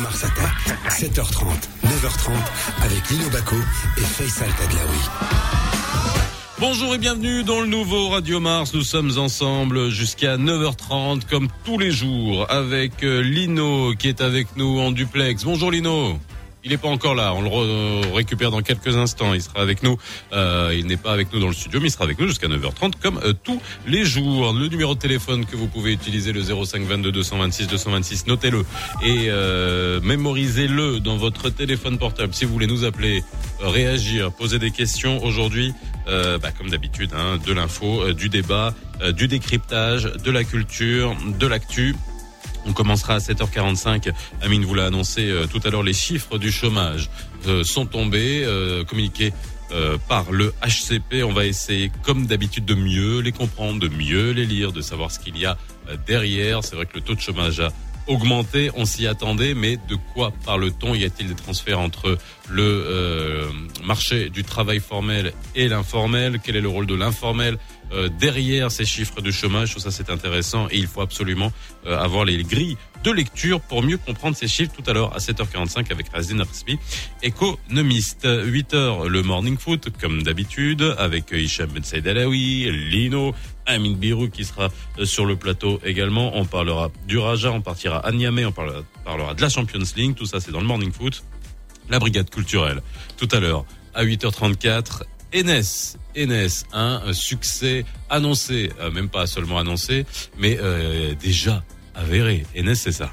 Mars Attack. 7h30, 9h30 avec Lino Bacco et Faisal Tadlaoui. Bonjour et bienvenue dans le nouveau Radio Mars. Nous sommes ensemble jusqu'à 9h30 comme tous les jours avec Lino qui est avec nous en duplex. Bonjour Lino. Il n'est pas encore là, on le récupère dans quelques instants, il sera avec nous, il n'est pas avec nous dans le studio mais il sera avec nous jusqu'à 9h30 comme tous les jours. Le numéro de téléphone que vous pouvez utiliser, le 05 22 226 226, notez-le et mémorisez-le dans votre téléphone portable si vous voulez nous appeler, réagir, poser des questions aujourd'hui, comme d'habitude, de l'info, du débat, du décryptage, de la culture, de l'actu. On commencera à 7h45. Amine vous l'a annoncé tout à l'heure, les chiffres du chômage sont tombés, communiqués par le HCP. On va essayer, comme d'habitude, de mieux les comprendre, de mieux les lire, de savoir ce qu'il y a derrière. C'est vrai que le taux de chômage a augmenté, on s'y attendait, mais de quoi parle-t-on ? Y a-t-il des transferts entre le marché du travail formel et l'informel ? Quel est le rôle de l'informel derrière ces chiffres de chômage? Tout ça, c'est intéressant et il faut absolument avoir les grilles de lecture pour mieux comprendre ces chiffres. Tout à l'heure à 7h45 avec Razine Arsbi, économiste. 8h, le morning foot, comme d'habitude, avec Hicham Ben Saïd Alaoui, Lino, Amine Birou qui sera sur le plateau également. On parlera du Raja, on partira à Niamey, on parlera de la Champions League. Tout ça, c'est dans le morning foot. La brigade culturelle, tout à l'heure à 8h34. Enes, un succès annoncé, même pas seulement annoncé, mais déjà avéré. Enes, c'est ça.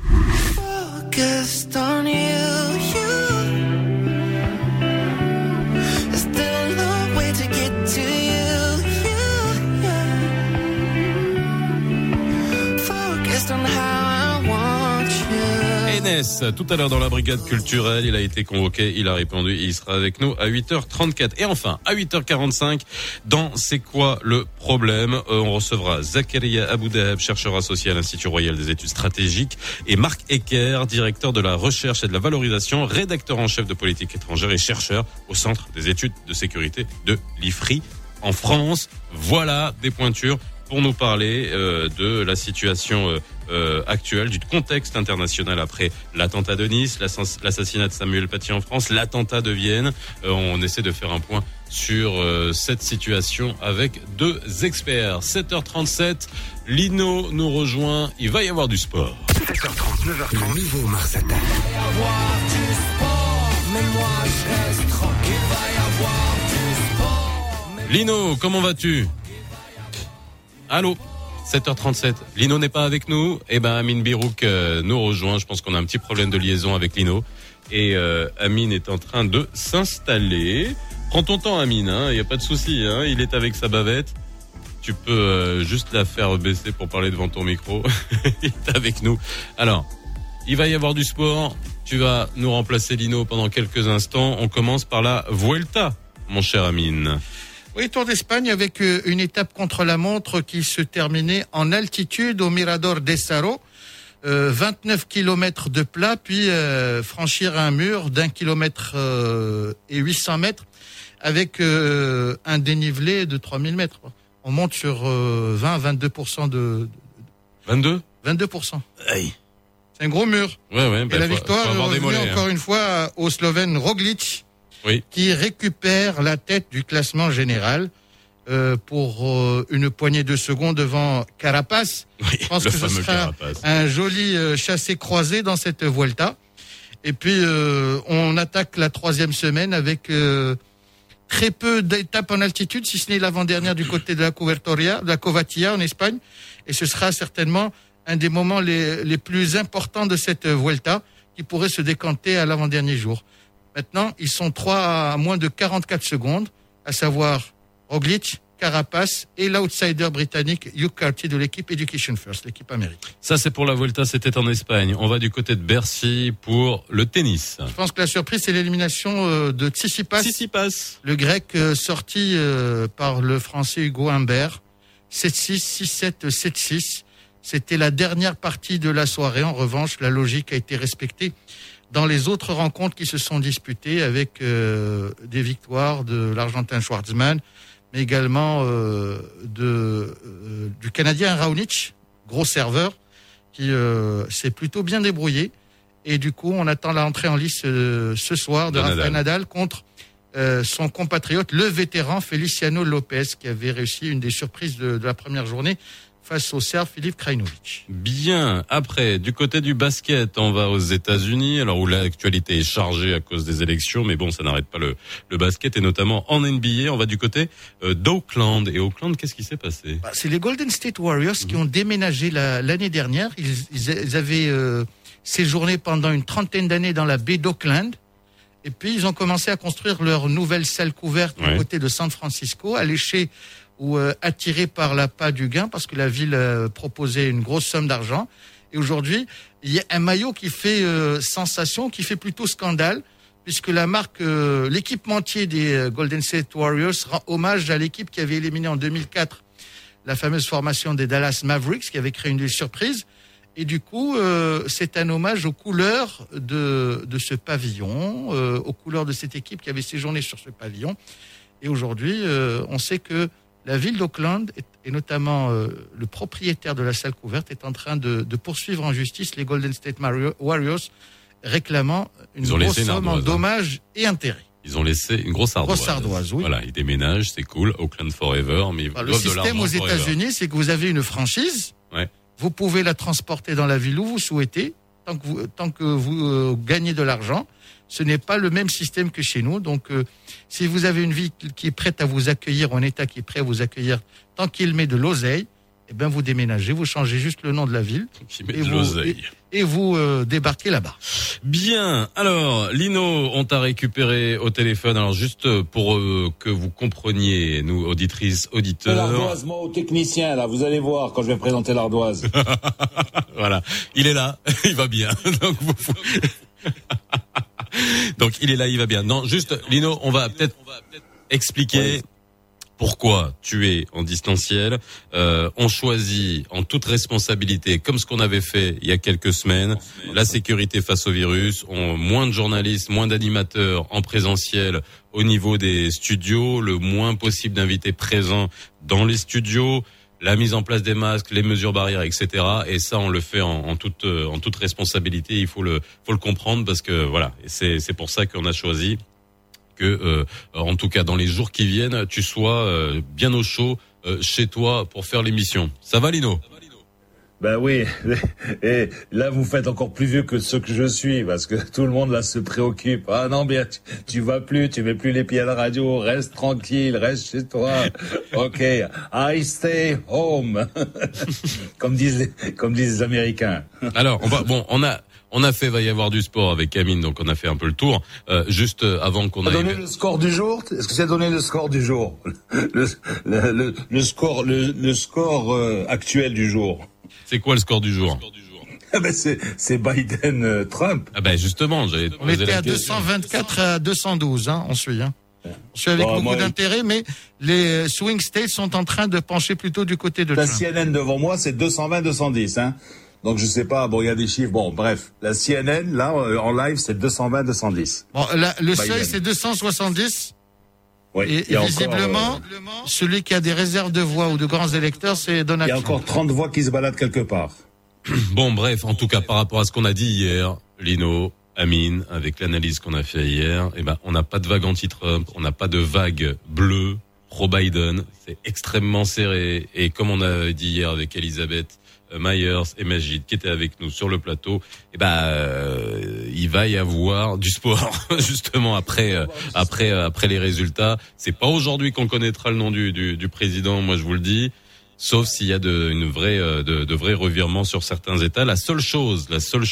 Tout à l'heure dans la brigade culturelle, il a été convoqué, il a répondu, il sera avec nous à 8h34. Et enfin, à 8h45, dans C'est quoi le problème, on recevra Zakaria Aboudaheb, chercheur associé à l'Institut Royal des études stratégiques, et Marc Ecker, directeur de la recherche et de la valorisation, rédacteur en chef de politique étrangère et chercheur au Centre des études de sécurité de l'IFRI en France. Voilà des pointures pour nous parler de la situation actuelle, du contexte international après l'attentat de Nice, l'assassinat de Samuel Paty en France, l'attentat de Vienne. On essaie de faire un point sur cette situation avec deux experts. 7h37, Lino nous rejoint, il va y avoir du sport. 7h30, 9h30, le nouveau Mars Attack. Il va y avoir du sport, mais moi je reste tranquille. Il va y avoir du sport. Lino, comment vas-tu ? Allô, 7h37. Lino n'est pas avec nous. Amine Birouk nous rejoint. Je pense qu'on a un petit problème de liaison avec Lino. Et Amine est en train de s'installer. Prends ton temps, Amine. Il n'y a pas de souci. Il est avec sa bavette. Tu peux juste la faire baisser pour parler devant ton micro. Il est avec nous. Alors, il va y avoir du sport. Tu vas nous remplacer, Lino, pendant quelques instants. On commence par la Vuelta, mon cher Amine. Oui, Tour d'Espagne avec une étape contre la montre qui se terminait en altitude au Mirador de Saro. 29 kilomètres de plat, puis franchir un mur d'1 kilomètre et 800 mètres avec un dénivelé de 3000 mètres. On monte sur 20-22% de... 22 22%. Aïe. C'est un gros mur. Ouais, et la victoire est revenue encore une fois au Slovène Roglic. Oui. Qui récupère la tête du classement général pour une poignée de secondes devant Carapaz. Oui, je pense que ce sera Carapaz. Un joli chassé-croisé dans cette Vuelta. Et puis, on attaque la 3e semaine avec très peu d'étapes en altitude, si ce n'est l'avant-dernière du côté de la Covatia en Espagne. Et ce sera certainement un des moments les plus importants de cette Vuelta qui pourrait se décanter à l'avant-dernier jour. Maintenant, ils sont 3 à moins de 44 secondes, à savoir Roglic, Carapaz et l'outsider britannique Hugh Carty de l'équipe Education First, l'équipe américaine. Ça, c'est pour la Vuelta, c'était en Espagne. On va du côté de Bercy pour le tennis. Je pense que la surprise, c'est l'élimination de Tsitsipas. Le grec sorti par le français Hugo Humbert. 7-6, 6-7, 7-6. C'était la dernière partie de la soirée. En revanche, la logique a été respectée dans les autres rencontres qui se sont disputées avec des victoires de l'Argentin Schwartzmann, mais également du Canadien Raonic, gros serveur, qui s'est plutôt bien débrouillé. Et du coup, on attend l'entrée en lice ce soir de Rafael Nadal contre son compatriote, le vétéran Feliciano Lopez, qui avait réussi une des surprises de la première journée face au Serbe Filip Krajinovic. Bien. Après, du côté du basket, on va aux États-Unis, alors où l'actualité est chargée à cause des élections, mais bon, ça n'arrête pas le basket, et notamment en NBA. On va du côté d'Oakland. Et Oakland, qu'est-ce qui s'est passé? C'est les Golden State Warriors qui ont déménagé l'année dernière. Ils avaient séjourné pendant une trentaine d'années dans la baie d'Oakland. Et puis, ils ont commencé à construire leur nouvelle salle couverte du côté de San Francisco, alléchée ou attirés par l'appât du gain, parce que la ville proposait une grosse somme d'argent. Et aujourd'hui, il y a un maillot qui fait sensation, qui fait plutôt scandale, puisque la marque, l'équipementier des Golden State Warriors rend hommage à l'équipe qui avait éliminé en 2004 la fameuse formation des Dallas Mavericks, qui avait créé une surprise. Et du coup, c'est un hommage aux couleurs de ce pavillon, aux couleurs de cette équipe qui avait séjourné sur ce pavillon. Et aujourd'hui, on sait que la ville d'Oakland, et notamment le propriétaire de la salle couverte, est en train de poursuivre en justice les Golden State Warriors, réclamant une grosse somme en dommages et intérêts. Ils ont laissé une grosse ardoise. Oui. Voilà, ils déménagent, c'est cool, Oakland forever. Mais le système aux États-Unis, c'est que vous avez une franchise. Ouais. Vous pouvez la transporter dans la ville où vous souhaitez, tant que vous gagnez de l'argent. Ce n'est pas le même système que chez nous. Donc, si vous avez une ville qui est prête à vous accueillir, un État qui est prêt à vous accueillir, tant qu'il met de l'oseille, eh ben vous déménagez, vous changez juste le nom de la ville et vous débarquez là-bas. Bien. Alors, Lino, on t'a récupéré au téléphone. Alors, juste pour que vous compreniez, nous, auditrices, auditeurs. L'ardoise, moi, au technicien, là, vous allez voir quand je vais présenter l'ardoise. Voilà. Il est là. Il va bien. Donc, il est là, il va bien. Non, juste, Lino, on va peut-être expliquer pourquoi tu es en distanciel. On choisit en toute responsabilité, comme ce qu'on avait fait il y a quelques semaines, la sécurité face au virus. Moins de journalistes, moins d'animateurs en présentiel au niveau des studios, le moins possible d'invités présents dans les studios, la mise en place des masques, les mesures barrières, etc. Et ça, on le fait en toute responsabilité. Il faut le comprendre, parce que voilà, c'est pour ça qu'on a choisi que, en tout cas, dans les jours qui viennent, tu sois bien au chaud chez toi pour faire l'émission. Ça va, Lino? Ben oui, et là vous faites encore plus vieux que ce que je suis, parce que tout le monde là se préoccupe. Ah non, bien tu vas plus, tu mets plus les pieds à la radio, reste tranquille, reste chez toi. Ok, I stay home, comme disent les Américains. Alors on a fait, va y avoir du sport avec Amine, donc on a fait un peu le tour. Juste avant qu'on aille. Donner le score du jour. Est-ce que c'est donné le score du jour? Le score actuel du jour. C'est quoi le score du jour? Ah ben c'est Biden Trump. Ah ben justement, on était à 224 à 212, on suit. On suit avec beaucoup d'intérêt, mais les swing states sont en train de pencher plutôt du côté de Trump. La CNN devant moi, c'est 220-210, Donc je sais pas, il y a des chiffres. Bon, bref, la CNN là en live, c'est 220-210. Bon, le seuil c'est 270. Oui, et visiblement, celui qui a des réserves de voix ou de grands électeurs, c'est Donald Trump. Il y a encore 30 voix qui se baladent quelque part. Bon, bref, en tout cas, par rapport à ce qu'on a dit hier, Lino, Amine, avec l'analyse qu'on a fait hier, on n'a pas de vague anti-Trump, on n'a pas de vague bleue pro-Biden. C'est extrêmement serré. Et comme on a dit hier avec Elisabeth Myers et Magid qui étaient avec nous sur le plateau, il va y avoir du sport justement après les résultats. C'est pas aujourd'hui qu'on connaîtra le nom du président, moi je vous le dis, sauf s'il y a de vrais revirements sur certains États. La seule chose,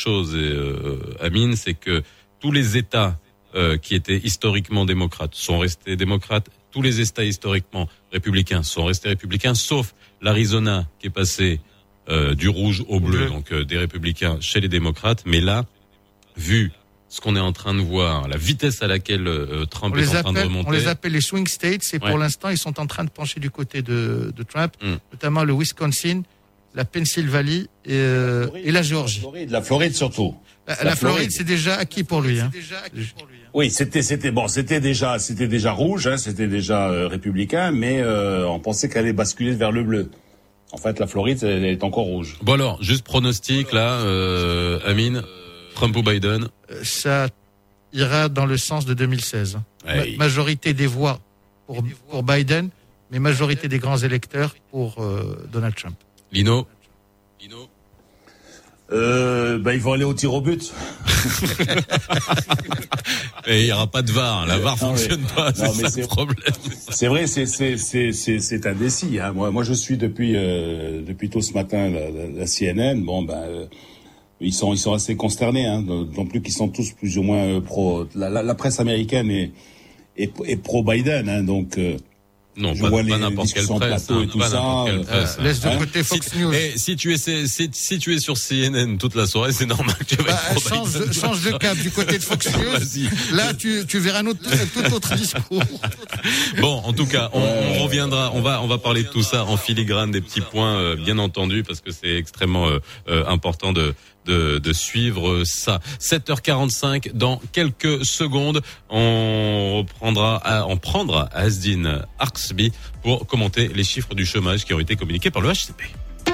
Amine, c'est que tous les États qui étaient historiquement démocrates sont restés démocrates. Tous les États historiquement républicains sont restés républicains, sauf l'Arizona qui est passé du rouge au bleu, donc des républicains chez les démocrates. Mais là, vu ce qu'on est en train de voir, la vitesse à laquelle Trump est en train de remonter. On les appelle les swing states, et pour l'instant, ils sont en train de pencher du côté de Trump, notamment le Wisconsin, la Pennsylvanie et la Géorgie. La Floride surtout. La Floride, c'est déjà acquis pour lui. Oui, c'était déjà rouge, c'était déjà républicain, mais on pensait qu'elle allait basculer vers le bleu. En fait, la Floride, elle est encore rouge. Bon alors, juste pronostic là, Amine. Trump ou Biden? Ça ira dans le sens de 2016. Ouais. Majorité des voix pour Biden, mais majorité des grands électeurs pour Donald Trump. Lino? Ils vont aller au tir au but. Et il n'y aura pas de VAR. La VAR fonctionne pas. Non, mais c'est ça le problème. C'est vrai, c'est indécis. Hein. Moi, je suis depuis tôt ce matin la CNN. Ils sont assez consternés, hein, non plus qu'ils sont tous plus ou moins pro. La presse américaine est pro Biden, hein, donc. Non, je pas vois les n'importe quelle presse, plateau et tout pas ça. n'importe quelle presse. Laisse de côté Fox News. Si tu es sur CNN toute la soirée, c'est normal que tu vas être pro Biden. Change de cap du côté de Fox News. Vas-y. Là, tu verras tout autre discours. Bon, en tout cas, on reviendra. On va parler de tout ça en filigrane, des petits points, bien entendu, parce que c'est extrêmement important de suivre ça. 7h45 dans quelques secondes, on prendra Asdine Arksby pour commenter les chiffres du chômage qui ont été communiqués par le HCP.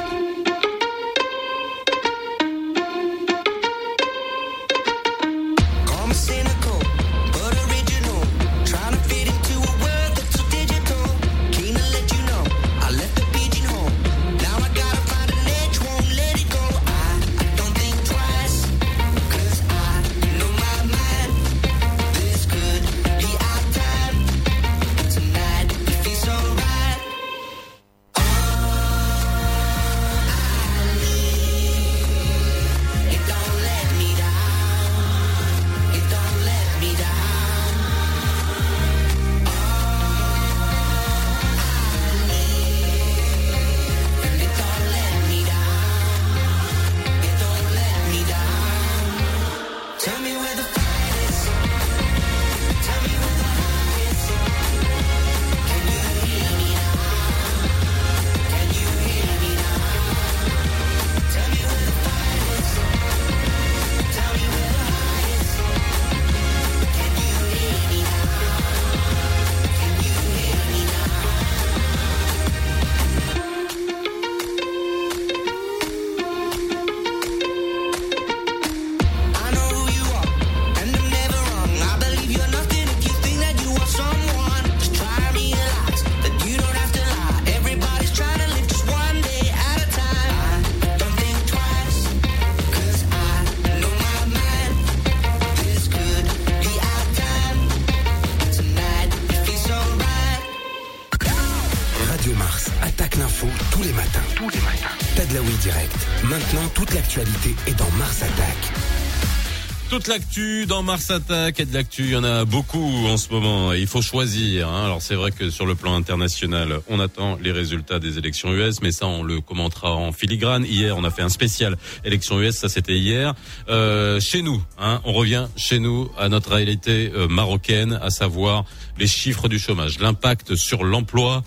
Tadlaoui direct. Maintenant, toute l'actualité est dans Mars Attack. Toute l'actu dans Mars Attack, et de l'actu, il y en a beaucoup en ce moment. Il faut choisir. Alors c'est vrai que sur le plan international, on attend les résultats des élections US, mais ça on le commentera en filigrane. Hier, on a fait un spécial élections US, ça c'était hier. Chez nous, on revient chez nous à notre réalité marocaine, à savoir les chiffres du chômage, l'impact sur l'emploi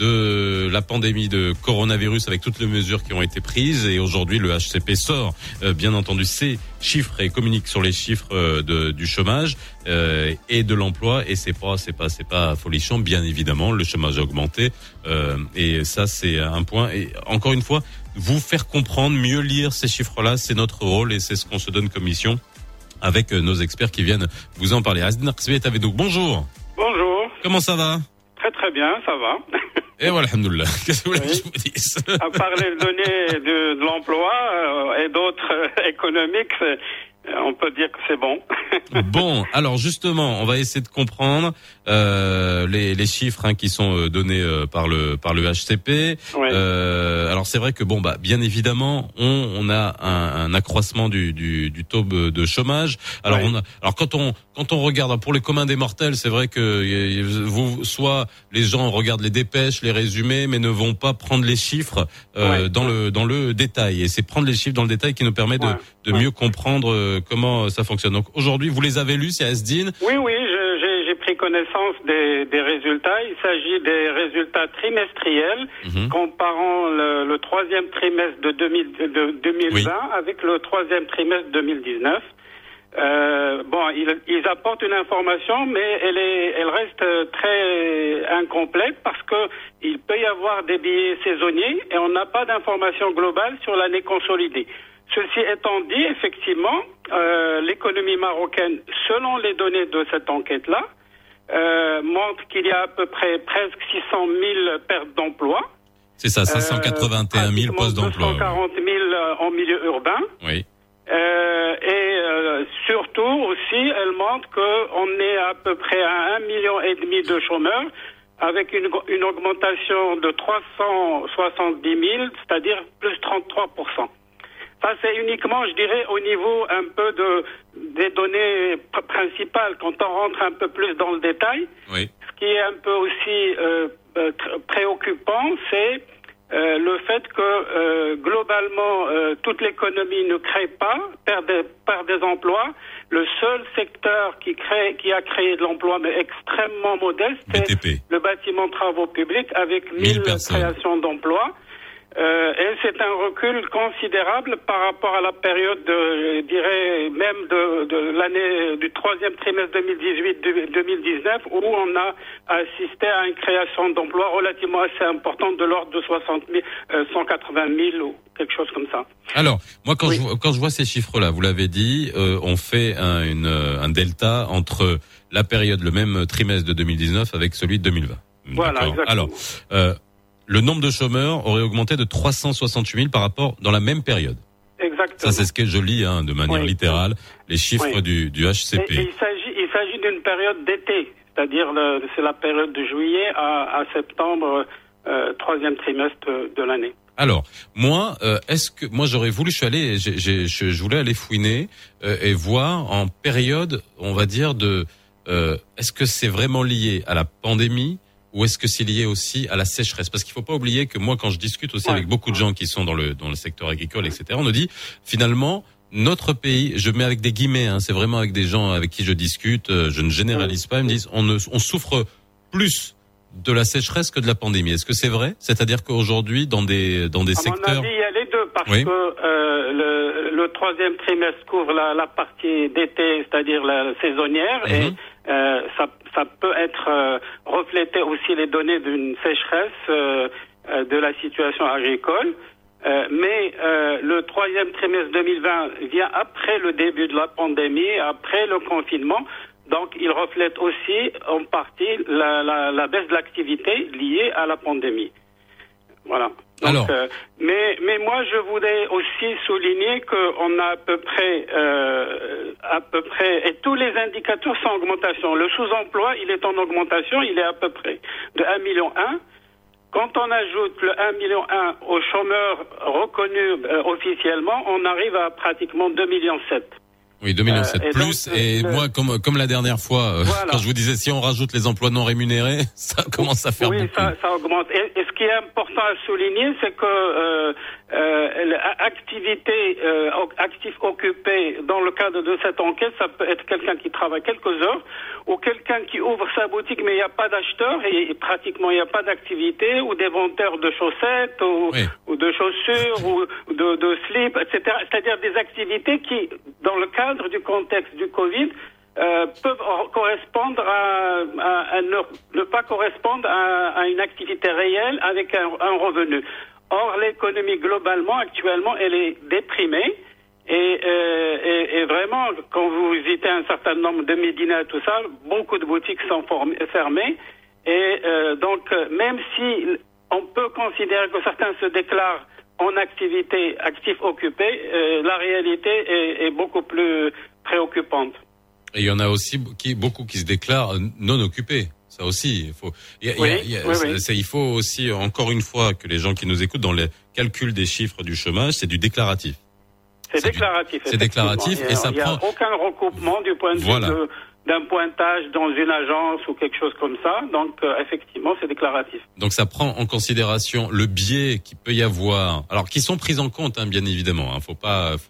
de la pandémie de coronavirus avec toutes les mesures qui ont été prises. Et aujourd'hui, le HCP sort, bien entendu, ses chiffres et communique sur les chiffres du chômage et de l'emploi. Et c'est pas folichon, bien évidemment. Le chômage a augmenté et ça, c'est un point. Et encore une fois, vous faire comprendre, mieux lire ces chiffres-là, c'est notre rôle et c'est ce qu'on se donne comme mission avec nos experts qui viennent vous en parler. Asdine Arksby est avec nous. Bonjour. Bonjour. Comment ça va? Très très bien, ça va. Et voilà, alhamdoulilah. Qu'est-ce que vous voulez que je vous dise? À part les données de l'emploi et d'autres économiques, on peut dire que c'est bon. Bon, alors justement, on va essayer de comprendre les chiffres qui sont donnés par le HCP. Oui. Alors c'est vrai que bien évidemment, on a un accroissement du taux de chômage. Alors oui. alors quand on regarde pour les communs des mortels, c'est vrai que soit les gens regardent les dépêches, les résumés, mais ne vont pas prendre les chiffres dans le détail. Et c'est prendre les chiffres dans le détail qui nous permet de mieux comprendre comment ça fonctionne. Donc aujourd'hui, vous les avez lus, c'est Asdine? Oui, j'ai pris connaissance des résultats. Il s'agit des résultats trimestriels comparant le troisième trimestre de 2020 avec le troisième trimestre 2019. Ils apportent une information, mais elle reste très incomplète parce que il peut y avoir des billets saisonniers et on n'a pas d'information globale sur l'année consolidée. Ceci étant dit, effectivement, l'économie marocaine, selon les données de cette enquête-là, montre qu'il y a à peu près presque 600 000 pertes d'emplois. C'est ça, 581 000 postes d'emploi. 240 000 en milieu urbain. Oui. Surtout aussi, elle montre qu'on est à peu près à 1,5 million de chômeurs, avec une augmentation de 370 000, c'est-à-dire plus 33%. Ça, c'est uniquement, je dirais, au niveau un peu des données principales. Quand on rentre un peu plus dans le détail, oui. Ce qui est un peu aussi préoccupant, c'est le fait que globalement, toute l'économie ne crée pas, perd des emplois. Le seul secteur qui a créé de l'emploi, mais extrêmement modeste, c'est le bâtiment travaux publics, avec 1000 créations d'emplois. Et c'est un recul considérable par rapport à la période, je dirais, même de l'année du troisième trimestre 2018-2019, où on a assisté à une création d'emplois relativement assez importante de l'ordre de 180 000 ou quelque chose comme ça. Alors, moi, quand je vois ces chiffres-là, vous l'avez dit, on fait un delta entre la période, le même trimestre de 2019 avec celui de 2020. Voilà, exactement. Alors, le nombre de chômeurs aurait augmenté de 368 000 par rapport dans la même période. Exactement. Ça, c'est ce que je lis, de manière littérale, les chiffres du HCP. Et il s'agit d'une période d'été, c'est-à-dire c'est la période de juillet à septembre, troisième trimestre de l'année. Alors, moi, j'aurais voulu, je voulais aller fouiner et voir en période, on va dire est-ce que c'est vraiment lié à la pandémie? Ou est-ce que c'est lié aussi à la sécheresse? Parce qu'il faut pas oublier que moi, quand je discute aussi avec beaucoup de gens qui sont dans le secteur agricole, etc., on nous dit, finalement, notre pays, je mets avec des guillemets, c'est vraiment avec des gens avec qui je discute, je ne généralise pas, ils me disent, on souffre plus de la sécheresse que de la pandémie. Est-ce que c'est vrai? C'est-à-dire qu'aujourd'hui, dans des secteurs... À mon avis, il y a les deux, parce que le troisième trimestre couvre la partie d'été, c'est-à-dire la saisonnière, et ça peut être refléter aussi les données d'une sécheresse de la situation agricole. Mais le troisième trimestre 2020 vient après le début de la pandémie, après le confinement. Donc, il reflète aussi en partie la baisse de l'activité liée à la pandémie. Voilà. Donc, mais moi, je voudrais aussi souligner qu'on a à peu près, et tous les indicateurs sont en augmentation. Le sous-emploi, il est en augmentation, il est à peu près de 1,1 million. Quand on ajoute le 1,1 million aux chômeurs reconnus officiellement, on arrive à pratiquement 2,7 millions. Oui, 2,7 millions plus. Moi, comme la dernière fois, quand je vous disais, si on rajoute les emplois non rémunérés, ça commence à faire beaucoup. Oui, ça augmente. Et ce qui est important à souligner, c'est que actif occupé dans le cadre de cette enquête, ça peut être quelqu'un qui travaille quelques heures ou quelqu'un qui ouvre sa boutique mais il n'y a pas d'acheteur et pratiquement il n'y a pas d'activité, ou des vendeurs de chaussettes ou de chaussures ou de slips, etc. C'est-à-dire des activités qui, dans le cadre du contexte du Covid, peuvent correspondre ne pas correspondre à une activité réelle avec un revenu. Or, l'économie globalement, actuellement, elle est déprimée. Et vraiment, quand vous visitez un certain nombre de médinas et tout ça, beaucoup de boutiques sont fermées. Et donc, même si on peut considérer que certains se déclarent en actif occupé, la réalité est beaucoup plus préoccupante. Et il y en a aussi beaucoup qui se déclarent non occupés. Ça aussi, il faut aussi, encore une fois, que les gens qui nous écoutent dans les calculs des chiffres du chômage, c'est du déclaratif. C'est déclaratif. C'est déclaratif et ça prend. Il n'y a aucun recoupement du point de vue d'un pointage dans une agence ou quelque chose comme ça. Donc, effectivement, c'est déclaratif. Donc, ça prend en considération le biais qu'il peut y avoir. Alors, qui sont pris en compte, bien évidemment. Faut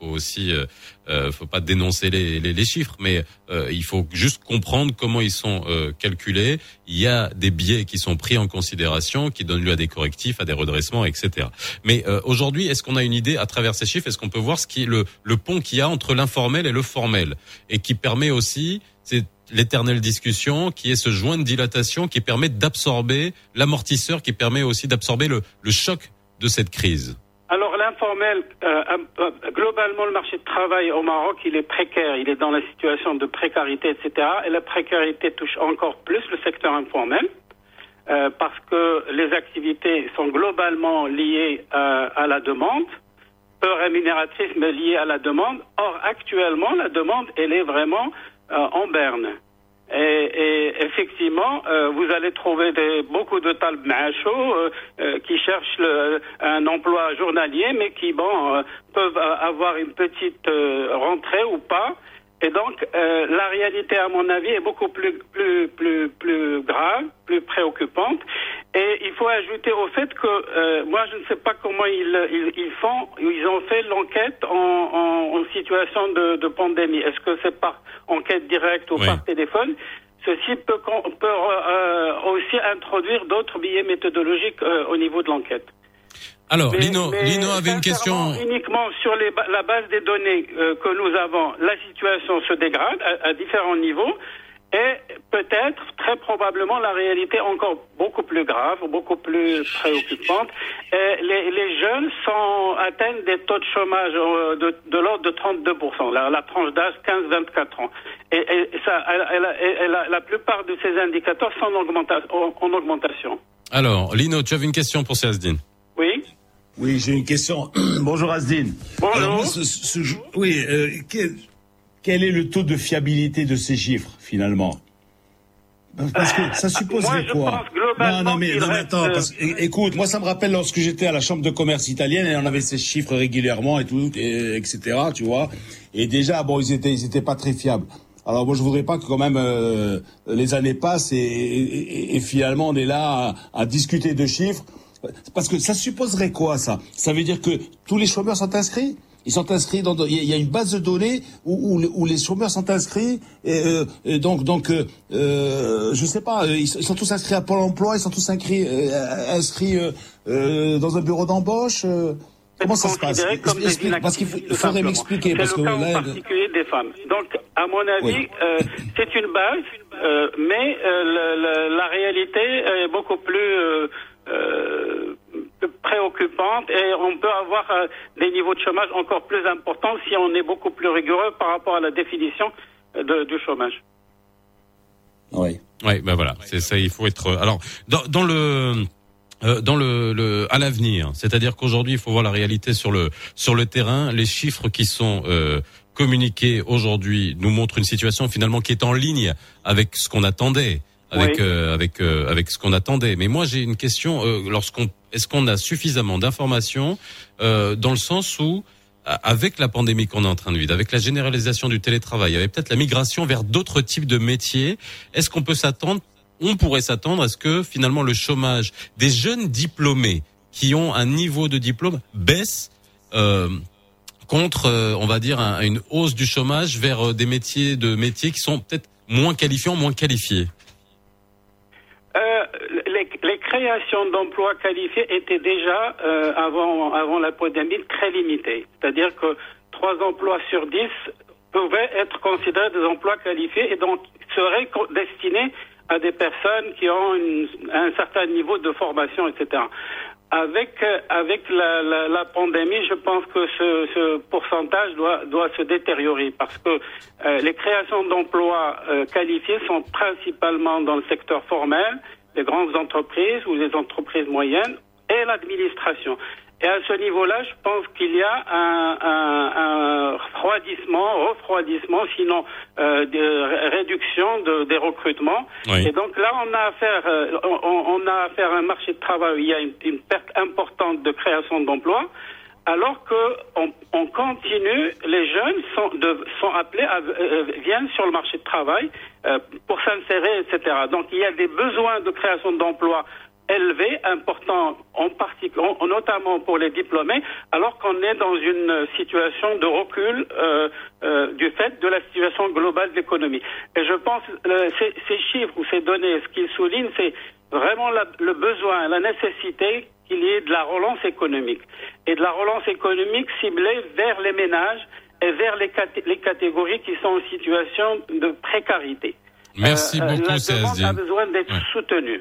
pas dénoncer les chiffres, mais il faut juste comprendre comment ils sont calculés. Il y a des biais qui sont pris en considération, qui donnent lieu à des correctifs, à des redressements, etc. Mais aujourd'hui, est-ce qu'on a une idée à travers ces chiffres? Est-ce qu'on peut voir ce qui est le pont qu'il y a entre l'informel et le formel, et qui permet aussi, c'est l'éternelle discussion, qui est ce joint de dilatation qui permet d'absorber l'amortisseur, qui permet aussi d'absorber le choc de cette crise? Alors l'informel, globalement, le marché de travail au Maroc, il est précaire. Il est dans la situation de précarité, etc. Et la précarité touche encore plus le secteur informel, parce que les activités sont globalement liées à la demande, peu rémunératrices, mais liées à la demande. Or, actuellement, la demande, elle est vraiment en berne. Et effectivement, vous allez trouver beaucoup de talb ma'acho qui cherchent un emploi journalier, mais qui peuvent avoir une petite rentrée ou pas. Et donc, la réalité, à mon avis, est beaucoup plus grave, plus préoccupante. Et il faut ajouter au fait que moi, je ne sais pas comment ils font. Ils ont fait l'enquête en situation de pandémie. Est-ce que c'est par enquête directe ou par téléphone? Ceci peut aussi introduire d'autres biais méthodologiques au niveau de l'enquête. Alors, Lino avait une question. Uniquement sur la base des données que nous avons, la situation se dégrade à différents niveaux. Et peut-être, très probablement, la réalité encore beaucoup plus grave, beaucoup plus préoccupante. Et les jeunes atteignent des taux de chômage de l'ordre de 32%, la tranche d'âge 15-24 ans. Et ça, la plupart de ces indicateurs sont en augmentation. Alors, Lino, tu avais une question pour Asdine? Oui. Oui, j'ai une question. Bonjour Asdine. Bonjour. Alors, quel est le taux de fiabilité de ces chiffres, finalement? Parce que ça supposerait quoi? Non, mais attends, écoute, moi ça me rappelle lorsque j'étais à la chambre de commerce italienne et on avait ces chiffres régulièrement et tout, etc., tu vois. Et déjà, ils étaient pas très fiables. Alors moi je voudrais pas que quand même les années passent et finalement on est là à discuter de chiffres. Parce que ça supposerait quoi, ça? Ça veut dire que tous les chômeurs sont inscrits? Ils sont inscrits il y a une base de données où les chômeurs sont inscrits et donc je sais pas, ils sont tous inscrits à Pôle emploi, ils sont tous inscrits dans un bureau d'embauche. Comment ça se passe? Parce qu'il faudrait m'expliquer. C'est le cas en particulier des femmes. Donc, à mon avis, c'est une base, mais la réalité est beaucoup plus préoccupante et on peut avoir des niveaux de chômage encore plus importants si on est beaucoup plus rigoureux par rapport à la définition du chômage. Oui, ben voilà, c'est ça, il faut être alors à l'avenir, c'est-à-dire qu'aujourd'hui il faut voir la réalité sur le terrain. Les chiffres qui sont communiqués aujourd'hui nous montrent une situation finalement qui est en ligne avec ce qu'on attendait. Avec ce qu'on attendait. Mais moi j'ai une question, est-ce qu'on a suffisamment d'informations dans le sens où avec la pandémie qu'on est en train de vivre, avec la généralisation du télétravail, avec peut-être la migration vers d'autres types de métiers, est-ce qu'on pourrait s'attendre à ce que finalement le chômage des jeunes diplômés qui ont un niveau de diplôme baisse contre on va dire une hausse du chômage vers des métiers qui sont peut-être moins qualifiés? Les créations d'emplois qualifiés étaient déjà, avant la pandémie, très limitées. C'est-à-dire que 3 emplois sur 10 pouvaient être considérés des emplois qualifiés et donc seraient destinés à des personnes qui ont un certain niveau de formation, etc. Avec la pandémie, je pense que ce pourcentage doit se détériorer parce que les créations d'emplois qualifiés sont principalement dans le secteur formel, les grandes entreprises ou les entreprises moyennes et l'administration. Et à ce niveau-là, je pense qu'il y a un refroidissement, sinon de réduction des recrutements. Oui. Et donc là, on a affaire à un marché de travail où il y a une perte importante de création d'emplois, alors que on continue, les jeunes sont appelés viennent sur le marché de travail pour s'insérer, etc. Donc il y a des besoins de création d'emplois élevés, importants, en particulier, notamment pour les diplômés, alors qu'on est dans une situation de recul du fait de la situation globale de l'économie. Et je pense ces chiffres ou ces données, ce qu'ils soulignent, c'est vraiment le besoin, la nécessité qu'il y ait de la relance économique. Et de la relance économique ciblée vers les ménages et vers les catégories qui sont en situation de précarité. Merci beaucoup, la demande a besoin d'être soutenue.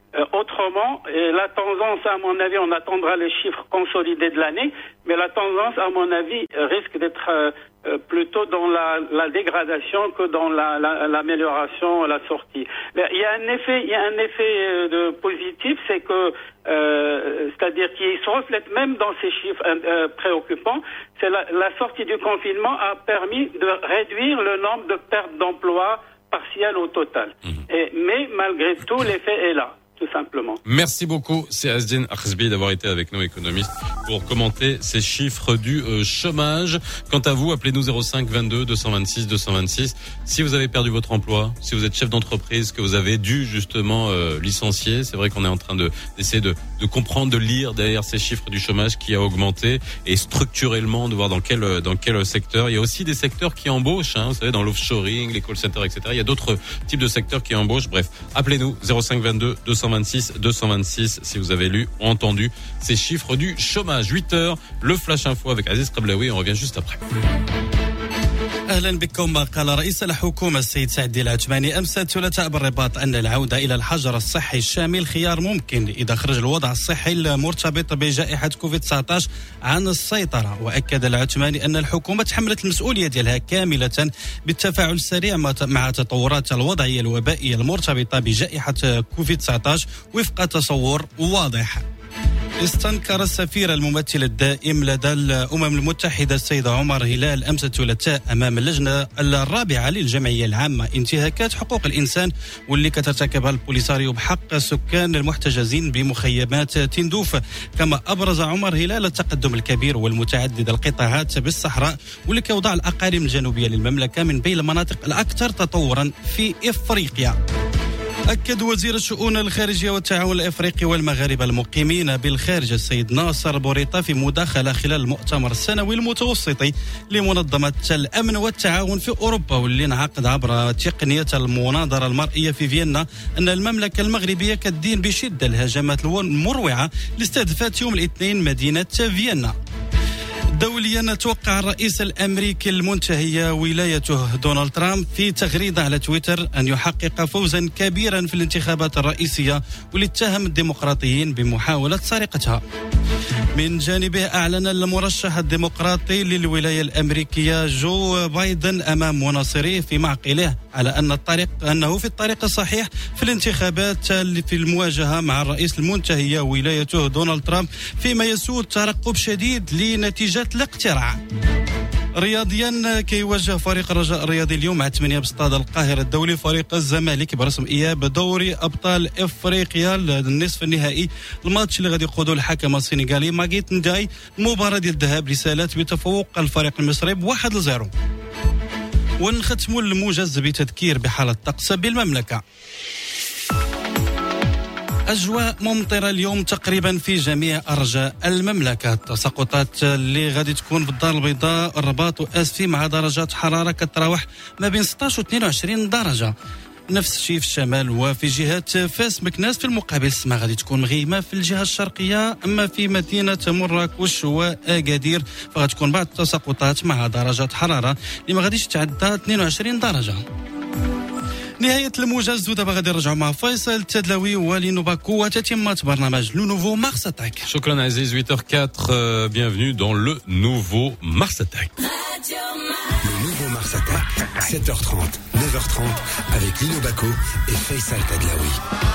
Autrement, et la tendance, à mon avis, on attendra les chiffres consolidés de l'année, mais la tendance, à mon avis, risque d'être plutôt dans la dégradation que dans l'amélioration, la sortie. Mais il y a un effet de positif, c'est que c'est-à-dire qu'il se reflète même dans ces chiffres préoccupants. C'est la sortie du confinement a permis de réduire le nombre de pertes d'emplois partielles au total. Mais malgré tout, l'effet est là. Tout simplement. Merci beaucoup, c'est Asdine Akhzbi d'avoir été avec nous, économiste, pour commenter ces chiffres du chômage. Quant à vous, appelez-nous 05 22 226 226. Si vous avez perdu votre emploi, si vous êtes chef d'entreprise, que vous avez dû justement licencier, c'est vrai qu'on est en train d'essayer de comprendre, de lire derrière ces chiffres du chômage qui a augmenté et structurellement de voir dans quel secteur. Il y a aussi des secteurs qui embauchent, vous savez, dans l'offshoring, les call centers, etc. Il y a d'autres types de secteurs qui embauchent. Bref, appelez-nous 05 22 226 226 si vous avez lu ou entendu ces chiffres du chômage. 8h, le Flash Info avec Aziz Qablaoui, on revient juste après. أهلا بكم. قال رئيس الحكومة السيد سعد العثماني أمس الثلاثاء بالرباط أن العودة إلى الحجر الصحي الشامل خيار ممكن إذا خرج الوضع الصحي المرتبط بجائحة كوفيد-19 عن السيطرة. وأكد العثماني أن الحكومة تحملت المسؤولية ديالها كاملة بالتفاعل السريع مع تطورات الوضعية الوبائية المرتبطة بجائحة كوفيد-19 وفق تصور واضح. استنكر السفير الممثل الدائم لدى الأمم المتحدة السيد عمر هلال أمس الثلاثاء أمام اللجنة الرابعة للجمعية العامة انتهاكات حقوق الإنسان واللي كترتكبها البوليساريو بحق السكان المحتجزين بمخيمات تندوف. كما أبرز عمر هلال التقدم الكبير والمتعدد القطاعات بالصحراء واللي كيوضع الأقاليم الجنوبية للمملكة من بين المناطق الأكثر تطورا في إفريقيا. أكد وزير الشؤون الخارجية والتعاون الإفريقي والمغاربة المقيمين بالخارج السيد ناصر بوريطة في مداخلة خلال المؤتمر السنوي المتوسطي لمنظمة الأمن والتعاون في أوروبا واللي انعقد عبر تقنية المناظرة المرئية في فيينا أن المملكة المغربية كتدين بشدة الهجمات المروعة لاستهدافات يوم الاثنين مدينة فيينا. دوليا توقع الرئيس الأمريكي المنتهي ولايته دونالد ترامب في تغريدة على تويتر أن يحقق فوزا كبيرا في الانتخابات الرئيسية واللي اتهم الديمقراطيين بمحاولة سرقتها. من جانبه أعلن المرشح الديمقراطي للولاية الأمريكية جو بايدن أمام مناصريه في معقله على أنه في الطريق الصحيح في الانتخابات في المواجهة مع الرئيس المنتهي ولايته دونالد ترامب فيما يسود ترقب شديد لنتيجة الاقتراع. رياضيا كيواجه فريق الرجاء الرياضي اليوم مع 8 باستاد القاهرة الدولي فريق الزمالك برسم إياب دوري أبطال إفريقيا النصف النهائي. الماتش اللي غادي يقودوا الحكم السنغالي ماغيت نداي. المباراة ديال الذهاب رسالات بتفوق الفريق المصري ب1-0. ونختموا الموجز بتذكير بحالة الطقس بالمملكة. أجواء ممطرة اليوم تقريبا في جميع أرجاء المملكة. التساقطات اللي غادي تكون في الدار البيضاء الرباط وأسفي مع درجات حرارة كتراوح ما بين 16 و 22 درجة. نفس الشيء في الشمال وفي جهة فاس مكناس. في المقابل السماء غادي تكون مغيمة في الجهة الشرقية. أما في مدينة مراكش وأكادير فغتكون بعض التساقطات مع درجات حرارة اللي ما غاديش تعدى 22 درجة. نهاية الموجز ودابا غادي نرجعوا مع فيصل التدلوي ولينو باكو وتتمة برنامج لو نوفو مارس اتاك. شكرا عزيز. 8h04, bienvenue dans le nouveau Mars Attack. Le nouveau Mars Attack, 7h30, 9h30 avec Lino Baco et Faisal Tadlaoui.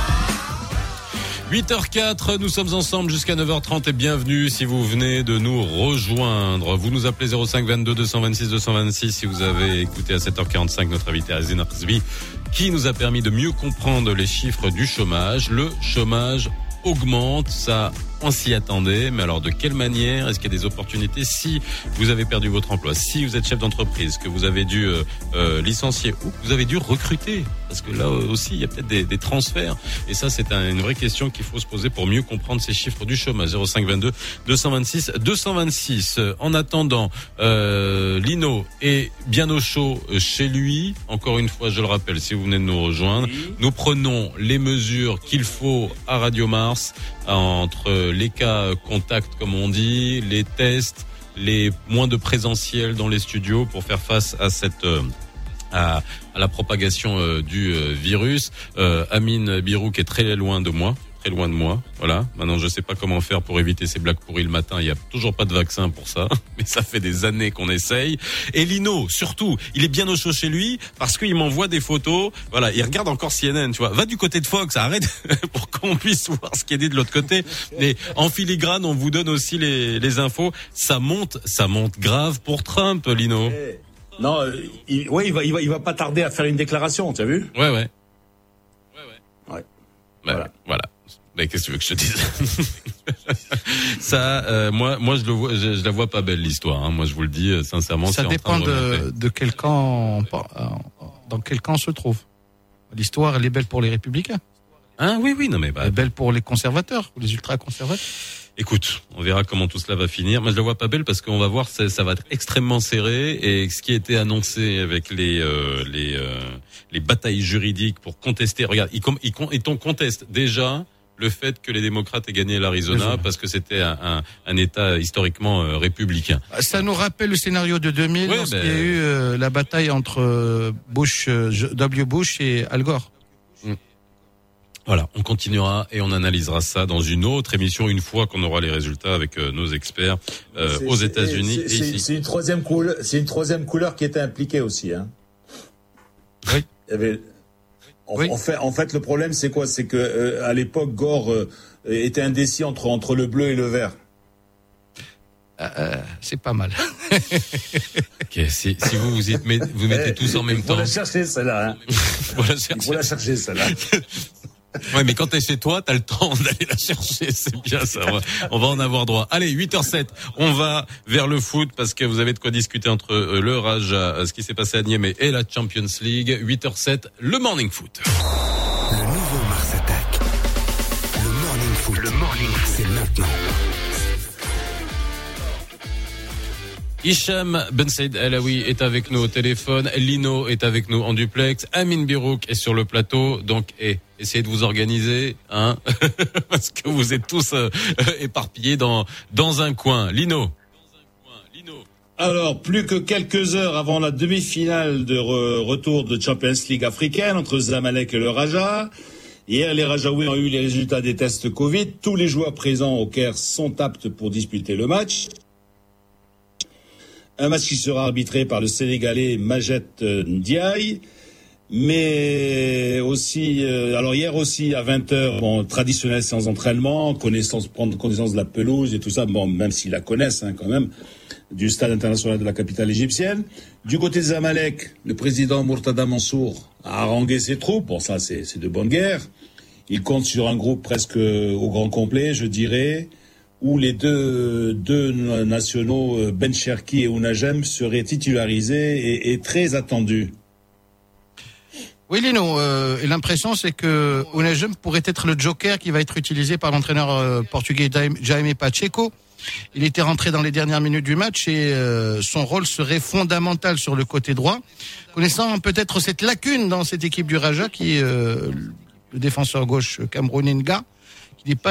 8h04, nous sommes ensemble jusqu'à 9h30 et bienvenue si vous venez de nous rejoindre. Vous nous appelez 05 22 226 226 si vous avez écouté à 7h45 notre invité Asdine Akhzbi qui nous a permis de mieux comprendre les chiffres du chômage. Le chômage augmente, ça on s'y attendait, mais alors de quelle manière? Est-ce qu'il y a des opportunités? Si vous avez perdu votre emploi, si vous êtes chef d'entreprise, que vous avez dû licencier ou que vous avez dû recruter, parce que là aussi il y a peut-être des transferts, et ça c'est une vraie question qu'il faut se poser pour mieux comprendre ces chiffres du chômage. 05 22 226 226. En attendant, Lino est bien au chaud chez lui. Encore une fois, je le rappelle, si vous venez de nous rejoindre, nous prenons les mesures qu'il faut à Radio Mars entre les cas contacts comme on dit, les tests, les moins de présentiel dans les studios pour faire face à cette à la propagation du virus. Amine Birou qui est très loin de moi. très loin de moi. Voilà. Maintenant, je sais pas comment faire pour éviter ces blagues pourries le matin. Il y a toujours pas de vaccin pour ça, mais ça fait des années qu'on essaye. Et Lino, surtout, il est bien au chaud chez lui parce qu'il m'envoie des photos. Voilà, il regarde encore CNN, tu vois. Va du côté de Fox, arrête pour qu'on puisse voir ce qui est dit de l'autre côté. Mais en filigrane, on vous donne aussi les infos. Ça monte grave pour Trump, Lino. Non, il va pas tarder à faire une déclaration, tu as vu? Ouais. Voilà. Mais qu'est-ce que tu veux que je te dise? Ça, moi, je la vois pas belle l'histoire. Hein. Moi, je vous le dis sincèrement. Ça dépend de quel camp, dans quel camp on se trouve. L'histoire, elle est belle pour les républicains. Ah oui, non mais elle est belle pour les conservateurs, les ultra-conservateurs. Écoute, on verra comment tout cela va finir. Moi, je la vois pas belle parce qu'on va voir, ça va être extrêmement serré. Et ce qui a été annoncé avec les batailles juridiques pour contester. Regarde, ils contestent déjà le fait que les démocrates aient gagné l'Arizona parce que c'était un État historiquement républicain. Ça nous rappelle le scénario de 2000 lorsqu'il y a eu la bataille entre W. Bush et Al Gore. Voilà, on continuera et on analysera ça dans une autre émission une fois qu'on aura les résultats avec nos experts aux États-Unis. C'est une troisième couleur qui était impliquée aussi. Hein. Oui. Il y avait... En fait, le problème, c'est quoi? C'est que à l'époque, Gore était indécis entre le bleu et le vert. C'est pas mal. Ok, si vous mettez tous en même temps. Il faut la chercher celle-là. Hein. Il faut la chercher celle-là. Ouais, mais quand t'es chez toi, t'as le temps d'aller la chercher, c'est bien ça. On va en avoir droit. Allez, 8h07, on va vers le foot parce que vous avez de quoi discuter entre le Raja, ce qui s'est passé à Niamey et la Champions League. 8h07, le Morning Foot. Le nouveau Mars Attack. Le Morning Foot. Le Morning Foot, c'est maintenant. Hicham Ben Saïd Alaoui est avec nous au téléphone. Lino est avec nous en duplex. Amine Birouk est sur le plateau. Donc, essayez de vous organiser, hein, parce que vous êtes tous éparpillés dans un coin. Lino. Alors, plus que quelques heures avant la demi-finale de retour de Champions League africaine entre Zamalek et le Raja. Hier, les Rajaouis ont eu les résultats des tests Covid. Tous les joueurs présents au Caire sont aptes pour disputer le match. Un match qui sera arbitré par le Sénégalais Majet Ndiaye. Mais aussi, alors hier aussi à 20h, traditionnelle séance d'entraînement, prendre connaissance de la pelouse et tout ça, même s'ils la connaissent quand même, du stade international de la capitale égyptienne. Du côté de Zamalek, le président Mourtada Mansour a harangué ses troupes. Bon, ça c'est de bonne guerre. Il compte sur un groupe presque au grand complet, je dirais, où les deux nationaux, Ben Cherki et Ounajem, seraient titularisés et très attendus. Oui, Lino, et l'impression c'est que Ounajem pourrait être le joker qui va être utilisé par l'entraîneur portugais Jaime Pacheco. Il était rentré dans les dernières minutes du match et son rôle serait fondamental sur le côté droit. Connaissant peut-être cette lacune dans cette équipe du Raja qui est le défenseur gauche camerounais Nga, qui n'est pas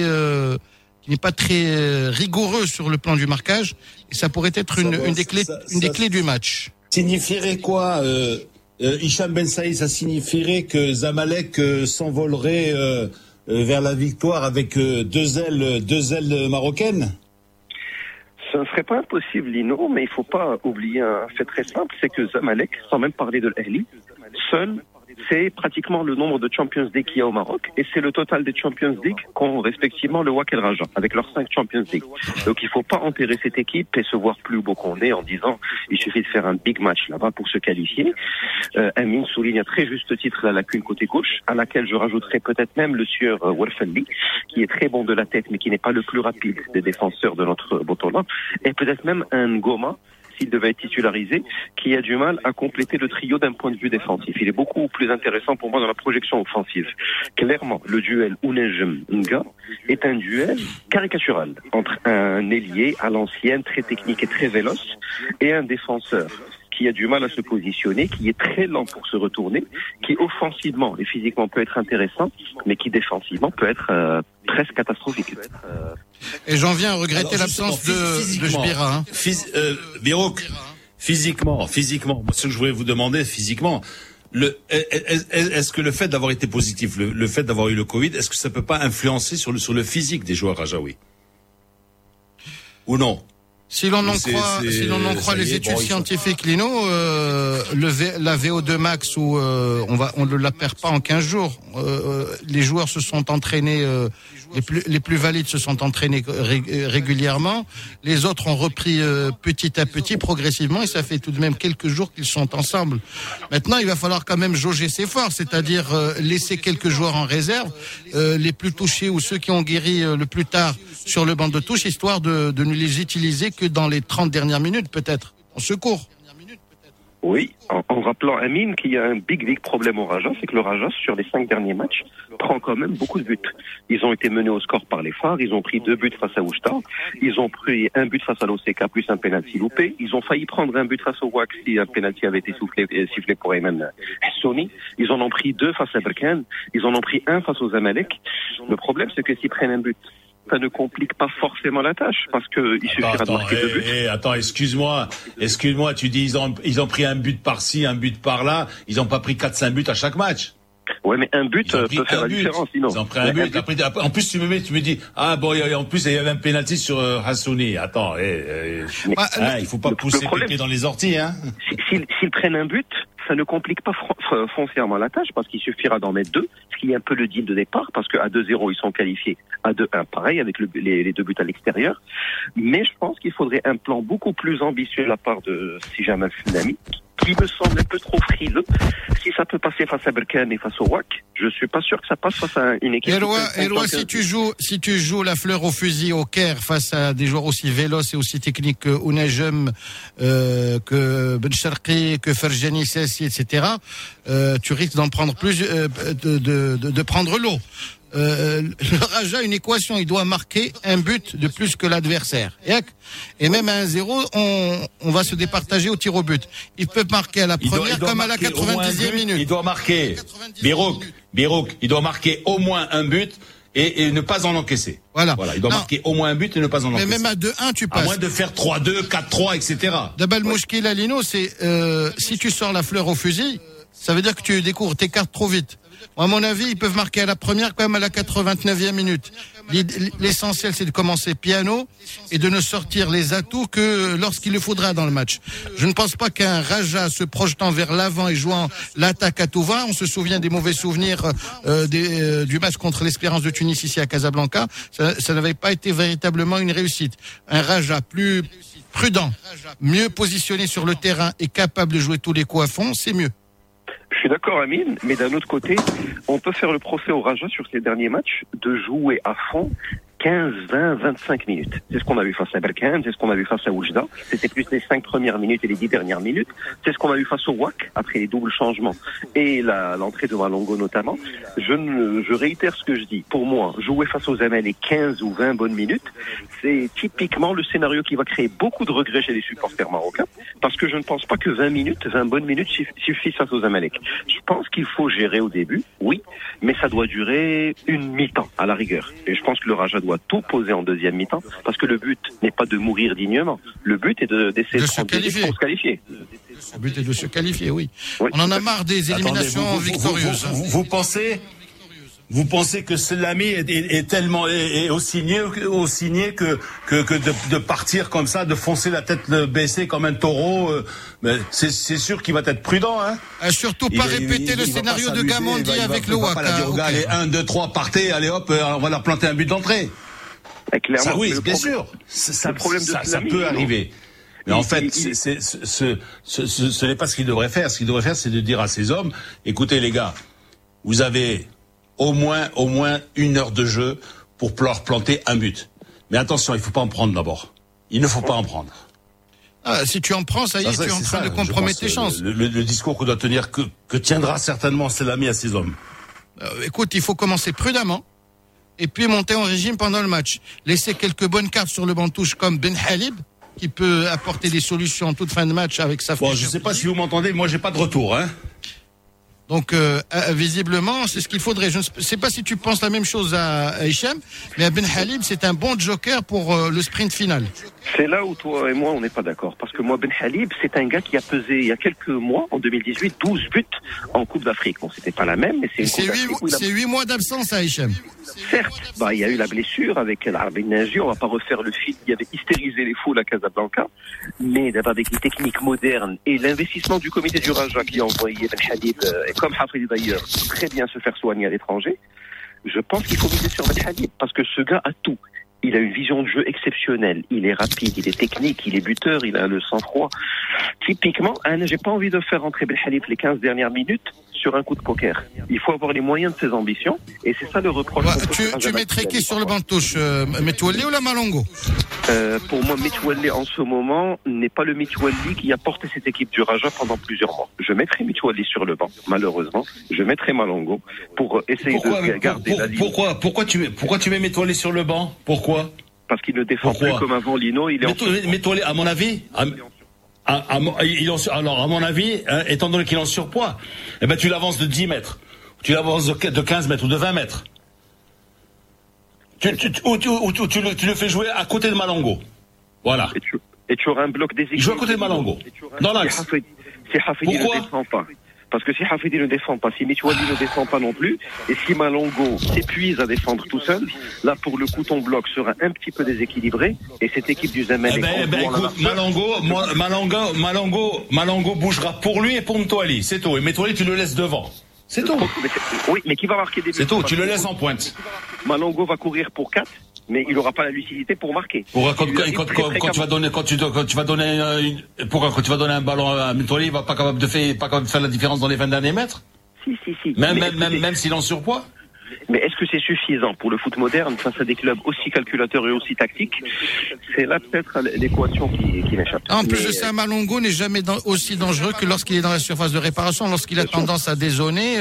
très rigoureux sur le plan du marquage, et ça pourrait être une des clés du match. Signifierait quoi, Hicham Ben Saïd? Ça signifierait que Zamalek s'envolerait vers la victoire avec deux ailes marocaines? Ce ne serait pas impossible, Lino, mais il ne faut pas oublier un fait très simple, c'est que Zamalek, sans même parler de l'Ahli, seul, c'est pratiquement le nombre de Champions League qu'il y a au Maroc, et c'est le total des Champions League qu'ont respectivement le WAC et le Raja, avec leurs 5 Champions League. Donc il ne faut pas enterrer cette équipe et se voir plus beau qu'on est en disant il suffit de faire un big match là-bas pour se qualifier. Amine souligne à très juste titre la lacune côté gauche, à laquelle je rajouterai peut-être même le sieur Warfalli, qui est très bon de la tête mais qui n'est pas le plus rapide des défenseurs de notre Botola, et peut-être même un Goma, s'il devait être titularisé, qui a du mal à compléter le trio d'un point de vue défensif. Il est beaucoup plus intéressant pour moi dans la projection offensive. Clairement, le duel Ounajem-Nga est un duel caricatural entre un ailier à l'ancienne, très technique et très véloce, et un défenseur qui a du mal à se positionner, qui est très lent pour se retourner, qui offensivement et physiquement peut être intéressant, mais qui défensivement peut être presque catastrophique. Et j'en viens à regretter l'absence de Jbira. Birouk, physiquement, moi, ce que je voulais vous demander, physiquement, est-ce que le fait d'avoir été positif, le fait d'avoir eu le Covid, est-ce que ça peut pas influencer sur le physique des joueurs rajaouis? Ou non? Si l'on en croit les études scientifiques, Lino, la VO2 max où on ne la perd pas en 15 jours. Les joueurs se sont entraînés, les plus valides se sont entraînés régulièrement. Les autres ont repris petit à petit, progressivement, et ça fait tout de même quelques jours qu'ils sont ensemble. Maintenant, il va falloir quand même jauger ses forces, c'est-à-dire laisser quelques joueurs en réserve, les plus touchés ou ceux qui ont guéri le plus tard sur le banc de touche, histoire de ne les utiliser que dans les 30 dernières minutes, peut-être, en secours. Oui, en rappelant, Amine, qu'il y a un big problème au Raja, c'est que le Raja, sur les 5 derniers matchs, prend quand même beaucoup de buts. Ils ont été menés au score par les Phares, ils ont pris 2 buts face à Oujda, ils ont pris 1 but face à l'OCK, plus un penalty loupé, ils ont failli prendre 1 but face au WAC si un penalty avait été sifflé pour Ayman Hassoni, ils en ont pris 2 face à Berkane, ils en ont pris 1 face aux Zamalek. Le problème, c'est que s'ils prennent un but, ça ne complique pas forcément la tâche, parce que il suffira de marquer 2 buts. Attends, excuse-moi, tu dis ils ont pris un but par-ci, un but par-là, ils ont pas pris 4-5 buts à chaque match. Ouais, mais un but peut faire la différence, sinon. Ils ont pris un but. Après, en plus, tu me dis, en plus, il y avait un penalty sur Hassouni. Attends, il faut pas pousser le pied dans les orties, hein. S'ils prennent un but, ça ne complique pas foncièrement la tâche, parce qu'il suffira d'en mettre 2, ce qui est un peu le deal de départ, parce qu'à 2-0, ils sont qualifiés. À 2-1, pareil, avec les 2 buts à l'extérieur. Mais je pense qu'il faudrait un plan beaucoup plus ambitieux de la part de Sijamal Fnami, qui me semble un peu trop frileux. Si ça peut passer face à Berkane et face au WAC, je suis pas sûr que ça passe face à une équipe. Eloi, si tu joues la fleur au fusil au Caire face à des joueurs aussi véloces et aussi techniques que Ounajem, que Ben Sharqi, que Ferjani Sassi, etc., tu risques d'en prendre plus, de prendre l'eau. Le Raja a une équation, il doit marquer un but de plus que l'adversaire. Et même à 1-0, on va se départager au tir au but. Il peut marquer à la première comme à la 90e minute. Il doit marquer, Birouk, il doit marquer au moins un but et ne pas en encaisser. Voilà, il doit marquer au moins un but et ne pas en encaisser. Mais même à 2-1, tu passes. À moins de faire 3-2, 4-3, etc. D'abal Mouchki Lalino, c'est si tu sors la fleur au fusil, ça veut dire que tu découvres tes cartes trop vite. À mon avis, ils peuvent marquer à la première comme à la 89e minute. L'essentiel, c'est de commencer piano et de ne sortir les atouts que lorsqu'il le faudra dans le match. Je ne pense pas qu'un Raja se projetant vers l'avant et jouant l'attaque à tout va, on se souvient des mauvais souvenirs du match contre l'Espérance de Tunis ici à Casablanca, ça n'avait pas été véritablement une réussite. Un Raja plus prudent, mieux positionné sur le terrain et capable de jouer tous les coups à fond, c'est mieux. Je suis d'accord, Amine, mais d'un autre côté, on peut faire le procès au Raja sur ces derniers matchs de jouer à fond 15, 20, 25 minutes. C'est ce qu'on a vu face à Berkane, c'est ce qu'on a vu face à Oujda. C'était plus les 5 premières minutes et les 10 dernières minutes. C'est ce qu'on a vu face au WAC, après les doubles changements et l'entrée de Malongo notamment. Je réitère ce que je dis. Pour moi, jouer face aux Zamalek 15 ou 20 bonnes minutes, c'est typiquement le scénario qui va créer beaucoup de regrets chez les supporters marocains, parce que je ne pense pas que 20 bonnes minutes suffisent face aux Zamalek. Je pense qu'il faut gérer au début, oui, mais ça doit durer une mi-temps à la rigueur. Et je pense que le Raja doit tout poser en deuxième mi-temps, parce que le but n'est pas de mourir dignement. Le but est d'essayer de se qualifier. Le but est de se qualifier, oui. On en a marre des éliminations victorieuses. Vous pensez que Selami est tellement aussi niais que de partir comme ça, de foncer la tête baissée comme un taureau. Mais c'est sûr qu'il va être prudent, hein. Surtout pas répéter le scénario de Gamondi avec le WAC. Allez, 1, 2, 3, partez, allez hop, on va leur planter un but d'entrée. Ça, oui, bien sûr. Ça peut arriver. Mais en fait, ce n'est pas ce qu'il devrait faire. Ce qu'il devrait faire, c'est de dire à ces hommes, écoutez les gars, vous avez au moins 1 heure de jeu pour leur planter un but. Mais attention, il ne faut pas en prendre d'abord. Il ne faut pas en prendre. Si tu en prends, ça y est, tu es en train de compromettre tes chances. Le discours qu'on doit tenir, que tiendra certainement Selami à ses hommes. Écoute, il faut commencer prudemment et puis monter en régime pendant le match. Laisser quelques bonnes cartes sur le banc de touche comme Ben Halib, qui peut apporter des solutions en toute fin de match avec sa Bon, je sais pas si vous m'entendez, moi j'ai pas de retour, hein. Donc, visiblement, c'est ce qu'il faudrait. Je ne sais pas si tu penses la même chose à Hicham, mais Ben Halib, c'est un bon joker pour le sprint final. C'est là où toi et moi, on n'est pas d'accord. Parce que moi, Ben Halib, c'est un gars qui a pesé, il y a quelques mois, en 2018, 12 buts en Coupe d'Afrique. Bon, c'était pas la même, mais c'est 8 mois d'absence à Hicham. Certes, il y a eu la blessure avec l'Arabie Naji, on va pas refaire le film, il y avait hystérisé les foules à Casablanca, mais avec des techniques modernes et l'investissement du comité du Raja qui a envoyé Ben Halib, et comme Hafidi d'ailleurs, très bien se faire soigner à l'étranger, je pense qu'il faut miser sur Ben Halib, parce que ce gars a tout. Il a une vision de jeu exceptionnelle. Il est rapide, il est technique, il est buteur, il a le sang-froid. Typiquement, j'ai pas envie de faire rentrer Ben Halib les 15 dernières minutes sur un coup de poker. Il faut avoir les moyens de ses ambitions, et c'est ça le reproche. Tu mettrais qui sur le banc de touche, Metouali ou la Malongo? Pour moi, Metouali en ce moment n'est pas le Metouali qui a porté cette équipe du Raja pendant plusieurs mois. Je mettrai Metouali sur le banc, malheureusement. Je mettrai Malongo pour essayer de garder la ligne. Pourquoi tu mets Metouali sur le banc? Pourquoi? Parce qu'il ne défend plus comme avant Lino. Metouali, à mon avis... alors, à mon avis, étant donné qu'il est en surpoids, tu l'avances de 10 mètres. Tu l'avances de 15 mètres ou de 20 mètres. Tu le fais jouer à côté de Malongo. Voilà. Et tu auras un bloc déséquilibré. Il joue à côté de Malongo. Dans l'axe. Si Hafidi ne défend pas. Parce que si Hafidi ne défend pas, si Metouali ne défend pas non plus, et si Malongo s'épuise à défendre tout seul, là pour le coup ton bloc sera un petit peu déséquilibré, et cette équipe du Zamalek... écoute, Malongo bougera pour lui et pour Metouali, c'est tout. Et Metouali tu le laisses devant. C'est tout. Oui, mais qui va marquer des buts? C'est tout, tu le laisses en pointe. Malongo va courir pour 4. Mais il n'aura pas la lucidité pour marquer. Quand tu vas donner un ballon à Metouali, il va pas capable de faire la différence dans les 20 derniers mètres. Si. Même s'il est en surpoids. Mais est-ce que c'est suffisant pour le foot moderne face à des clubs aussi calculateurs et aussi tactiques? C'est là peut-être l'équation qui m'échappe. En plus de ça, Malongo n'est jamais aussi dangereux que lorsqu'il est dans la surface de réparation. Lorsqu'il a tendance à dézoner,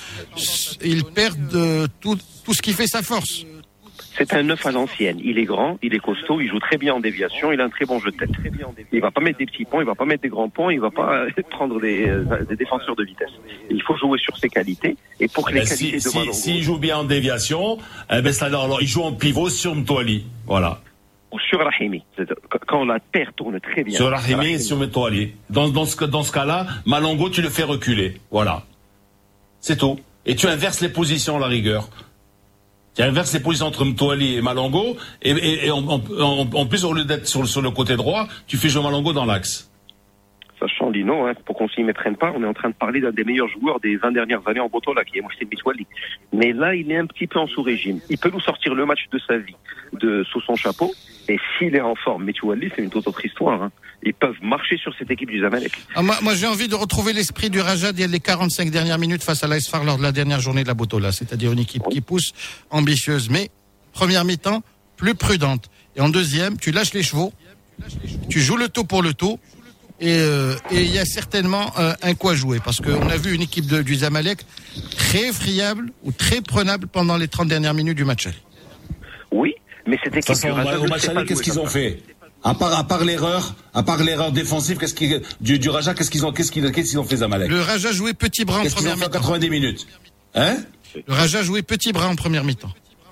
il perd tout ce qui fait sa force. C'est un 9 à l'ancienne. Il est grand, il est costaud, il joue très bien en déviation, il a un très bon jeu de tête. Il va pas mettre des petits ponts, il va pas mettre des grands ponts, il va pas prendre des défenseurs de vitesse. Il faut jouer sur ses qualités. Et pour que les qualités de Malongo... S'il joue bien en déviation, alors il joue en pivot sur Metouali. Voilà. Ou sur Rahimi. Quand la terre tourne très bien. Sur Rahimi et sur Metouali. Dans ce cas-là, Malongo, tu le fais reculer. Voilà. C'est tout. Et tu inverses les positions à la rigueur. Tu inverses les positions entre Metouali et Malongo, et en plus, au lieu d'être sur le côté droit, tu fais jouer Malongo dans l'axe. Sachant, Lino, pour qu'on s'y méprenne pas, on est en train de parler d'un des meilleurs joueurs des 20 dernières années en Botola, qui est Mohsen Metouali. Mais là, il est un petit peu en sous-régime. Il peut nous sortir le match de sa vie sous son chapeau, et s'il est en forme, Metouali, c'est une toute autre histoire. Ils peuvent marcher sur cette équipe du Zamalek. Moi, j'ai envie de retrouver l'esprit du Raja dès les 45 dernières minutes face à l'AS FAR lors de la dernière journée de la Botola. C'est-à-dire une équipe qui pousse, ambitieuse, mais première mi-temps, plus prudente. Et en deuxième, tu lâches les chevaux, tu joues le taux pour le taux, et il y a certainement un quoi jouer. Parce qu'on a vu une équipe du Zamalek très friable ou très prenable pendant les 30 dernières minutes du match. Oui, mais cette équipe du Raja, au match aller, qu'est-ce qu'ils ont fait? À part l'erreur défensive, du Raja, qu'est-ce qu'ils ont fait, Zamalek? Le Raja jouait petit bras en première mi-temps. 90 minutes. Hein? Le Raja jouait petit bras en première mi-temps.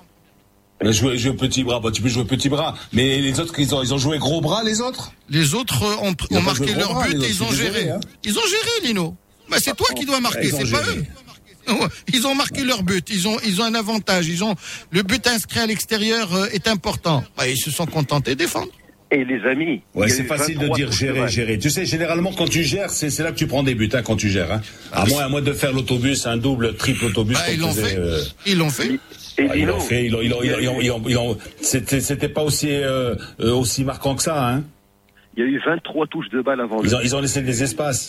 Jouer petit bras, tu peux jouer petit bras. Mais les autres, ils ont joué gros bras, les autres? Les autres ont marqué leur but et ils ont géré. Ils ont géré, Lino. C'est toi qui dois marquer, c'est pas eux. Ils ont marqué leur but, ils ont un avantage, le but inscrit à l'extérieur est important. Ils se sont contentés de défendre. Et les amis... Ouais, c'est facile de dire gérer. Tu sais, généralement, quand tu gères, c'est là que tu prends des buts, quand tu gères. À moins de faire l'autobus, un double, triple autobus. Ils l'ont fait. Ils l'ont fait. Ils l'ont fait. C'était pas aussi marquant que ça, Il y a eu 23 touches de balle avant. Ils ont laissé des espaces.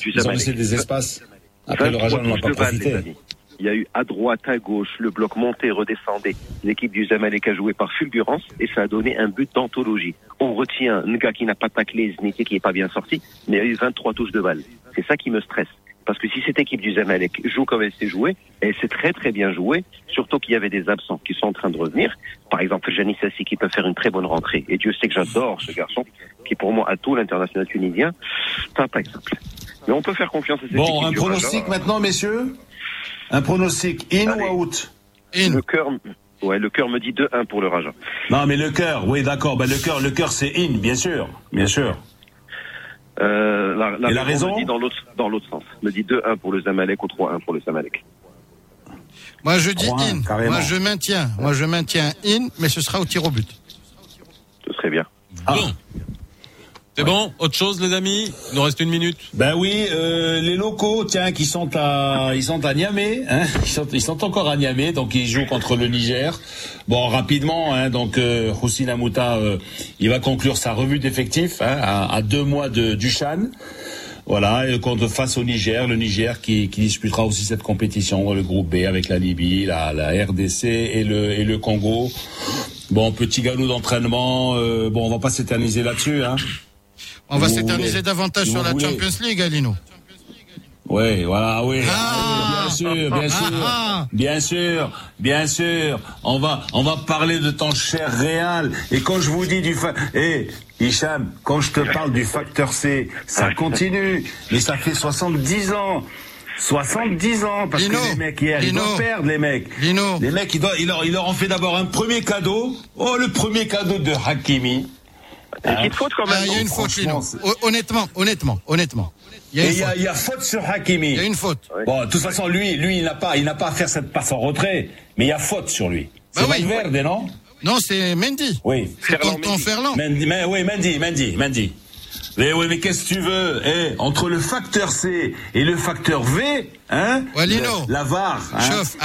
Après, le Raja n'en a pas profité. Il y a eu à droite, à gauche, le bloc monté, redescendait. L'équipe du Zamalek a joué par fulgurance et ça a donné un but d'anthologie. On retient Nga qui n'a pas taclé, Zniti qui n'est pas bien sorti, mais il y a eu 23 touches de balle. C'est ça qui me stresse. Parce que si cette équipe du Zamalek joue comme elle s'est jouée, elle s'est très très bien jouée, surtout qu'il y avait des absents qui sont en train de revenir. Par exemple, Janis Sassi qui peut faire une très bonne rentrée. Et Dieu sait que j'adore ce garçon, qui pour moi a tout l'international tunisien. C'est pas exemple. Mais on peut faire confiance à cette équipe. Bon, un pronostic maintenant, messieurs. Un pronostic in ou out? In. Le cœur me dit 2-1 pour le Raja. Non, mais le cœur, oui, d'accord. Ben, le cœur, c'est in, bien sûr. La raison me dit dans l'autre sens. Me dit 2-1 pour le Zamalek ou 3-1 pour le Zamalek. Moi, je dis 3-1, in. carrément. Moi, je maintiens in, mais ce sera au tir au but. Ce serait bien. Bon. C'est bon? Autre chose, les amis? Il nous reste 1 minute. Ben oui, les locaux, tiens, qui sont à Niamey, hein, ils sont encore à Niamey, donc ils jouent contre le Niger. Bon, rapidement, hein, donc Houssine Amouta, il va conclure sa revue d'effectifs, hein, à 2 mois du CHAN. Voilà, et face au Niger, le Niger qui disputera aussi cette compétition, le groupe B avec la Libye, la RDC et le Congo. Bon, petit galop d'entraînement, on va pas s'éterniser là-dessus, hein. On va s'éterniser davantage sur la Champions League, Alino. Oui, voilà, oui. Ah, Bien sûr. On va parler de ton cher Real. Et quand je vous dis Hicham, quand je te parle du facteur C, ça continue. Mais ça fait 70 ans. 70 ans, parce que les mecs hier, ils doivent perdre, les mecs. Les mecs, ils leur ont fait d'abord un premier cadeau. Oh, le premier cadeau de Hakimi. Il faute quand même. Il y a une faute, Lino. Honnêtement. Il y a faute sur Hakimi. Il y a une faute. Bon, de toute façon, lui, il n'a pas à faire cette passe en retrait, mais il y a faute sur lui. C'est Valverde, non? Non, c'est Mendy. Oui. C'est Tonton Ferland. Mendy. Mais qu'est-ce que tu veux? Entre le facteur C et le facteur V, hein? Ouais, Lino. La VAR. Chauffe.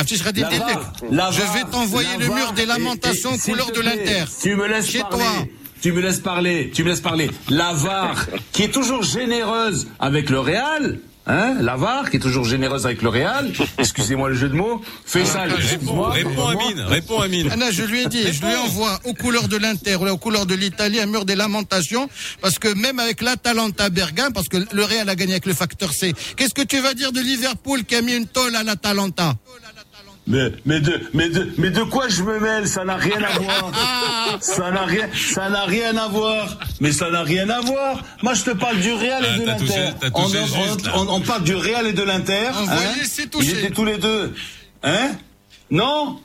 Je vais t'envoyer le mur des lamentations couleur de l'Inter. Tu me laisses parler. Tu me laisses parler. La VAR, qui est toujours généreuse avec le Real, hein? La VAR, qui est toujours généreuse avec le Real. Excusez-moi le jeu de mots. Faisal, Réponds, Amine. Anna, je lui ai dit, je lui envoie aux couleurs de l'Inter, aux couleurs de l'Italie, un mur des lamentations, parce que même avec l'Atalanta Bergame, parce que le Real a gagné avec le facteur C. Qu'est-ce que tu vas dire de Liverpool qui a mis une tôle à l'Atalanta? Mais de quoi je me mêle? Ça n'a rien à voir. Ça n'a rien à voir. Mais ça n'a rien à voir. Moi, je te parle du Real et de l'Inter. On parle du Real et de l'Inter. Ils étaient tous les deux. Hein? Non,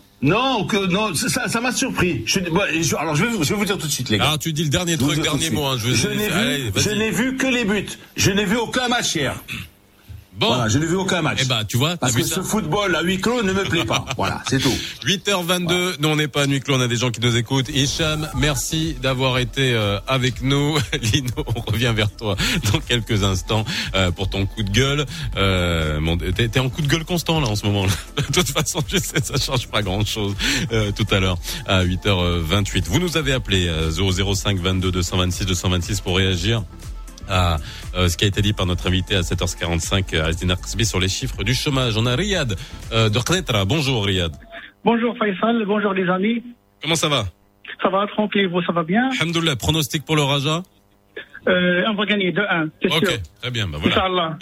ça m'a surpris. Alors, je vais vous dire tout de suite, les gars. Ah, tu dis le dernier mot, hein. Je n'ai vu que les buts. Je n'ai vu aucun match hier. Bon. Voilà, je n'ai vu aucun match. Tu vois, parce que ce football à huis clos ne me plaît pas. Voilà, c'est tout. 8h22. Voilà. Nous, on n'est pas à huis clos, on a des gens qui nous écoutent. Hicham, merci d'avoir été avec nous. Lino, on revient vers toi dans quelques instants pour ton coup de gueule. T'es en coup de gueule constant là en ce moment. De toute façon, je sais, ça change pas grand-chose. Tout à l'heure à 8h28. Vous nous avez appelé 005 22 226 226 pour réagir à ce qui a été dit par notre invité à 7h45 Azdina Qasbi sur les chiffres du chômage. On a Riyad de Knetra. Bonjour Riyad. Bonjour Faisal, bonjour les amis. Comment ça va? Ça va, tranquille, vous, ça va bien? Alhamdoulilah. Pronostic pour le Raja? On va gagner 2-1, c'est sûr. Ok, très bien, voilà. Inch'Allah.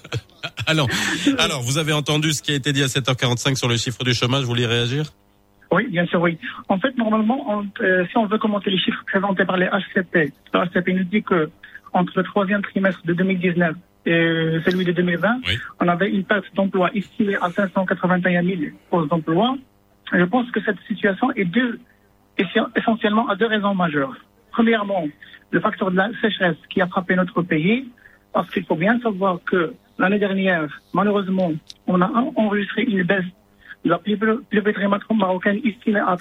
Alors, vous avez entendu ce qui a été dit à 7h45 sur les chiffres du chômage, vous voulez réagir? Oui, bien sûr, oui. En fait, normalement, si on veut commenter les chiffres présentés par les HCP, le HCP nous dit que entre le troisième trimestre de 2019 et celui de 2020, on avait une perte d'emploi estimée à 581 000 postes d'emploi. Je pense que cette situation est due essentiellement à 2 raisons majeures. Premièrement, le facteur de la sécheresse qui a frappé notre pays, parce qu'il faut bien savoir que l'année dernière, malheureusement, on a enregistré une baisse de la pluviométrie marocaine estimée à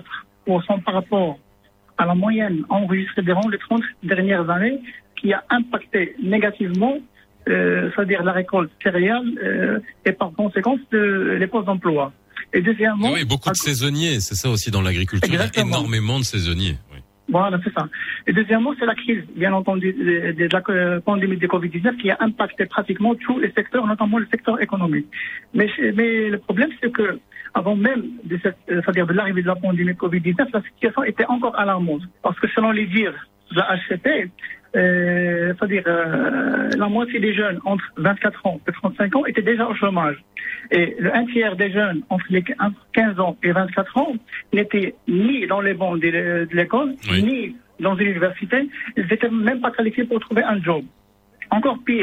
34% par rapport à la moyenne enregistrée durant les 30 dernières années, qui a impacté négativement, c'est-à-dire la récolte céréale et par conséquence les postes d'emploi. Et deuxièmement, oui, beaucoup de saisonniers, c'est ça aussi dans l'agriculture, il y a énormément de saisonniers. Oui. Voilà, c'est ça. Et deuxièmement, c'est la crise, bien entendu, de la pandémie de Covid-19 qui a impacté pratiquement tous les secteurs, notamment le secteur économique. Mais le problème, c'est que avant même c'est-à-dire de l'arrivée de la pandémie de Covid-19, la situation était encore alarmante. Parce que selon les dires de la HCP, c'est-à-dire la moitié des jeunes entre 24 ans et 35 ans étaient déjà au chômage. Et un tiers des jeunes entre les 15 ans et 24 ans n'étaient ni dans les bancs de l'école, ni dans une université. Ils n'étaient même pas qualifiés pour trouver un job. Encore pire,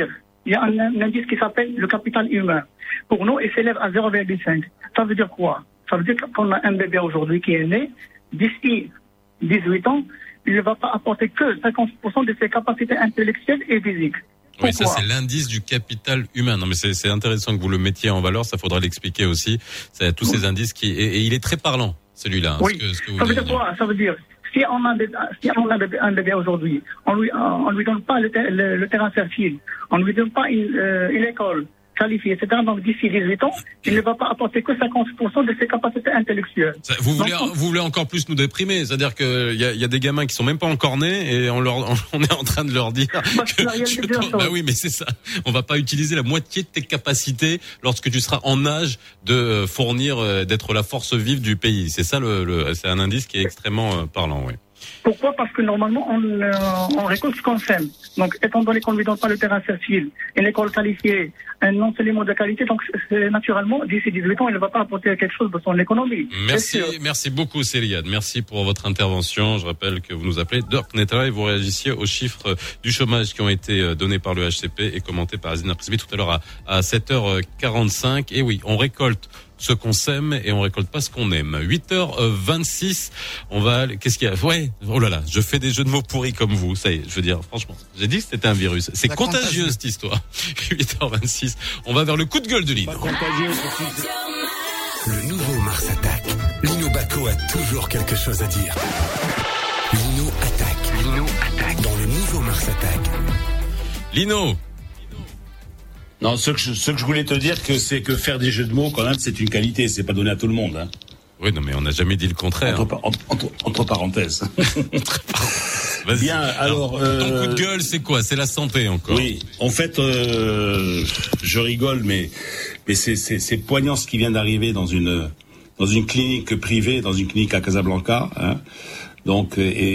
il y a un indice qui s'appelle le capital humain. Pour nous, il s'élève à 0,5. Ça veut dire quoi? Ça veut dire qu'on a un bébé aujourd'hui qui est né, d'ici 18 ans, il ne va pas apporter que 50% de ses capacités intellectuelles et physiques. Oui, ça c'est l'indice du capital humain. Non, mais c'est intéressant que vous le mettiez en valeur. Ça faudra l'expliquer aussi. C'est tous ces indices et il est très parlant, celui-là. Oui. Ce que ça veut dire quoi? Ça veut dire si on a un bébé aujourd'hui, on lui donne pas le terrain fertile, on lui donne pas une école qualifiée, etc. Donc d'ici 18 ans, il ne va pas apporter que 50% de ses capacités intellectuelles. Vous voulez encore plus nous déprimer, c'est-à-dire que il y a des gamins qui sont même pas encore nés et on est en train de leur dire bah oui, mais c'est ça. On va pas utiliser la moitié de tes capacités lorsque tu seras en âge de fournir, d'être la force vive du pays. C'est ça c'est un indice qui est extrêmement parlant, oui. Pourquoi? Parce que normalement, on récolte ce qu'on sème. Donc, étant donné qu'on ne lui donne pas le terrain fertile, une école qualifiée, un enseignement de qualité, donc naturellement, d'ici 18 ans, il ne va pas apporter quelque chose de son économie. Merci beaucoup, Céliade. Merci pour votre intervention. Je rappelle que vous nous appelez Dirk Netra et vous réagissiez aux chiffres du chômage qui ont été donnés par le HCP et commentés par Azina Presby tout à l'heure à 7h45. Et oui, on récolte ce qu'on sème et on récolte pas ce qu'on aime. 8h26, qu'est-ce qu'il y a? Ouais, oh là là, je fais des jeux de mots pourris comme vous, ça y est, je veux dire, franchement, j'ai dit que c'était un virus. C'est contagieux cette histoire. 8h26, on va vers le coup de gueule de Lino. Le nouveau Mars Attack. Lino Bacco a toujours quelque chose à dire. Lino attaque. Dans le nouveau Mars Attack. Lino. Non, ce que je voulais te dire c'est que faire des jeux de mots, quand même, c'est une qualité, c'est pas donné à tout le monde, hein. Oui, non, mais on n'a jamais dit le contraire. Entre parenthèses. Bien, alors. Ton coup de gueule, c'est quoi? C'est la santé encore. Oui, en fait, je rigole, mais c'est poignant ce qui vient d'arriver dans une clinique privée, dans une clinique à Casablanca, hein. Donc,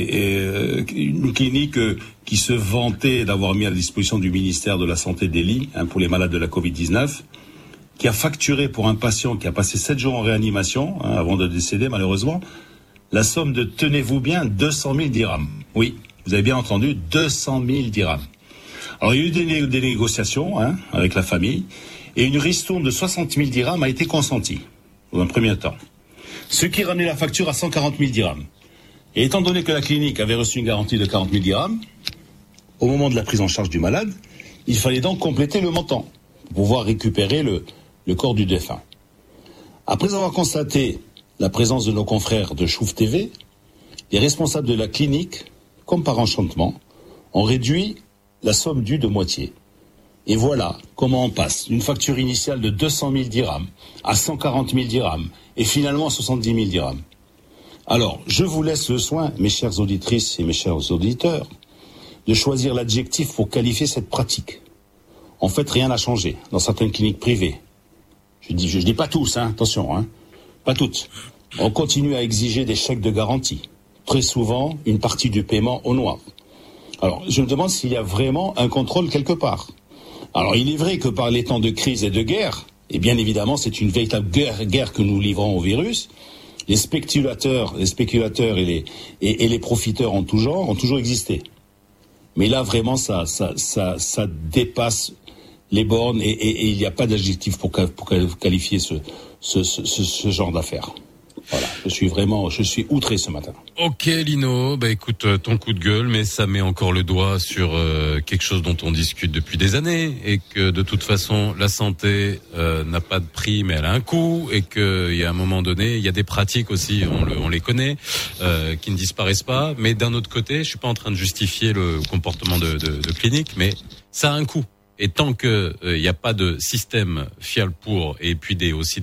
une clinique qui se vantait d'avoir mis à la disposition du ministère de la Santé des lits, hein, pour les malades de la Covid-19, qui a facturé pour un patient qui a passé 7 jours en réanimation, hein, avant de décéder malheureusement, la somme de, tenez-vous bien, 200 000 dirhams. Oui, vous avez bien entendu, 200 000 dirhams. Alors, il y a eu des négociations, hein, avec la famille, et une ristourne de 60 000 dirhams a été consentie, dans un premier temps. Ce qui ramenait la facture à 140 000 dirhams. Et étant donné que la clinique avait reçu une garantie de 40 000 dirhams, au moment de la prise en charge du malade, il fallait donc compléter le montant pour pouvoir récupérer le corps du défunt. Après avoir constaté la présence de nos confrères de Chouf TV, les responsables de la clinique, comme par enchantement, ont réduit la somme due de moitié. Et voilà comment on passe d'une facture initiale de 200 000 dirhams à 140 000 dirhams et finalement à 70 000 dirhams. Alors, je vous laisse le soin, mes chères auditrices et mes chers auditeurs, de choisir l'adjectif pour qualifier cette pratique. En fait, rien n'a changé dans certaines cliniques privées. Je dis pas tous, hein, attention, hein, pas toutes. On continue à exiger des chèques de garantie. Très souvent, une partie du paiement au noir. Alors, je me demande s'il y a vraiment un contrôle quelque part. Alors, il est vrai que par les temps de crise et de guerre, et bien évidemment, c'est une véritable guerre que nous livrons au virus, les spéculateurs et les profiteurs en tout genre ont toujours existé. Mais là, vraiment, ça dépasse les bornes et il n'y a pas d'adjectif pour qualifier ce genre d'affaires. Voilà, je suis outré ce matin. Ok Lino, bah écoute, ton coup de gueule, mais ça met encore le doigt sur quelque chose dont on discute depuis des années et que de toute façon la santé n'a pas de prix mais elle a un coût et qu'il y a un moment donné, il y a des pratiques aussi, on les connaît, qui ne disparaissent pas, mais d'un autre côté, je suis pas en train de justifier le comportement de clinique, mais ça a un coût. Et tant que il n'y a pas de système fiable pour, et puis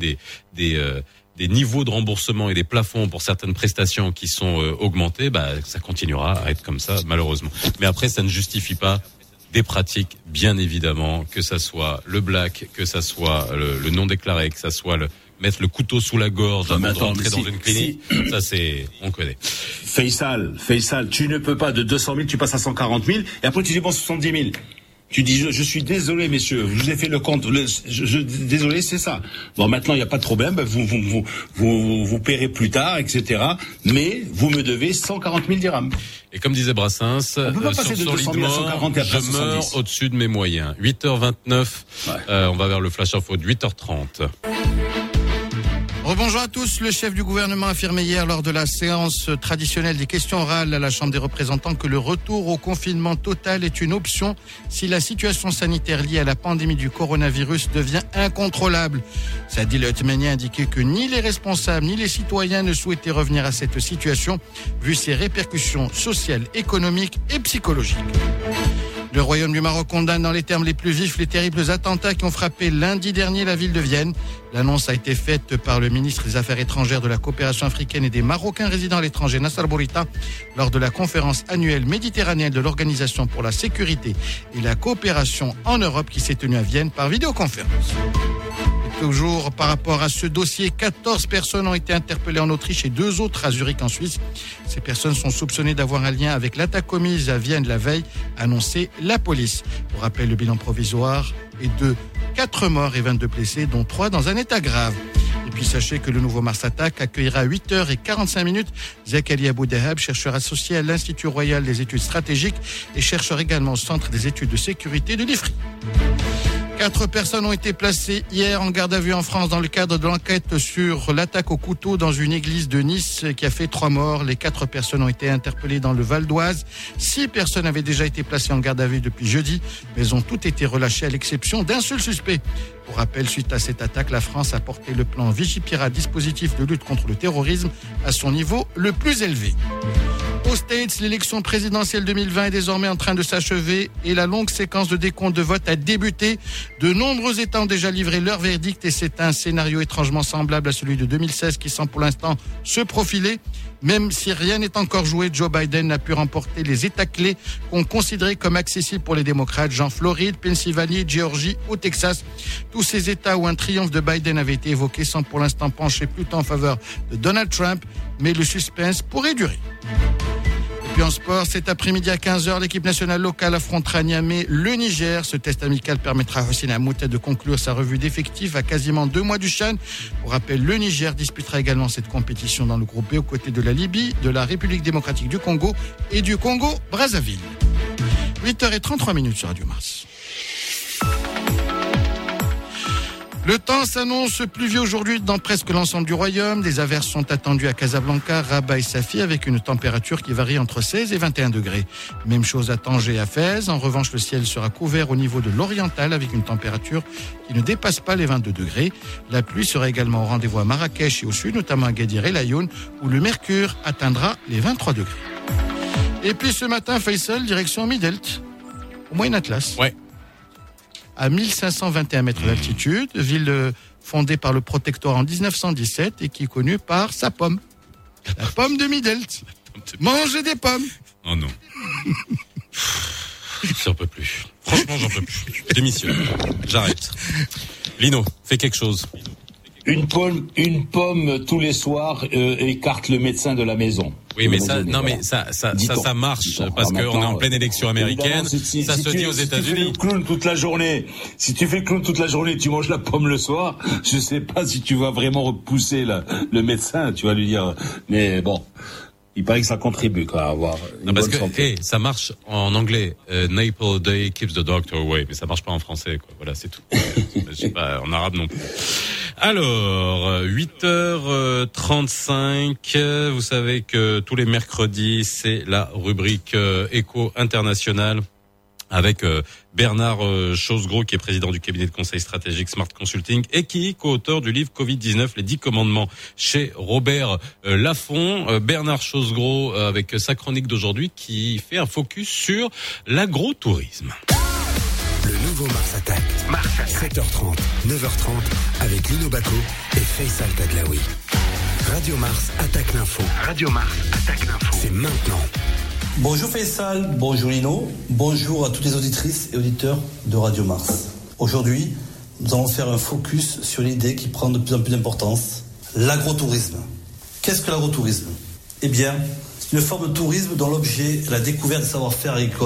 des niveaux de remboursement et des plafonds pour certaines prestations qui sont augmentés, bah ça continuera à être comme ça malheureusement. Mais après ça ne justifie pas des pratiques, bien évidemment, que ça soit le black, que ça soit le non déclaré, que ça soit mettre le couteau sous la gorge avant de rentrer dans une clinique. Ça c'est, on connaît. Faisal, tu ne peux pas de 200 000, tu passes à 140 000 et après tu dépenses 70 000. Tu dis, je suis désolé, messieurs, je vous ai fait le compte. Désolé, c'est ça. Bon, maintenant, il n'y a pas de problème. Vous paierez plus tard, etc. Mais vous me devez 140 000 dirhams. Et comme disait Brassens, on peut pas passer de 200 000 à 140 et après je meurs au-dessus de mes moyens. 8h29, on va vers le Flash Info de 8h30. Rebonjour à tous. Le chef du gouvernement a affirmé hier lors de la séance traditionnelle des questions orales à la Chambre des représentants que le retour au confinement total est une option si la situation sanitaire liée à la pandémie du coronavirus devient incontrôlable. Sadil Othmani a indiqué que ni les responsables ni les citoyens ne souhaitaient revenir à cette situation vu ses répercussions sociales, économiques et psychologiques. Le Royaume du Maroc condamne dans les termes les plus vifs les terribles attentats qui ont frappé lundi dernier la ville de Vienne. L'annonce a été faite par le ministre des Affaires étrangères, de la coopération africaine et des Marocains résidant à l'étranger, Nassar Bourita, lors de la conférence annuelle méditerranéenne de l'Organisation pour la sécurité et la coopération en Europe qui s'est tenue à Vienne par vidéoconférence. Toujours par rapport à ce dossier, 14 personnes ont été interpellées en Autriche et 2 autres à Zurich en Suisse. Ces personnes sont soupçonnées d'avoir un lien avec l'attaque commise à Vienne la veille, a annoncé la police. Pour rappel, le bilan provisoire est de 4 morts et 22 blessés, dont 3 dans un état grave. Et puis sachez que le nouveau Mars Attack accueillera à 8h45 Zakaria Abou Dahab, chercheur associé à l'Institut Royal des études stratégiques et chercheur également au Centre des études de sécurité de l'IFRI. 4 personnes ont été placées hier en garde à vue en France dans le cadre de l'enquête sur l'attaque au couteau dans une église de Nice qui a fait 3 morts. Les 4 personnes ont été interpellées dans le Val d'Oise. 6 personnes avaient déjà été placées en garde à vue depuis jeudi, mais ont toutes été relâchées à l'exception d'un seul suspect. Pour rappel, suite à cette attaque, la France a porté le plan Vigipirate, dispositif de lutte contre le terrorisme, à son niveau le plus élevé. Aux States, l'élection présidentielle 2020 est désormais en train de s'achever et la longue séquence de décompte de vote a débuté. De nombreux États ont déjà livré leur verdict et c'est un scénario étrangement semblable à celui de 2016 qui semble pour l'instant se profiler. Même si rien n'est encore joué, Joe Biden n'a pu remporter les États clés qu'on considérait comme accessibles pour les démocrates, genre Floride, Pennsylvanie, Géorgie ou Texas. Tous ces États où un triomphe de Biden avait été évoqué semblent pour l'instant pencher plutôt en faveur de Donald Trump, mais le suspense pourrait durer. Et puis en sport, cet après-midi à 15h, l'équipe nationale locale affrontera à Niamey le Niger. Ce test amical permettra à Hossein Amouta de conclure sa revue d'effectifs à quasiment 2 mois du CHAN. Pour rappel, le Niger disputera également cette compétition dans le groupe B aux côtés de la Libye, de la République démocratique du Congo et du Congo-Brazzaville. 8h33 sur Radio Mars. Le temps s'annonce pluvieux aujourd'hui dans presque l'ensemble du royaume. Des averses sont attendues à Casablanca, Rabat et Safi avec une température qui varie entre 16 et 21 degrés. Même chose à Tanger et à Fès. En revanche, le ciel sera couvert au niveau de l'oriental avec une température qui ne dépasse pas les 22 degrés. La pluie sera également au rendez-vous à Marrakech et au sud, notamment à Guedir et Laayoune, où le mercure atteindra les 23 degrés. Et puis ce matin, Faisal, direction Midelt, au Moyen Atlas. Ouais. À 1521 mètres d'altitude, ville fondée par le protectorat en 1917 et qui est connue par sa pomme. La pomme de Midelt. Mangez des pommes. Oh non. J'en peux plus. Franchement, j'en peux plus. Démissionne. J'arrête. Lino, fais quelque chose. Une pomme tous les soirs écarte le médecin de la maison. Oui, mais ça marche parce qu'on est en pleine élection américaine. Ça se dit aux États-Unis. Si tu fais le clown toute la journée, tu manges la pomme le soir. Je sais pas si tu vas vraiment repousser le médecin. Tu vas lui dire, mais bon. Il paraît que ça contribue à avoir une bonne santé. Ça marche en anglais. Apple day keeps the doctor away, mais ça marche pas en français, quoi. Voilà, c'est tout. Je sais pas, en arabe non plus. Alors, 8h35. Vous savez que tous les mercredis, c'est la rubrique Éco International. Avec Bernard Chosgros, qui est président du cabinet de conseil stratégique Smart Consulting et qui est co-auteur du livre Covid-19, les 10 commandements chez Robert Laffont. Bernard Chosgros, avec sa chronique d'aujourd'hui, qui fait un focus sur l'agrotourisme. Le nouveau Mars Attack. 7h30, 9h30, avec Lino Bacco et Faisal Tadlaoui. Radio Mars attaque l'info. C'est maintenant. Bonjour Faisal, bonjour Lino, bonjour à toutes les auditrices et auditeurs de Radio Mars. Aujourd'hui, nous allons faire un focus sur l'idée qui prend de plus en plus d'importance, l'agrotourisme. Qu'est-ce que l'agrotourisme ? Eh bien, c'est une forme de tourisme dont l'objet est la découverte des savoir-faire agricoles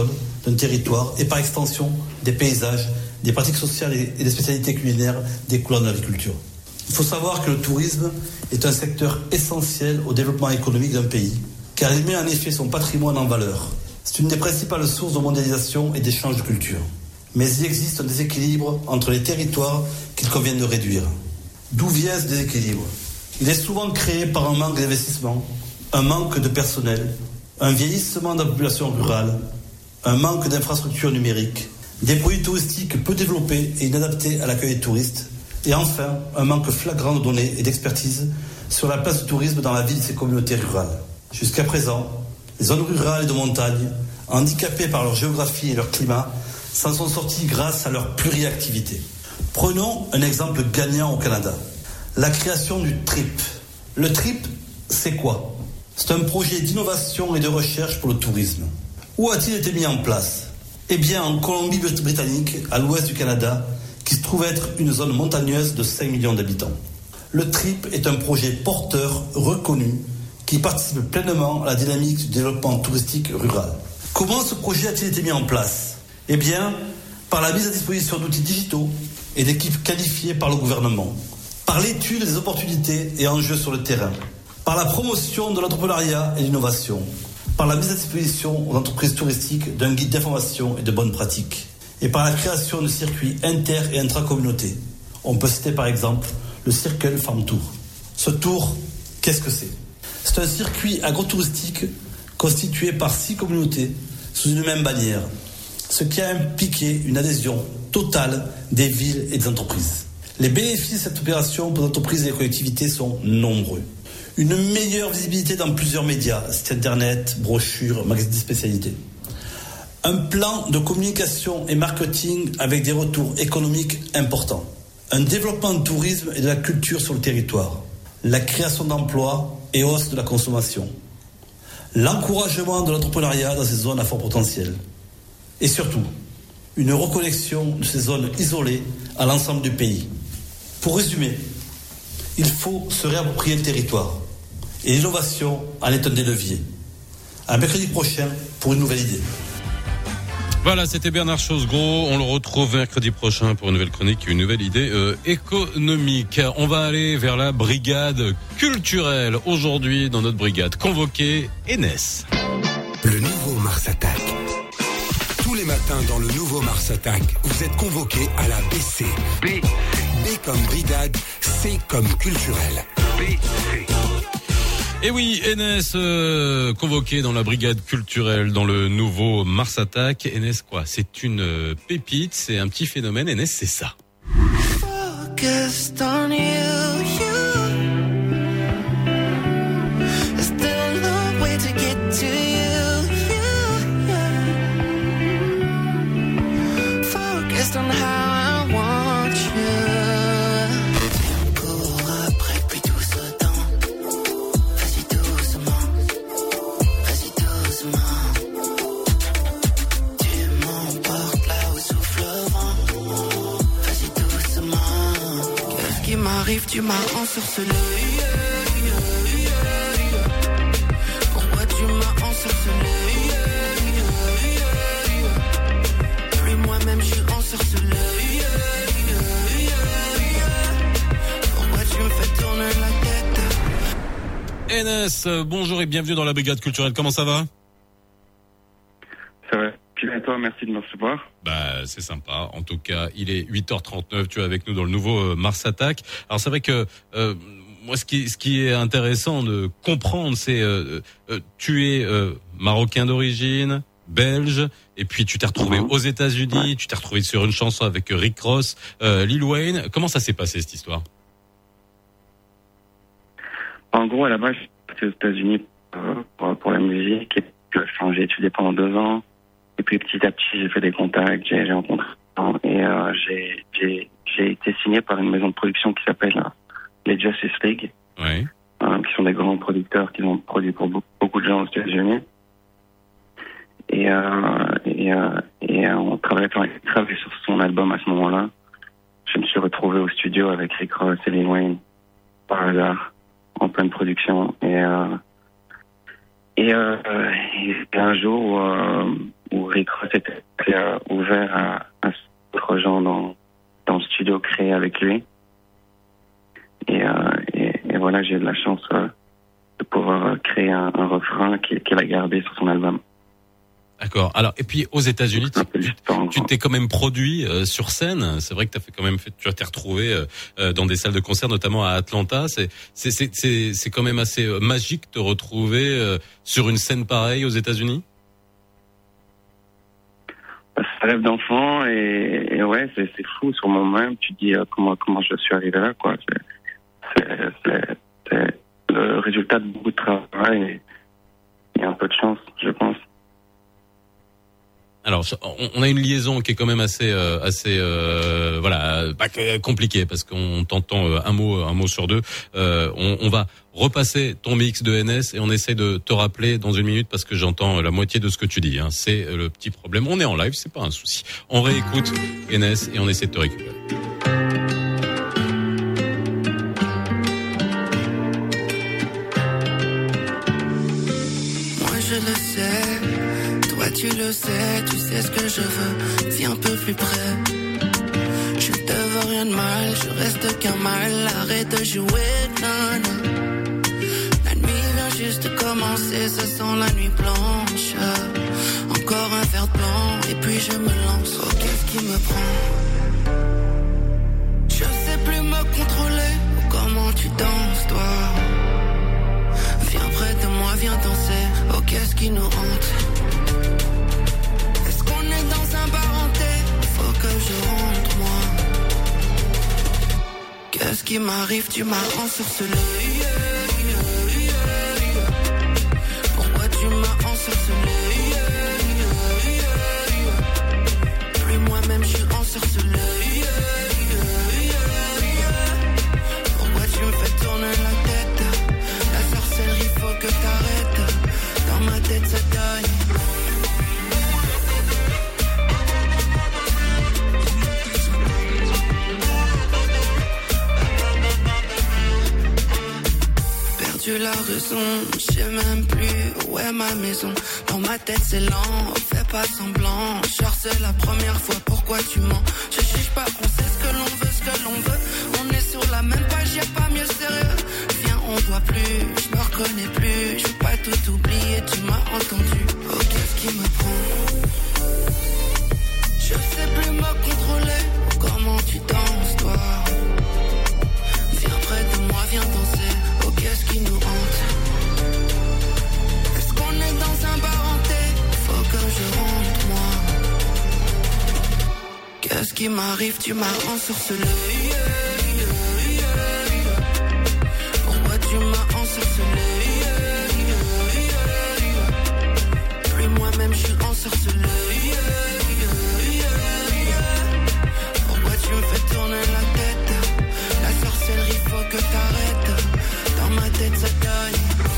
d'un territoire et par extension des paysages, des pratiques sociales et des spécialités culinaires découlant de l'agriculture. Il faut savoir que le tourisme est un secteur essentiel au développement économique d'un pays, car il met en effet son patrimoine en valeur. C'est une des principales sources de mondialisation et d'échange de culture. Mais il existe un déséquilibre entre les territoires qu'il convient de réduire. D'où vient ce déséquilibre ? Il est souvent créé par un manque d'investissement, un manque de personnel, un vieillissement de la population rurale, un manque d'infrastructures numériques, des produits touristiques peu développés et inadaptés à l'accueil des touristes, et enfin, un manque flagrant de données et d'expertise sur la place du tourisme dans la vie de ces communautés rurales. Jusqu'à présent, les zones rurales et de montagne, handicapées par leur géographie et leur climat, s'en sont sorties grâce à leur pluriactivité. Prenons un exemple gagnant au Canada. La création du TRIP. Le TRIP, c'est quoi ? C'est un projet d'innovation et de recherche pour le tourisme. Où a-t-il été mis en place ? Eh bien, en Colombie-Britannique, à l'ouest du Canada, qui se trouve être une zone montagneuse de 5 millions d'habitants. Le TRIP est un projet porteur, reconnu, qui participe pleinement à la dynamique du développement touristique rural. Comment ce projet a-t-il été mis en place ? Eh bien, par la mise à disposition d'outils digitaux et d'équipes qualifiées par le gouvernement, par l'étude des opportunités et enjeux sur le terrain, par la promotion de l'entrepreneuriat et l'innovation, par la mise à disposition aux entreprises touristiques d'un guide d'information et de bonnes pratiques, et par la création de circuits inter- et intra-communautés. On peut citer par exemple le Circle Farm Tour. Ce tour, qu'est-ce que c'est ? C'est un circuit agrotouristique constitué par 6 communautés sous une même bannière, ce qui a impliqué une adhésion totale des villes et des entreprises. Les bénéfices de cette opération pour les entreprises et les collectivités sont nombreux. Une meilleure visibilité dans plusieurs médias, sites internet, brochures, magazines de spécialité. Un plan de communication et marketing avec des retours économiques importants. Un développement de tourisme et de la culture sur le territoire. La création d'emplois et hausse de la consommation. L'encouragement de l'entrepreneuriat dans ces zones à fort potentiel. Et surtout, une reconnexion de ces zones isolées à l'ensemble du pays. Pour résumer, il faut se réapproprier le territoire. Et l'innovation en est un des leviers. À mercredi prochain pour une nouvelle idée. Voilà, c'était Bernard Chosgros. On le retrouve mercredi prochain pour une nouvelle chronique, une nouvelle idée économique. On va aller vers la brigade culturelle. Aujourd'hui, dans notre brigade convoquée, Enes. Le nouveau Mars Attack. Tous les matins dans le nouveau Mars Attack, vous êtes convoqués à la BC. B comme brigade, C comme culturel. BC. Et oui, Enes, convoqué dans la brigade culturelle dans le nouveau Mars Attack. Enes, quoi ? C'est une pépite, c'est un petit phénomène. Enes, c'est ça. Tu m'as ensorcelé. Pourquoi tu m'as ensorcelé? Plus moi-même je suis ensorcelé. Pourquoi tu me fais tourner la tête? Enes, bonjour et bienvenue dans la brigade culturelle. Comment ça va? Ça va. Bien, toi, merci de me recevoir. Bah, c'est sympa. En tout cas, il est 8h39. Tu es avec nous dans le nouveau Mars Attack. Alors, c'est vrai que moi, ce qui est intéressant de comprendre, c'est tu es marocain d'origine, belge, et puis tu t'es retrouvé aux États-Unis. Tu t'es retrouvé sur une chanson avec Rick Ross, Lil Wayne. Comment ça s'est passé cette histoire? En gros, à la base, j'étais aux États-Unis pour la musique. Et puis, j'ai étudié pendant 2 ans. Et puis petit à petit, j'ai fait des contacts, j'ai rencontré et j'ai été signé par une maison de production qui s'appelle les Justice League, qui sont des grands producteurs qui ont produit pour beaucoup de gens aux États-Unis. Et on travaillait sur son album à ce moment-là. Je me suis retrouvé au studio avec Rick Ross et Lil Wayne par hasard en pleine production et un jour Rick Ross était ouvert à d'autres gens dans le studio créé avec lui. Et voilà, j'ai eu de la chance de pouvoir créer un refrain qu'il a gardé sur son album. D'accord. Alors, et puis aux États-Unis, tu t'es quand même produit sur scène. C'est vrai que tu t'es retrouvé dans des salles de concert, notamment à Atlanta. C'est quand même assez magique de te retrouver sur une scène pareille aux États-Unis. Ça rêve d'enfant et ouais, c'est fou sur mon même. Tu te dis comment je suis arrivé là, quoi. C'est le résultat de beaucoup de travail et un peu de chance, je pense. Alors, on a une liaison qui est quand même assez compliquée parce qu'on t'entend un mot sur deux. On va repasser ton mix de NS et on essaie de te rappeler dans une minute parce que j'entends la moitié de ce que tu dis. Hein. C'est le petit problème. On est en live, c'est pas un souci. On réécoute NS et on essaie de te récupérer. Moi je le sais, toi tu le sais, tu sais ce que je veux, viens un peu plus près. Je te veux rien de mal, je reste qu'un mal, arrête de jouer, non. La nuit vient juste de commencer, ça sent la nuit blanche. Encore un verre blanc, et puis je me lance, oh qu'est-ce qui me prend? Je sais plus me contrôler, comment tu danses toi? Viens près de moi, viens danser, oh qu'est-ce qui nous hante? Est-ce qu'on est dans un bar hanté? Faut que je rentre moi. Qu'est-ce qui m'arrive? Tu m'as ensorcelé. Pourquoi tu m'as ensorcelé? Plus moi-même je suis ensorcelé. Pourquoi tu me fais tourner la tête? La sorcellerie faut que t'arrêtes. Dans ma tête ça taille. Perdu la raison, je sais même plus où est ma maison. Dans ma tête c'est lent, fais pas semblant. Genre c'est la première fois, pourquoi tu mens? Je juge pas, on sait ce que l'on veut, ce que l'on veut. On est sur la même page, y'a pas mieux sérieux. Viens, on doit plus, je me reconnais plus. Je veux pas tout oublier, tu m'as entendu. Oh qu'est-ce qui me prend? Je sais plus me contrôler. Comment tu danses toi? Viens près de moi, viens danser. Oh qu'est-ce qui nous hante? Est-ce qu'on est dans un bar hanté? Faut que je rentre moi. Qu'est-ce qui m'arrive? Tu m'as ensorcelé. Pourquoi tu m'as ensorcelé? Plus moi-même je suis ensorcelé. Pourquoi tu me fais tourner la tête? La sorcellerie faut que t'arrêtes. Dans ma tête ça taille.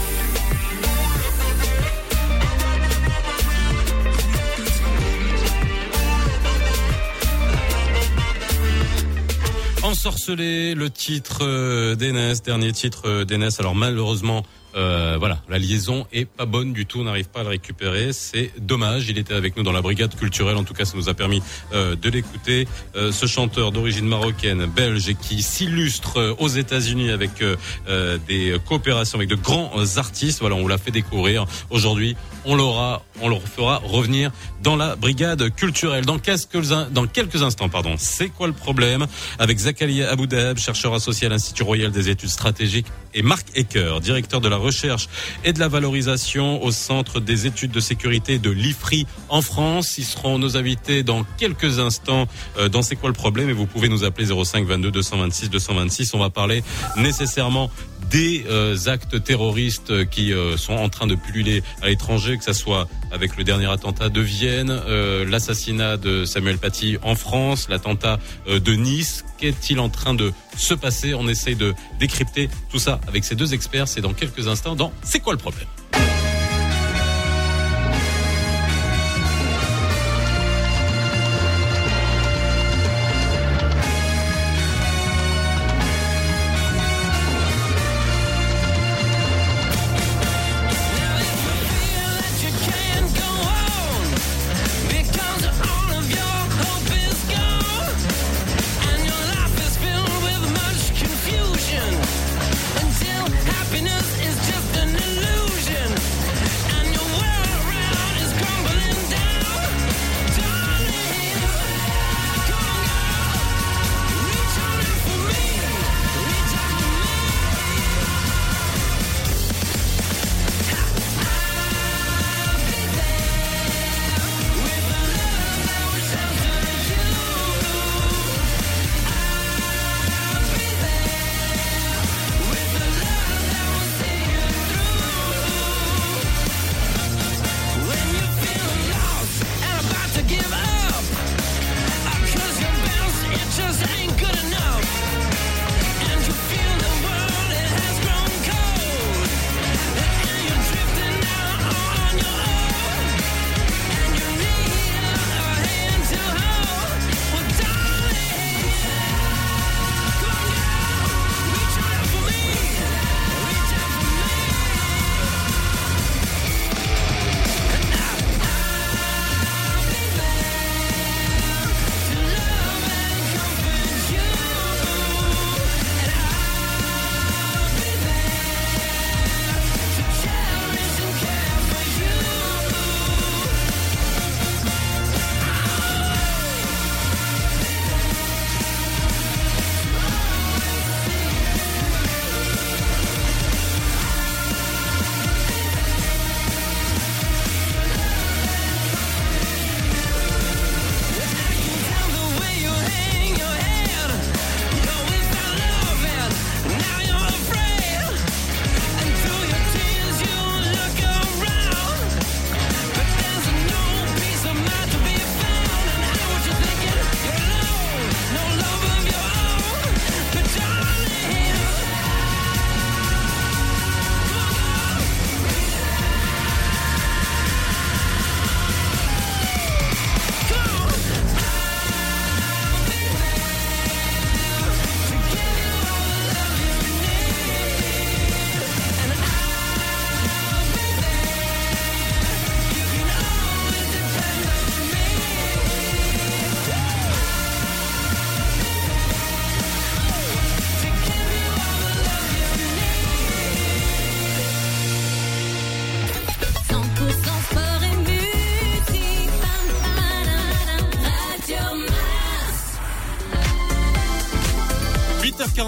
Ensorcelé, le titre d'Enes, dernier titre d'Enes. Alors malheureusement, la liaison est pas bonne du tout, on n'arrive pas à le récupérer, c'est dommage. Il était avec nous dans la brigade culturelle, en tout cas ça nous a permis de l'écouter. Ce chanteur d'origine marocaine, belge, et qui s'illustre aux États-Unis avec des coopérations avec de grands artistes. Voilà, on vous l'a fait découvrir. Aujourd'hui, on le fera revenir dans la brigade culturelle. Dans quelques instants, c'est quoi le problème? Avec Zakaria Aboudahab, chercheur associé à l'Institut Royal des études stratégiques, et Marc Ecker, directeur de la recherche et de la valorisation au Centre des études de sécurité de l'IFRI en France. Ils seront nos invités dans quelques instants dans C'est quoi le problème? Et vous pouvez nous appeler 05 22 226 226. On va parler nécessairement des actes terroristes qui sont en train de pulluler à l'étranger, que ça soit avec le dernier attentat de Vienne, l'assassinat de Samuel Paty en France, l'attentat de Nice. Qu'est-il en train de se passer? On essaye de décrypter tout ça avec ces deux experts. C'est dans quelques instants dans C'est quoi le problème?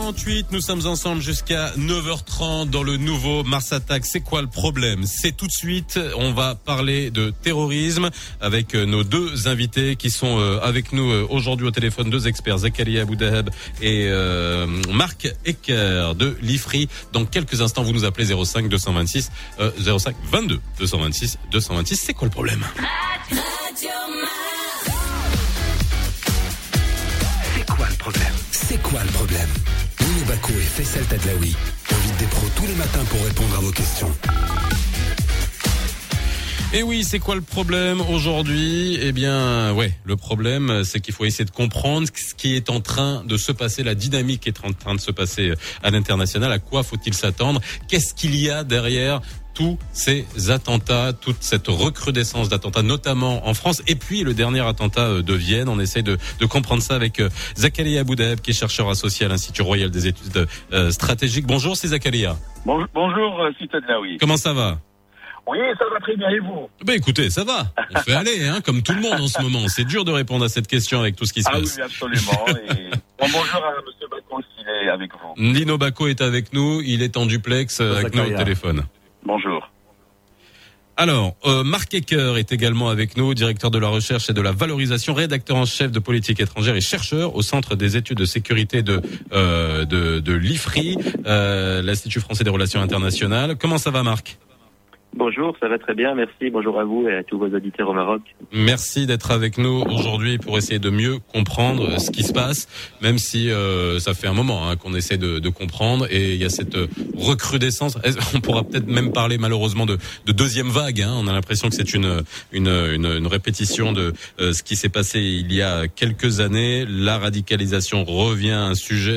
8h48, nous sommes ensemble jusqu'à 9h30 dans le nouveau Mars Attack. C'est quoi le problème? C'est tout de suite, on va parler de terrorisme avec nos deux invités qui sont avec nous aujourd'hui au téléphone, deux experts, Zakaria Aboudaheb et Marc Ecker de l'IFRI. Dans quelques instants, vous nous appelez 05 226 05 22 226 226. C'est quoi le problème? C'est quoi le problème? Lino Bako et Faisal Tadlaoui invitent des pros tous les matins pour répondre à vos questions. Et oui, c'est quoi le problème aujourd'hui? Eh bien, le problème, c'est qu'il faut essayer de comprendre ce qui est en train de se passer, la dynamique qui est en train de se passer à l'international. À quoi faut-il s'attendre? Qu'est-ce qu'il y a derrière tous ces attentats, toute cette recrudescence d'attentats, notamment en France, et puis le dernier attentat de Vienne? On essaie de comprendre ça avec Zakaria Aboudaheb, qui est chercheur associé à l'Institut Royal des études stratégiques. Bonjour, c'est Zakaria. Bonjour, c'est Tadlaoui. Comment ça va? Oui, ça va très bien, et vous? Écoutez, ça va. On fait aller, comme tout le monde en ce moment. C'est dur de répondre à cette question avec tout ce qui se passe. Ah oui, absolument. Et bonjour à M. Bako s'il est avec vous. Lino Bako est avec nous. Il est en duplex avec nous au téléphone. Bonjour. Alors, Marc Ecker est également avec nous, directeur de la recherche et de la valorisation, rédacteur en chef de politique étrangère et chercheur au Centre des études de sécurité de l'IFRI, l'Institut français des relations internationales. Comment ça va, Marc? Bonjour, ça va très bien, merci. Bonjour à vous et à tous vos auditeurs au Maroc. Merci d'être avec nous aujourd'hui pour essayer de mieux comprendre ce qui se passe, même si ça fait un moment qu'on essaie de comprendre, et il y a cette recrudescence. On pourra peut-être même parler malheureusement de deuxième vague. On a l'impression que c'est une répétition de ce qui s'est passé il y a quelques années. La radicalisation redevient un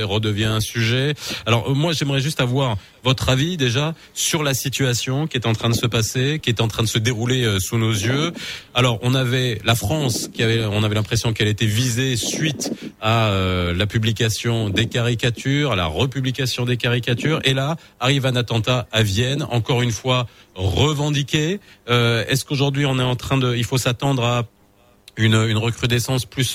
sujet. Alors moi, j'aimerais juste avoir votre avis déjà sur la situation qui est en train de se passer, qui est en train de se dérouler sous nos yeux. Alors, on avait la France on avait l'impression qu'elle était visée suite à la publication des caricatures, à la republication des caricatures, et là arrive un attentat à Vienne, encore une fois revendiqué. Est-ce qu'aujourd'hui il faut s'attendre à une recrudescence plus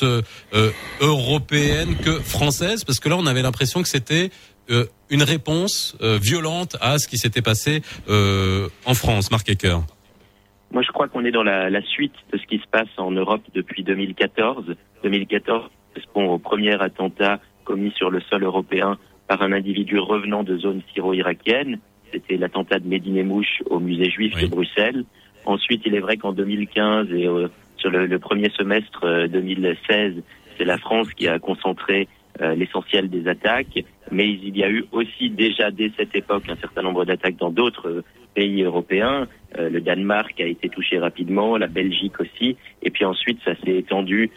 européenne que française, parce que là on avait l'impression que c'était une réponse violente à ce qui s'était passé en France. Marc Ecker. Moi, je crois qu'on est dans la suite de ce qui se passe en Europe depuis 2014. 2014 correspond au premier attentat commis sur le sol européen par un individu revenant de zone syro-irakienne. C'était l'attentat de Médine Mouche au musée juif de Bruxelles. Ensuite, il est vrai qu'en 2015 et sur le premier semestre 2016, c'est la France qui a concentré l'essentiel des attaques, mais il y a eu aussi déjà dès cette époque un certain nombre d'attaques dans d'autres pays européens. Le Danemark a été touché rapidement, la Belgique aussi, et puis ensuite ça s'est étendu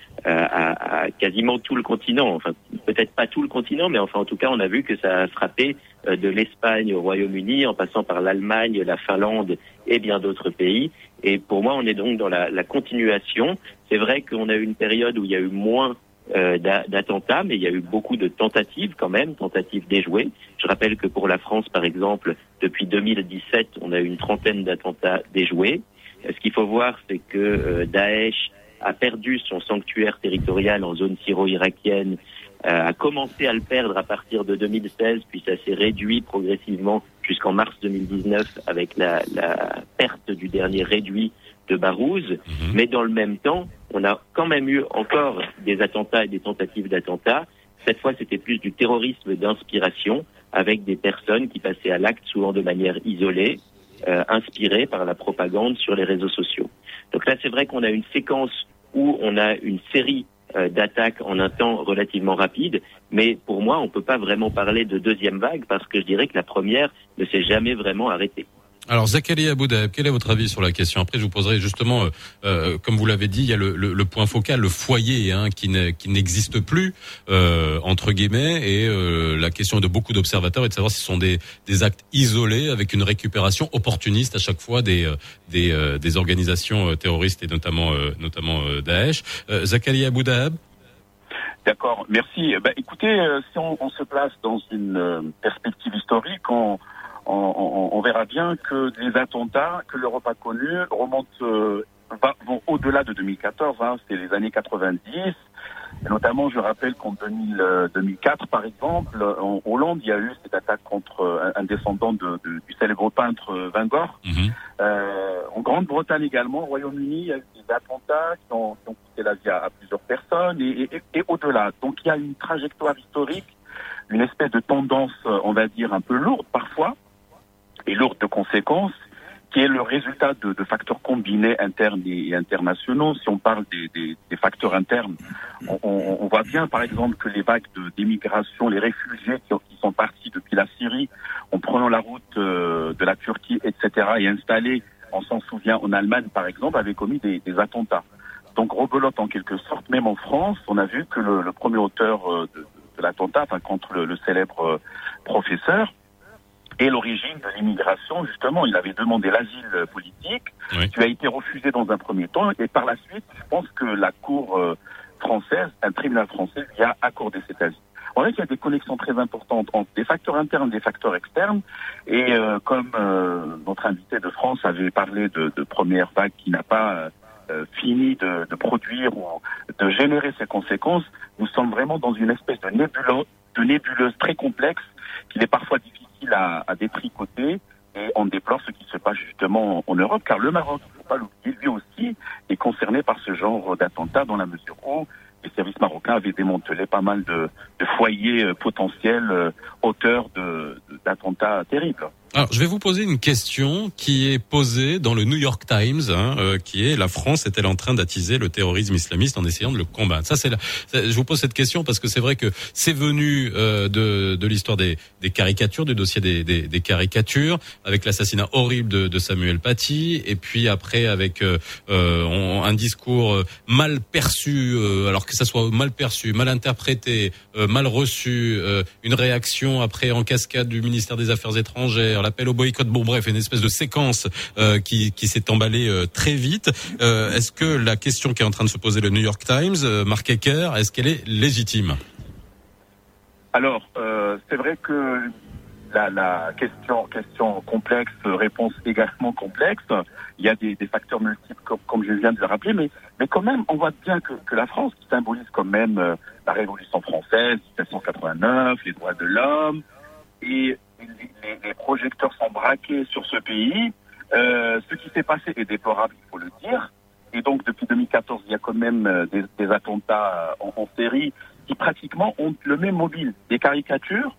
à quasiment tout le continent. Enfin, peut-être pas tout le continent, mais enfin en tout cas on a vu que ça a frappé de l'Espagne au Royaume-Uni, en passant par l'Allemagne, la Finlande et bien d'autres pays. Et pour moi, on est donc dans la continuation. C'est vrai qu'on a eu une période où il y a eu moins d'attentats, mais il y a eu beaucoup de tentatives quand même, tentatives déjouées. Je rappelle que pour la France, par exemple, depuis 2017, on a eu une trentaine d'attentats déjoués. Ce qu'il faut voir, c'est que Daesh a perdu son sanctuaire territorial en zone syro-irakienne, a commencé à le perdre à partir de 2016, puis ça s'est réduit progressivement jusqu'en mars 2019 avec la perte du dernier réduit de Barouz. Mais dans le même temps, on a quand même eu encore des attentats et des tentatives d'attentats. Cette fois, c'était plus du terrorisme d'inspiration, avec des personnes qui passaient à l'acte souvent de manière isolée, inspirées par la propagande sur les réseaux sociaux. Donc là, c'est vrai qu'on a une séquence où on a une série d'attaques en un temps relativement rapide, mais pour moi, on ne peut pas vraiment parler de deuxième vague, parce que je dirais que la première ne s'est jamais vraiment arrêtée. Alors Zakaria Aboudaheb, quel est votre avis sur la question? Après, je vous poserai justement, comme vous l'avez dit, il y a le point focal, le foyer qui n'existe plus entre guillemets, et la question de beaucoup d'observateurs est de savoir si ce sont des actes isolés avec une récupération opportuniste à chaque fois des organisations terroristes et notamment Daesh. Zakaria Aboudaheb. D'accord, merci. Écoutez, si on se place dans une perspective historique, on verra bien que les attentats que l'Europe a connus vont au-delà de 2014, c'est les années 90. Et notamment, je rappelle qu'en 2004, par exemple, en Hollande, il y a eu cette attaque contre un descendant du célèbre peintre Van Gogh. En Grande-Bretagne également, au Royaume-Uni, il y a eu des attentats qui ont coûté la vie à plusieurs personnes et au-delà. Donc il y a une trajectoire historique, une espèce de tendance, on va dire, un peu lourde parfois, et lourde de conséquences, qui est le résultat de facteurs combinés internes et internationaux. Si on parle des facteurs internes, on voit bien par exemple que les vagues d'immigration, les réfugiés qui sont partis depuis la Syrie, en prenant la route de la Turquie, etc., et installés, on s'en souvient, en Allemagne par exemple, avaient commis des attentats. Donc rebelote en quelque sorte, même en France, on a vu que le premier auteur de l'attentat, enfin contre le célèbre professeur, et l'origine de l'immigration, justement, il avait demandé l'asile politique, qui a été refusé dans un premier temps, et par la suite, je pense que la cour française, un tribunal français, lui a accordé cet asile. On voit qu'il y a des connexions très importantes entre des facteurs internes et des facteurs externes, et comme notre invité de France avait parlé de première vague qui n'a pas fini de produire ou de générer ses conséquences, nous sommes vraiment dans une espèce de nébuleuse très complexe, qu'il est parfois difficile à détricoter, et on déplore ce qui se passe justement en Europe, car le Maroc, il ne faut pas l'oublier, lui aussi est concerné par ce genre d'attentats, dans la mesure où les services marocains avaient démantelé pas mal de foyers potentiels auteurs d'attentats terribles. Alors, je vais vous poser une question qui est posée dans le New York Times, qui est: la France est-elle en train d'attiser le terrorisme islamiste en essayant de le combattre? Je vous pose cette question parce que c'est vrai que c'est venu de l'histoire des caricatures, du dossier des caricatures, avec l'assassinat horrible de Samuel Paty, et puis après avec un discours mal perçu, alors que ça soit mal perçu, mal interprété, mal reçu, une réaction après en cascade du ministère des Affaires étrangères, l'appel au boycott, bon bref, une espèce de séquence qui s'est emballée très vite. Est-ce que la question qui est en train de se poser le New York Times, Marc Ecker, est-ce qu'elle est légitime? Alors, c'est vrai que la question complexe, réponse également complexe. Il y a des facteurs multiples, comme je viens de le rappeler, mais quand même, on voit bien que la France, qui symbolise quand même la Révolution française, 1789, les droits de l'homme, et les projecteurs sont braqués sur ce pays. Ce qui s'est passé est déplorable, il faut le dire. Et donc, depuis 2014, il y a quand même des attentats en série qui pratiquement ont le même mobile. Des caricatures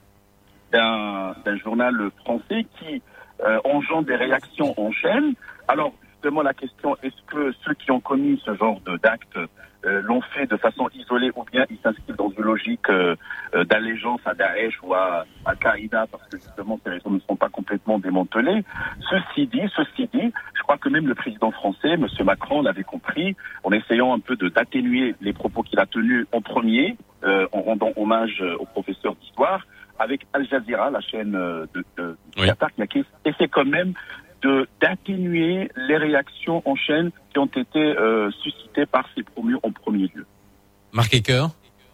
d'un journal français qui engendre des réactions en chaîne. Alors, justement, la question, est-ce que ceux qui ont commis ce genre d'actes l'ont fait de façon isolée, ou bien ils s'inscrivent dans une logique d'allégeance à Daesh ou à Al-Qaïda, parce que justement ces raisons ne sont pas complètement démantelées. Ceci dit, je crois que même le président français, M. Macron, l'avait compris, en essayant un peu d'atténuer les propos qu'il a tenus en premier, en rendant hommage au professeur d'histoire, avec Al Jazeera, la chaîne de Qatar, qui essaie quand même d'atténuer les réactions en chaîne qui ont été suscitées par ces promus en premier lieu. Marc Ecker?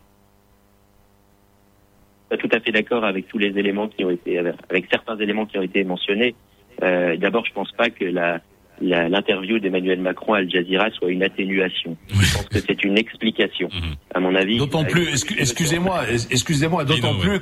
Tout à fait d'accord avec tous les éléments qui ont été, avec certains éléments qui ont été mentionnés. D'abord, je pense pas que l'interview d'Emmanuel Macron à Al Jazeera soit une atténuation. Je pense que c'est une explication, à mon avis. D'autant plus, excusez-moi, d'autant plus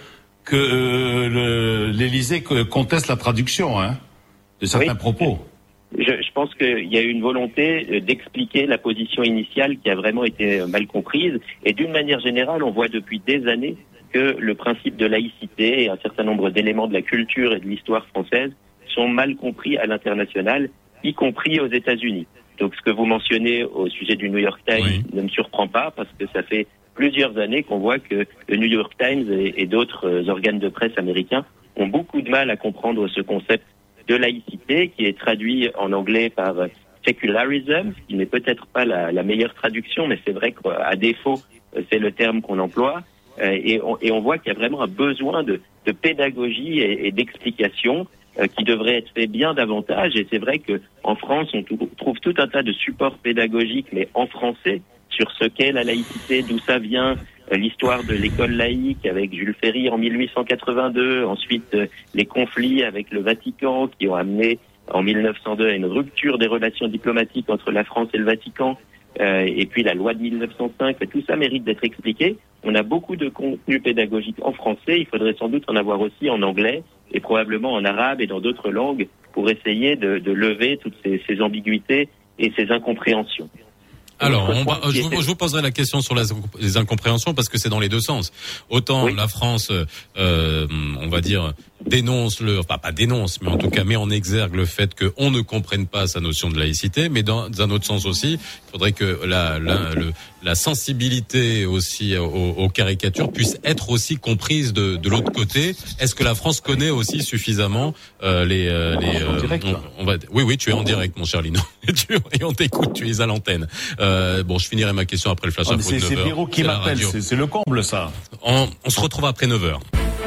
que l'Élysée conteste la traduction, de certains propos. Je pense qu'il y a eu une volonté d'expliquer la position initiale qui a vraiment été mal comprise. Et d'une manière générale, on voit depuis des années que le principe de laïcité et un certain nombre d'éléments de la culture et de l'histoire française sont mal compris à l'international, y compris aux États-Unis. Donc ce que vous mentionnez au sujet du New York Times ne me surprend pas, parce que ça fait plusieurs années qu'on voit que le New York Times et d'autres organes de presse américains ont beaucoup de mal à comprendre ce concept de laïcité, qui est traduit en anglais par secularism, ce qui n'est peut-être pas la meilleure traduction, mais c'est vrai qu'à défaut, c'est le terme qu'on emploie. Et on voit qu'il y a vraiment un besoin de pédagogie et d'explication qui devrait être fait bien davantage. Et c'est vrai qu'en France, on trouve tout un tas de supports pédagogiques, mais en français, sur ce qu'est la laïcité, d'où ça vient, l'histoire de l'école laïque avec Jules Ferry en 1882, ensuite les conflits avec le Vatican qui ont amené en 1902 à une rupture des relations diplomatiques entre la France et le Vatican. et puis la loi de 1905, tout ça mérite d'être expliqué. On a beaucoup de contenu pédagogique en français, il faudrait sans doute en avoir aussi en anglais et probablement en arabe et dans d'autres langues pour essayer de lever toutes ces ambiguïtés et ces incompréhensions. Alors, je vous poserai la question sur les incompréhensions parce que c'est dans les deux sens. Autant la France, on va dire, dénonce pas dénonce, mais en tout cas met en exergue le fait qu'on ne comprenne pas sa notion de laïcité, mais dans un autre sens aussi, il faudrait que la sensibilité aussi aux caricatures puisse être aussi comprise de l'autre côté. Est-ce que la France connaît aussi suffisamment Oui, tu es en direct, mon cher Lino. Et on t'écoute, tu es à l'antenne. Bon, je finirai ma question après le flash info de 9h. C'est Pierrot qui m'appelle, c'est le comble ça. On se retrouve après 9h.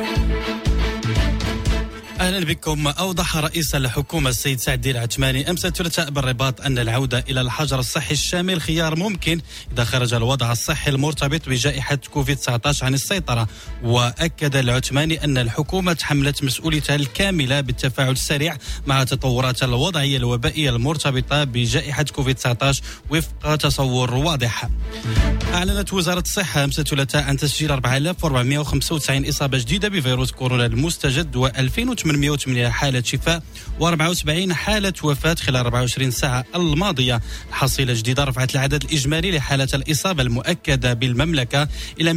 اهلا بكم. اوضح رئيس الحكومه السيد سعد العثماني امس الثلاثاء بالرباط ان العوده الى الحجر الصحي الشامل خيار ممكن اذا خرج الوضع الصحي المرتبط بجائحه كوفيد-19 عن السيطره. واكد العثماني ان الحكومه تحملت مسؤوليتها الكامله بالتفاعل السريع مع التطورات الوضعيه الوبائيه المرتبطه بجائحه كوفيد-19 وفق تصور واضح. اعلنت وزاره الصحه امس الثلاثاء عن تسجيل 4495 اصابه جديده بفيروس كورونا المستجد و2808 حالة شفاء و74 حالة وفاة خلال 24 ساعة الماضية. الحصيلة الجديدة رفعت العدد الإجمالي لحالات الإصابة المؤكدة بالمملكة إلى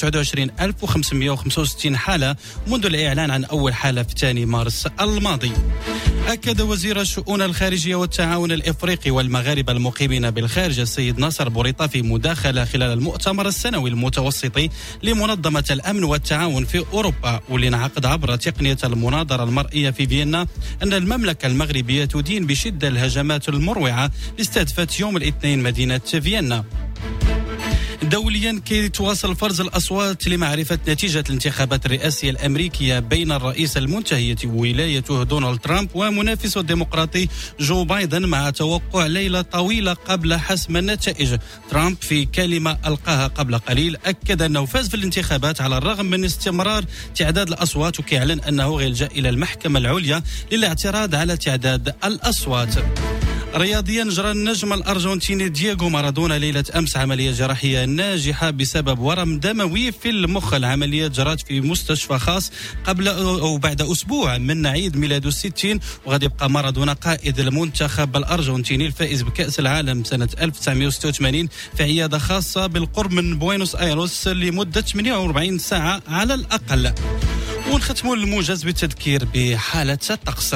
229565 حالة منذ الإعلان عن أول حالة في 2 مارس الماضي. أكد وزير الشؤون الخارجية والتعاون الإفريقي والمغاربة المقيمين بالخارج السيد ناصر بوريطة في مداخلة خلال المؤتمر السنوي المتوسطي لمنظمة الأمن والتعاون في أوروبا واللي انعقد عبر تقنية المناظرة المرئية في فيينا أن المملكة المغربية تدين بشدة الهجمات المروعة لاستهدفت يوم الاثنين مدينة فيينا. دوليا كي تواصل فرز الأصوات لمعرفة نتيجة الانتخابات الرئاسية الأمريكية بين الرئيس المنتهية ولايته دونالد ترامب ومنافسه الديمقراطي جو بايدن مع توقع ليلة طويلة قبل حسم النتائج. ترامب في كلمة ألقاها قبل قليل أكد أنه فاز في الانتخابات على الرغم من استمرار تعداد الأصوات وكيعلن أنه يلجأ إلى المحكمة العليا للاعتراض على تعداد الأصوات. رياضيا جرى النجم الأرجنتيني دييغو مارادونا ليلة أمس عملية جراحية ناجحة بسبب ورم دموي في المخ. العملية جرت في مستشفى خاص قبل أو بعد أسبوع من عيد ميلاده 60. وغادي يبقى مارادونا قائد المنتخب الأرجنتيني الفائز بكأس العالم سنة 1986 في عيادة خاصة بالقرب من بوينوس آيرس لمدة 48 ساعة على الأقل. ونختموا الموجز بالتذكير بحالة الطقس.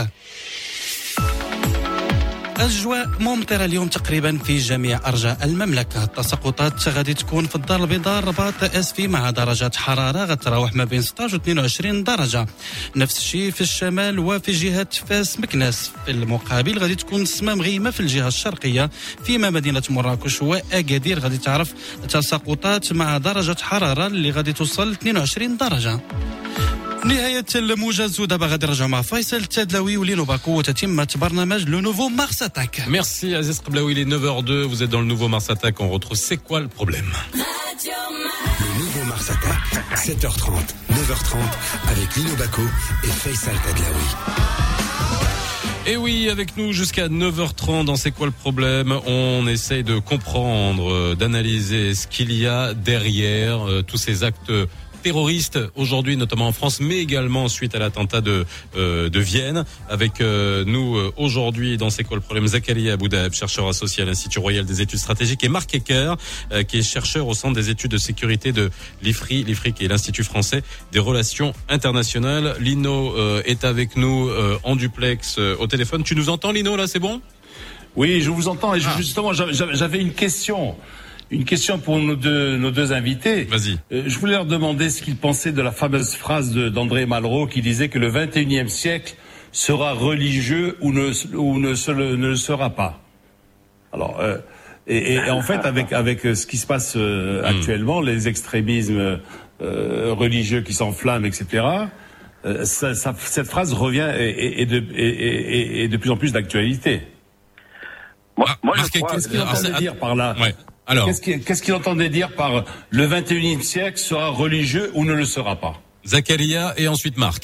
أجواء ممطرة اليوم تقريبا في جميع أرجاء المملكة. التساقطات غادي تكون في الدار البيضاء الرباط اسفي مع درجات حرارة غتراوح ما بين 16 و 22 درجة. نفس الشيء في الشمال وفي جهة فاس مكناس. في المقابل غادي تكون السماء مغيمة في الجهة الشرقية فيما مدينة مراكش وأكادير غادي تعرف تساقطات مع درجة حرارة اللي غادي توصل 22 درجة. نهاية الموجز ودابا غادي نرجعوا مع فيصل التدلوي ولينو باكو وتتمة برنامج لو نوفو مارس اتاك. Merci Aziz Qblaoui, il est 9h02, vous êtes dans le nouveau Mars Attack, on retrouve C'est quoi le problème? Le nouveau Mars Attack, 7h30, 9h30 avec Lino Baco et Faisal Tadlaoui. Et oui, avec nous jusqu'à 9h30 dans C'est quoi le problème? On essaye de comprendre, d'analyser ce qu'il y a derrière tous ces actes terroristes aujourd'hui, notamment en France, mais également suite à l'attentat de Vienne. Avec nous aujourd'hui dans C'est quoi le problème, Zakaria Aboudaeb, chercheur associé à l'Institut Royal des études stratégiques, et Marc Ecker, qui est chercheur au Centre des études de sécurité de l'IFRI qui est l'Institut français des relations internationales. Lino est avec nous en duplex au téléphone. Tu nous entends, Lino, là, c'est bon? Oui, je vous entends. Et justement, j'avais une question. Une question pour nos deux invités. Vas-y. Je voulais leur demander ce qu'ils pensaient de la fameuse phrase d'André Malraux qui disait que le 21e siècle sera religieux ou ne le sera pas. Alors, et en fait, avec ce qui se passe actuellement, les extrémismes religieux qui s'enflamment, etc., cette phrase revient et de plus en plus d'actualité. Moi, je crois, qu'est-ce qu'il entendait dire par là? Ouais. Alors, qu'est-ce qu'il entendait dire par le 21e siècle sera religieux ou ne le sera pas? Zakaria et ensuite Marc.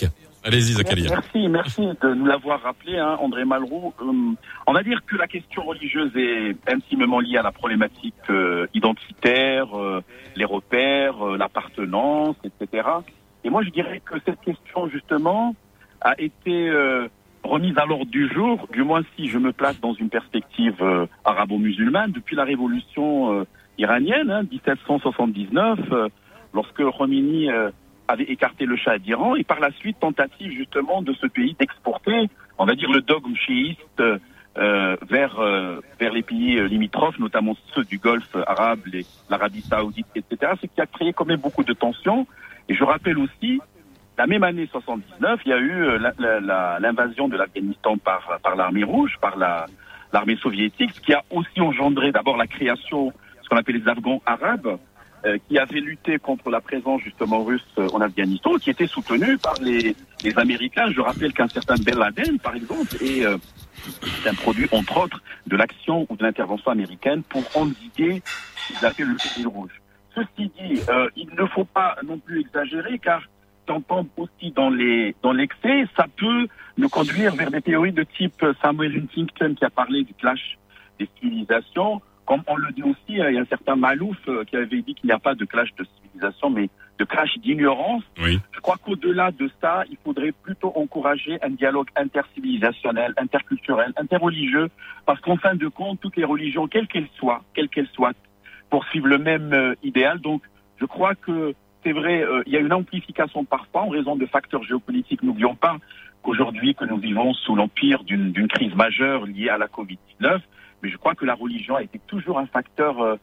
Allez-y, Zakaria. Merci de nous l'avoir rappelé, André Malraux. On va dire que la question religieuse est intimement liée à la problématique identitaire, les repères, l'appartenance, etc. Et moi, je dirais que cette question, justement, a été remise à l'ordre du jour, du moins si je me place dans une perspective arabo-musulmane, depuis la révolution iranienne, 1779, lorsque Khomeini avait écarté le Shah d'Iran, et par la suite tentative justement de ce pays d'exporter, on va dire, le dogme chiite vers les pays limitrophes, notamment ceux du Golfe arabe, l'Arabie saoudite, etc. Ce qui a créé quand même beaucoup de tensions. Et je rappelle aussi, la même année 79, il y a eu l'invasion de l'Afghanistan par l'armée rouge, par l'armée soviétique, ce qui a aussi engendré d'abord la création, ce qu'on appelle les Afghans arabes, qui avaient lutté contre la présence justement russe en Afghanistan, qui était soutenue par les Américains. Je rappelle qu'un certain Ben Laden, par exemple, est un produit, entre autres, de l'action ou de l'intervention américaine pour endiguer ce qu'ils appellent le fil rouge. Ceci dit, il ne faut pas non plus exagérer, car t'entends aussi dans l'excès, ça peut nous conduire vers des théories de type Samuel Huntington qui a parlé du clash des civilisations. Comme on le dit aussi, il y a un certain Malouf qui avait dit qu'il n'y a pas de clash de civilisation, mais de clash d'ignorance. Oui. Je crois qu'au-delà de ça, il faudrait plutôt encourager un dialogue intercivilisationnel, interculturel, interreligieux, parce qu'en fin de compte, toutes les religions, quelles qu'elles soient, poursuivent le même idéal. Donc, je crois que c'est vrai, il y a une amplification parfois en raison de facteurs géopolitiques. N'oublions pas qu'aujourd'hui, que nous vivons sous l'empire d'une crise majeure liée à la Covid-19, mais je crois que la religion a été toujours un facteur,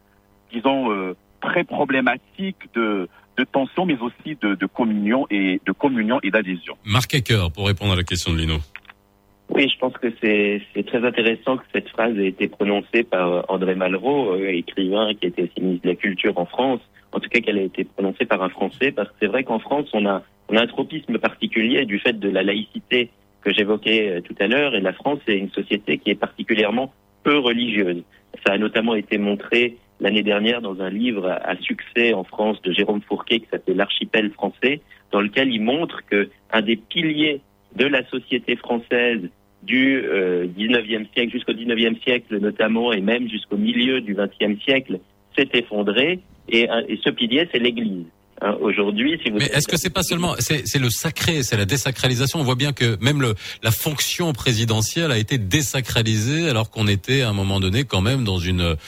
très problématique de tension, mais aussi de communion et d'adhésion. Marc Hacker, pour répondre à la question de Lino. Oui, je pense que c'est très intéressant que cette phrase ait été prononcée par André Malraux, écrivain qui était aussi ministre de la Culture en France. En tout cas, qu'elle a été prononcée par un Français, parce que c'est vrai qu'en France, on a un tropisme particulier du fait de la laïcité que j'évoquais tout à l'heure, et la France est une société qui est particulièrement peu religieuse. Ça a notamment été montré l'année dernière dans un livre à succès en France de Jérôme Fourquet qui s'appelle L'Archipel français, dans lequel il montre que un des piliers de la société française du 19e siècle jusqu'au 19e siècle notamment, et même jusqu'au milieu du 20e siècle, s'est effondré, et ce pilier, c'est l'Église. Aujourd'hui, si vous... Mais est-ce que c'est pas seulement, c'est le sacré, c'est la désacralisation. On voit bien que même la fonction présidentielle a été désacralisée, alors qu'on était à un moment donné quand même dans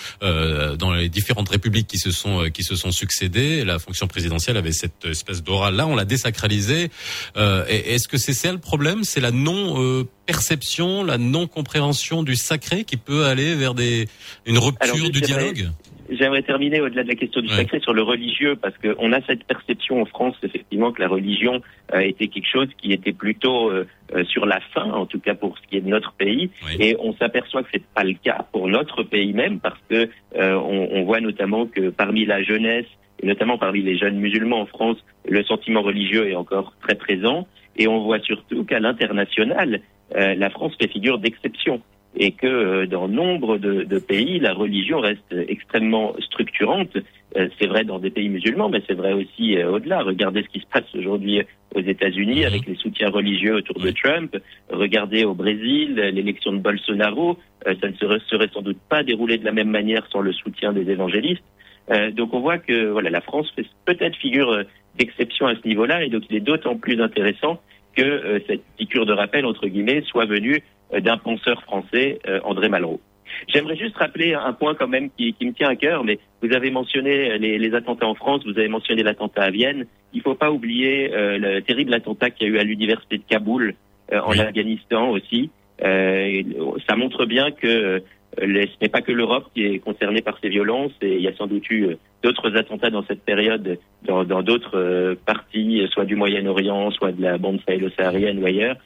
dans les différentes républiques qui se sont succédées. La fonction présidentielle avait cette espèce d'aura. Là, on l'a désacralisée. Est-ce que c'est ça le problème? C'est la perception, la non-compréhension du sacré qui peut aller vers une rupture du dialogue? J'aimerais terminer au-delà de la question du sacré sur le religieux, parce que on a cette perception en France, effectivement, que la religion était quelque chose qui était plutôt sur la fin, en tout cas pour ce qui est de notre pays, et on s'aperçoit que c'est pas le cas pour notre pays même, parce que on voit notamment que parmi la jeunesse, et notamment parmi les jeunes musulmans en France, le sentiment religieux est encore très présent, et on voit surtout qu'à l'international, la France fait figure d'exception. Et que dans nombre de pays, la religion reste extrêmement structurante. C'est vrai dans des pays musulmans, mais c'est vrai aussi au-delà. Regardez ce qui se passe aujourd'hui aux États-Unis avec les soutiens religieux autour de Trump. Regardez au Brésil, l'élection de Bolsonaro. Ça ne serait sans doute pas déroulé de la même manière sans le soutien des évangélistes. Donc on voit que voilà, la France fait peut-être figure d'exception à ce niveau-là, et donc il est d'autant plus intéressant que cette piqûre de rappel, entre guillemets, soit venue d'un penseur français, André Malraux. J'aimerais juste rappeler un point quand même qui me tient à cœur, mais vous avez mentionné les attentats en France, vous avez mentionné l'attentat à Vienne. Il ne faut pas oublier le terrible attentat qu'il y a eu à l'université de Kaboul, en Afghanistan aussi. Ça montre bien que ce n'est pas que l'Europe qui est concernée par ces violences, et il y a sans doute eu d'autres attentats dans cette période dans d'autres parties, soit du Moyen-Orient, soit de la bande sahélo-saharienne ou ailleurs.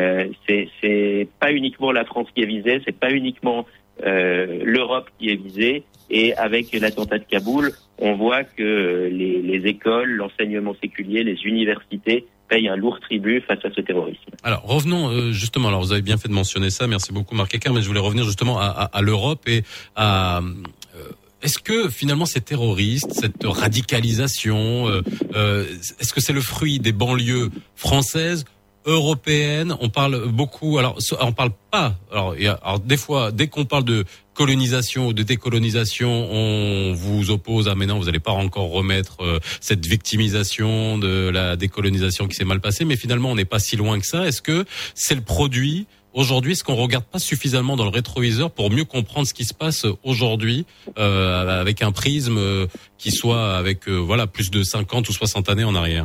C'est pas uniquement la France qui est visée, c'est pas uniquement l'Europe qui est visée, et avec l'attentat de Kaboul, on voit que les écoles, l'enseignement séculier, les universités payent un lourd tribut face à ce terrorisme. Alors revenons justement, alors vous avez bien fait de mentionner ça, merci beaucoup Marc Hacker, mais je voulais revenir justement à l'Europe et à... Est-ce que finalement ces terroristes, cette radicalisation, est-ce que c'est le fruit des banlieues françaises, européenne. On parle beaucoup. Alors, on parle pas. Alors des fois, dès qu'on parle de colonisation ou de décolonisation, on vous oppose mais non, vous n'allez pas encore remettre cette victimisation de la décolonisation qui s'est mal passée. Mais finalement, on n'est pas si loin que ça. Est-ce que c'est le produit? Aujourd'hui, est-ce qu'on regarde pas suffisamment dans le rétroviseur pour mieux comprendre ce qui se passe aujourd'hui avec un prisme qui soit avec plus de 50 ou 60 années en arrière?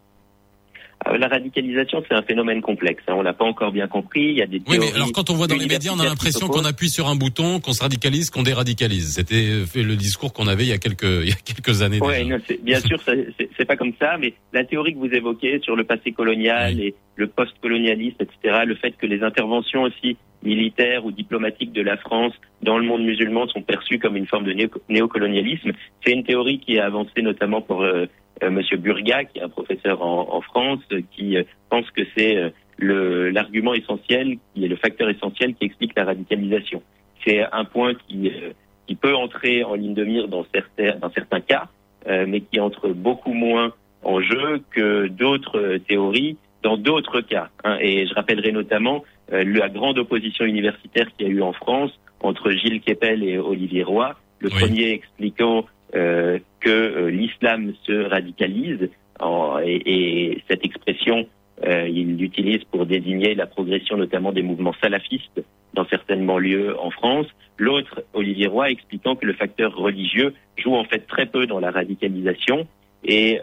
La radicalisation, c'est un phénomène complexe. On l'a pas encore bien compris. Il y a des théories. Oui, mais alors quand on voit dans les médias, on a l'impression qu'on appuie sur un bouton, qu'on se radicalise, qu'on déradicalise. C'était le discours qu'on avait il y a quelques années. Ouais, non, bien sûr, c'est pas comme ça. Mais la théorie que vous évoquez sur le passé colonial et le post-colonialisme, etc., le fait que les interventions aussi militaires ou diplomatiques de la France dans le monde musulman sont perçues comme une forme de néocolonialisme, c'est une théorie qui est avancée notamment pour Monsieur Burga, qui est un professeur en France, qui pense que c'est l'argument essentiel, qui est le facteur essentiel qui explique la radicalisation. C'est un point qui peut entrer en ligne de mire dans certains cas, mais qui entre beaucoup moins en jeu que d'autres théories dans d'autres cas. Et je rappellerai notamment la grande opposition universitaire qu'il y a eu en France entre Gilles Kepel et Olivier Roy, le premier expliquant que l'islam se radicalise, et cette expression, il l'utilise pour désigner la progression notamment des mouvements salafistes dans certaines banlieues en France. L'autre, Olivier Roy, expliquant que le facteur religieux joue en fait très peu dans la radicalisation, et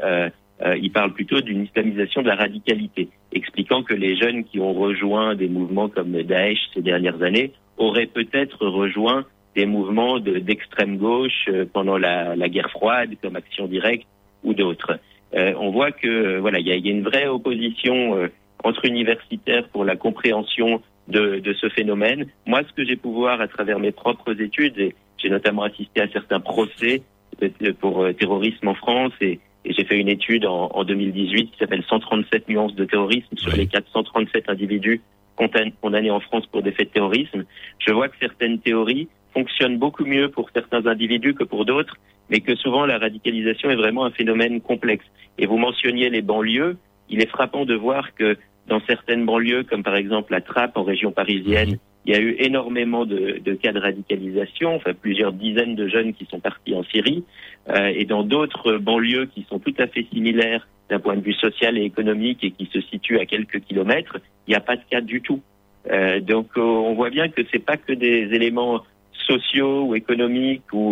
il parle plutôt d'une islamisation de la radicalité, expliquant que les jeunes qui ont rejoint des mouvements comme Daesh ces dernières années auraient peut-être rejoint des mouvements d'extrême gauche pendant la guerre froide, comme Action Directe ou d'autres. On voit que il y a une vraie opposition entre universitaires pour la compréhension de ce phénomène. Moi, ce que j'ai pu voir à travers mes propres études, et j'ai notamment assisté à certains procès pour terrorisme en France, et j'ai fait une étude en 2018 qui s'appelle 137 nuances de terrorisme sur les 437 individus condamnés en France pour des faits de terrorisme. Je vois que certaines théories fonctionnent beaucoup mieux pour certains individus que pour d'autres, mais que souvent la radicalisation est vraiment un phénomène complexe. Et vous mentionniez les banlieues. Il est frappant de voir que dans certaines banlieues, comme par exemple la Trappe en région parisienne, il y a eu énormément de cas de radicalisation, plusieurs dizaines de jeunes qui sont partis en Syrie, et dans d'autres banlieues qui sont tout à fait similaires d'un point de vue social et économique et qui se situent à quelques kilomètres, il n'y a pas de cas du tout. Donc on voit bien que c'est pas que des éléments sociaux ou économiques ou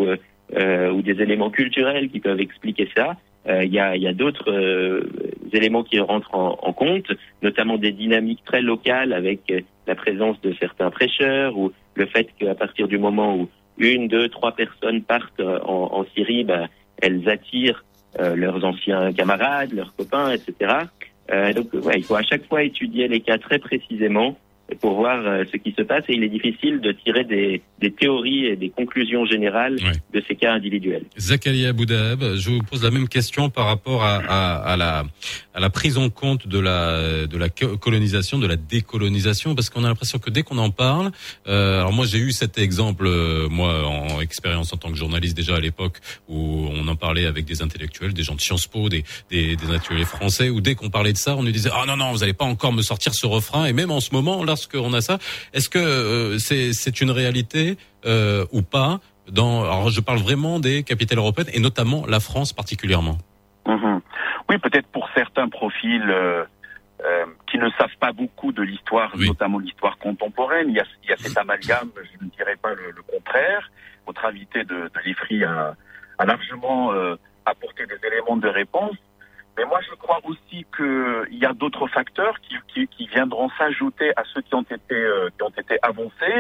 des éléments culturels qui peuvent expliquer ça. Il y a d'autres éléments qui rentrent en compte, notamment des dynamiques très locales avec la présence de certains prêcheurs, ou le fait qu'à partir du moment où 1, 2, 3 personnes partent en Syrie, elles attirent leurs anciens camarades, leurs copains, etc. Donc il faut à chaque fois étudier les cas très précisément pour voir ce qui se passe, et il est difficile de tirer des théories et des conclusions générales de ces cas individuels. Zakaria Boudaheb, je vous pose la même question par rapport à la prise en compte de la colonisation, de la décolonisation, parce qu'on a l'impression que dès qu'on en parle, alors moi j'ai eu cet exemple, moi en expérience en tant que journaliste déjà à l'époque, où on en parlait avec des intellectuels, des gens de Sciences Po, des intellectuels français, où dès qu'on parlait de ça, on nous disait non, vous allez pas encore me sortir ce refrain, et même en ce moment, lorsqu'on a ça, est-ce que c'est une réalité ou pas alors je parle vraiment des capitales européennes et notamment la France particulièrement. Oui, peut-être pour certains profils qui ne savent pas beaucoup de l'histoire, notamment l'histoire contemporaine, il y a cet amalgame, je ne dirais pas le contraire. Votre invité de l'IFRI a largement apporté des éléments de réponse. Mais moi, je crois aussi qu'il y a d'autres facteurs qui viendront s'ajouter à ceux qui ont été avancés.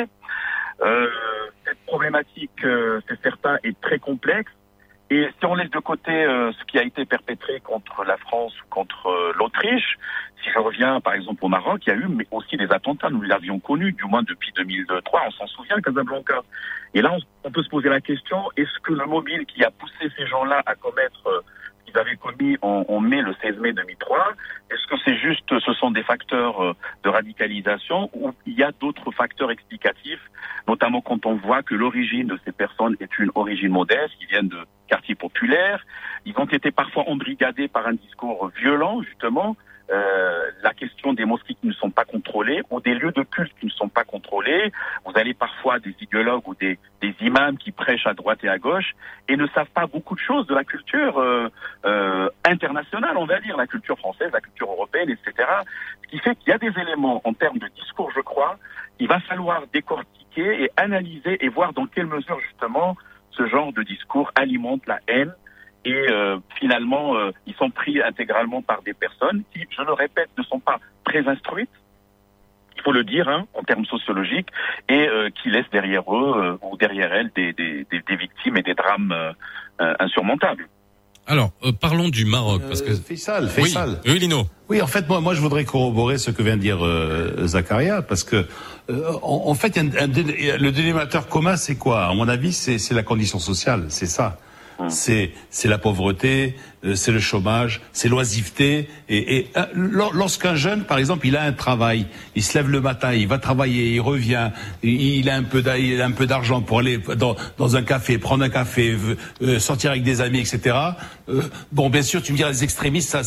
Cette problématique, c'est certain, est très complexe. Et si on laisse de côté ce qui a été perpétré contre la France ou contre l'Autriche, si je reviens par exemple au Maroc, il y a eu mais aussi des attentats, nous l'avions connu, du moins depuis 2003, on s'en souvient, Casablanca. Et là, on peut se poser la question, est-ce que le mobile qui a poussé ces gens-là à commettre qu'ils avaient commis en mai, le 16 mai 2003, est-ce que c'est juste, ce sont des facteurs de radicalisation, ou il y a d'autres facteurs explicatifs, notamment quand on voit que l'origine de ces personnes est une origine modeste, ils viennent de quartiers populaires, ils ont été parfois embrigadés par un discours violent, justement, la question des mosquées qui ne sont pas contrôlées ou des lieux de culte qui ne sont pas contrôlés. Vous avez parfois des idéologues ou des imams qui prêchent à droite et à gauche et ne savent pas beaucoup de choses de la culture internationale, on va dire, la culture française, la culture européenne, etc. Ce qui fait qu'il y a des éléments en termes de discours, je crois, il va falloir décortiquer et analyser et voir dans quelle mesure, justement, ce genre de discours alimente la haine. Et finalement, ils sont pris intégralement par des personnes qui, je le répète, ne sont pas très instruites, il faut le dire, en termes sociologiques, et qui laissent derrière eux ou derrière elles des victimes et des drames insurmontables. Alors, parlons du Maroc, parce que Faisal. Oui, Lino. Oui, en fait, moi, je voudrais corroborer ce que vient de dire Zakaria, parce que en fait, le dénominateur commun, c'est quoi? À mon avis, c'est la condition sociale, c'est ça. C'est la pauvreté, c'est le chômage, c'est l'oisiveté. Et lorsqu'un jeune, par exemple, il a un travail, il se lève le matin, il va travailler, il revient, il a un peu d'argent pour aller dans un café, prendre un café, sortir avec des amis, etc. Bon, bien sûr, tu me diras, les extrémistes,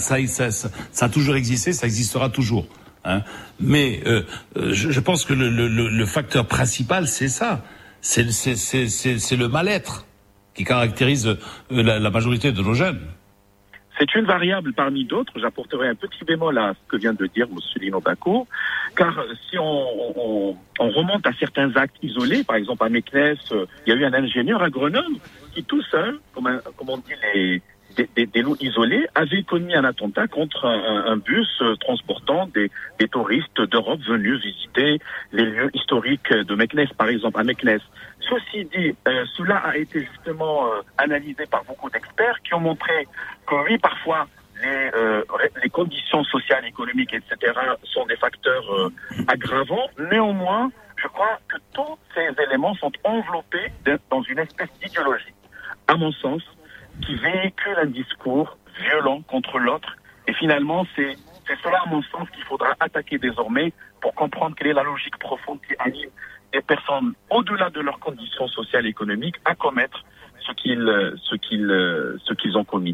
ça a toujours existé, ça existera toujours. Mais je pense que le facteur principal, c'est ça, c'est le mal-être qui caractérise la majorité de nos jeunes. C'est une variable parmi d'autres. J'apporterai un petit bémol à ce que vient de dire M. Lino Bako, car si on remonte à certains actes isolés, par exemple à Meknès, il y a eu un ingénieur agronome qui tout seul, comme on dit des lots isolés, avait commis un attentat contre un bus transportant des touristes d'Europe venus visiter les lieux historiques de Meknès, par exemple, à Meknès. Ceci dit, cela a été justement analysé par beaucoup d'experts qui ont montré que oui, parfois, les conditions sociales, économiques, etc. sont des facteurs aggravants. Néanmoins, je crois que tous ces éléments sont enveloppés dans une espèce d'idéologie, à mon sens, qui véhicule un discours violent contre l'autre. Et finalement, c'est cela, à mon sens, qu'il faudra attaquer désormais pour comprendre quelle est la logique profonde qui anime des personnes, au-delà de leurs conditions sociales et économiques, à commettre ce qu'elles ont commis.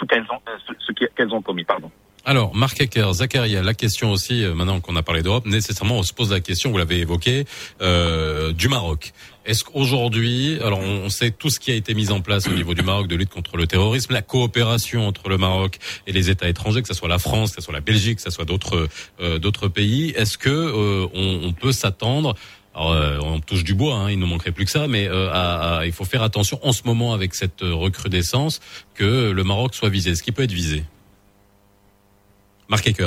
Alors, Marc Ecker, Zakaria, la question aussi, maintenant qu'on a parlé d'Europe, nécessairement on se pose la question, vous l'avez évoqué, du Maroc. Est-ce qu'aujourd'hui, alors on sait tout ce qui a été mis en place au niveau du Maroc de lutte contre le terrorisme, la coopération entre le Maroc et les États étrangers, que ce soit la France, que ce soit la Belgique, que ce soit d'autres pays, est-ce que on peut s'attendre, alors, on touche du bois, il ne manquerait plus que ça, mais il faut faire attention en ce moment avec cette recrudescence que le Maroc soit visé. Est-ce qu'il peut être visé? Marc Ecker.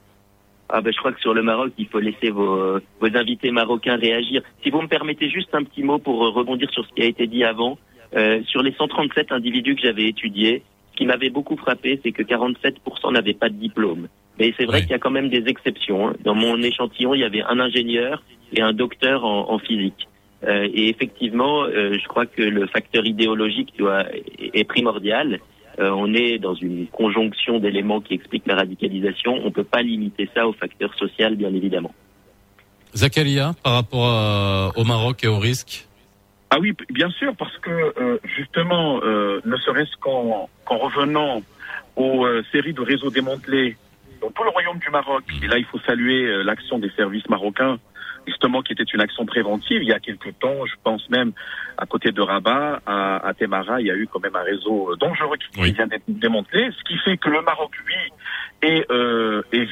Je crois que sur le Maroc, il faut laisser vos invités marocains réagir. Si vous me permettez juste un petit mot pour rebondir sur ce qui a été dit avant. Sur les 137 individus que j'avais étudiés, ce qui m'avait beaucoup frappé, c'est que 47% n'avaient pas de diplôme. Mais c'est vrai qu'il y a quand même des exceptions. Dans mon échantillon, il y avait un ingénieur et un docteur en physique. Et effectivement, je crois que le facteur idéologique est primordial. On est dans une conjonction d'éléments qui expliquent la radicalisation. On ne peut pas limiter ça au facteur social, bien évidemment. Zakaria, par rapport au Maroc et au risque? Ah oui, bien sûr, parce que justement, ne serait-ce qu'en revenant aux séries de réseaux démantelés dans tout le royaume du Maroc, et là il faut saluer l'action des services marocains, justement, qui était une action préventive. Il y a quelques temps, je pense même, à côté de Rabat, à Temara, il y a eu quand même un réseau dangereux qui vient d'être démantelé, ce qui fait que le Maroc, lui, est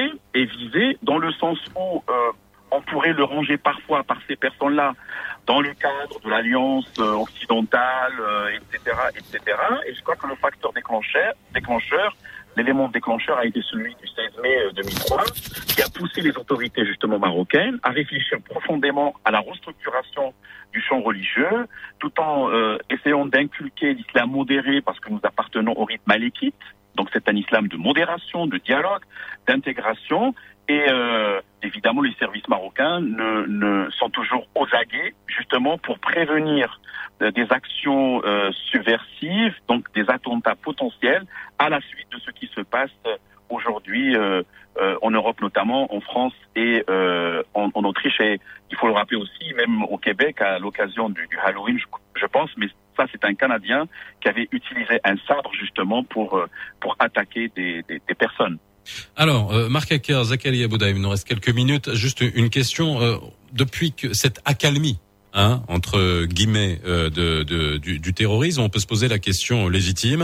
visé dans le sens où on pourrait le ranger parfois par ces personnes-là dans le cadre de l'alliance occidentale, etc. Et je crois que le facteur déclencheur, l'élément déclencheur a été celui du 16 mai 2003, qui a poussé les autorités justement marocaines à réfléchir profondément à la restructuration du champ religieux, tout en essayant d'inculquer l'islam modéré, parce que nous appartenons au rite malékite. Donc c'est un islam de modération, de dialogue, d'intégration. Et évidemment, les services marocains sont toujours aux aguets, justement pour prévenir des actions subversives, donc des attentats potentiels, à la suite de ce qui se passe aujourd'hui en Europe, notamment en France et en Autriche. Et il faut le rappeler aussi, même au Québec, à l'occasion du Halloween, je pense, mais ça, c'est un Canadien qui avait utilisé un sabre justement pour attaquer des personnes. Alors, Marc Hacker, Zakaria Boudaïm, il nous reste quelques minutes. Juste une question. Depuis que cette accalmie, entre guillemets, du terrorisme, on peut se poser la question légitime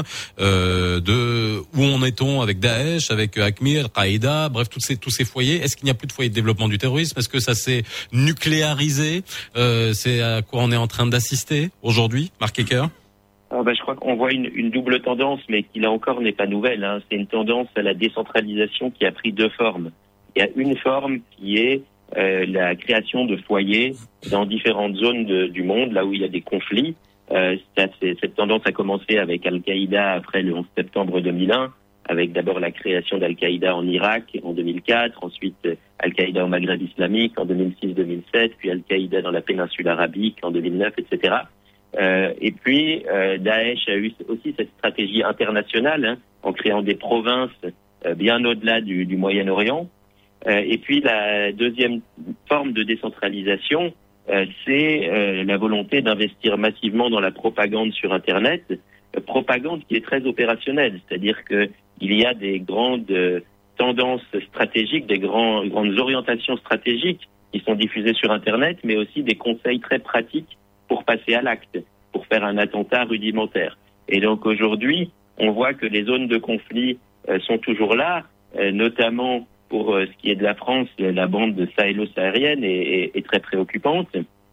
de où en est-on avec Daesh, avec Aqmi, Al-Qaïda, bref, tous ces foyers. Est-ce qu'il n'y a plus de foyer de développement du terrorisme? Est-ce que ça s'est nucléarisé? C'est à quoi on est en train d'assister aujourd'hui, Marc Hacker? Je crois qu'on voit une double tendance, mais qui là encore n'est pas nouvelle. C'est une tendance à la décentralisation qui a pris deux formes. Il y a une forme qui est la création de foyers dans différentes zones du monde, là où il y a des conflits. Cette tendance a commencé avec Al-Qaïda après le 11 septembre 2001, avec d'abord la création d'Al-Qaïda en Irak en 2004, ensuite Al-Qaïda au Maghreb islamique en 2006-2007, puis Al-Qaïda dans la péninsule arabique en 2009, etc. Et puis Daesh a eu aussi cette stratégie internationale en créant des provinces bien au-delà du Moyen-Orient. Et puis la deuxième forme de décentralisation, c'est la volonté d'investir massivement dans la propagande sur Internet, propagande qui est très opérationnelle, c'est-à-dire que il y a des grandes tendances stratégiques, des grandes orientations stratégiques qui sont diffusées sur Internet, mais aussi des conseils très pratiques pour passer à l'acte, pour faire un attentat rudimentaire. Et donc aujourd'hui, on voit que les zones de conflit sont toujours là, notamment pour ce qui est de la France, la bande sahélo-saharienne est très préoccupante.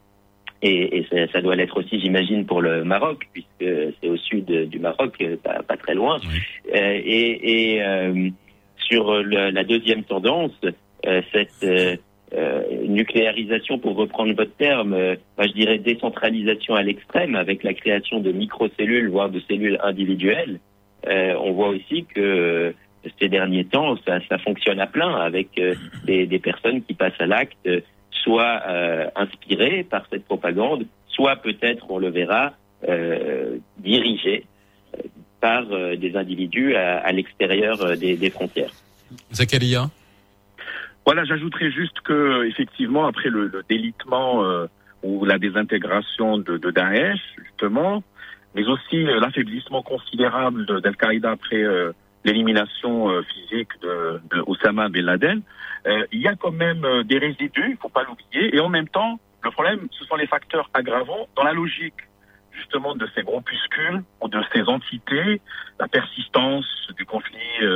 Et ça doit l'être aussi, j'imagine, pour le Maroc, puisque c'est au sud du Maroc, pas très loin. Oui. Sur la deuxième tendance, cette nucléarisation, pour reprendre votre terme, je dirais décentralisation à l'extrême, avec la création de microcellules, voire de cellules individuelles. On voit aussi que ces derniers temps, ça fonctionne à plein, avec des personnes qui passent à l'acte, soit inspirées par cette propagande, soit peut-être, on le verra, dirigées par des individus à l'extérieur des frontières. Zakaria? Voilà, j'ajouterais juste que, effectivement, après le délitement ou la désintégration de Daesh, justement, mais aussi l'affaiblissement considérable d'Al-Qaïda après l'élimination physique de Oussama Ben Laden, il y a quand même des résidus, il faut pas l'oublier, et en même temps, le problème, ce sont les facteurs aggravants dans la logique justement de ces groupuscules ou de ces entités, la persistance du conflit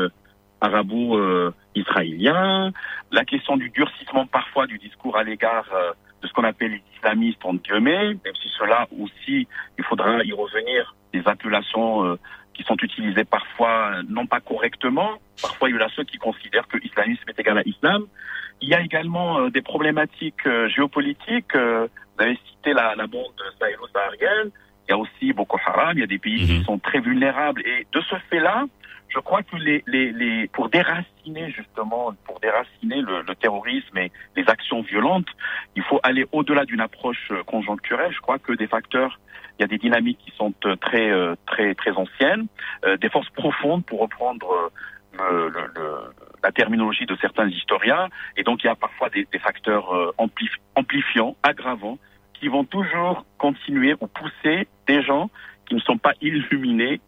arabo-israélien, la question du durcissement parfois du discours à l'égard de ce qu'on appelle les islamistes en guillemets, même si cela aussi, il faudra y revenir, des appellations qui sont utilisées parfois non pas correctement. Parfois, il y en a ceux qui considèrent que l'islamisme est égal à islam. Il y a également des problématiques géopolitiques. Vous avez cité la bande sahélo-saharienne. Il y a aussi Boko Haram. Il y a des pays qui sont très vulnérables. Et de ce fait-là, je crois que pour déraciner le terrorisme et les actions violentes, il faut aller au-delà d'une approche conjoncturelle. Je crois que des facteurs, il y a des dynamiques qui sont très anciennes, des forces profondes pour reprendre la terminologie de certains historiens, et donc il y a parfois des facteurs amplifiants, aggravants, qui vont toujours continuer ou pousser des gens qui ne sont pas illuminés,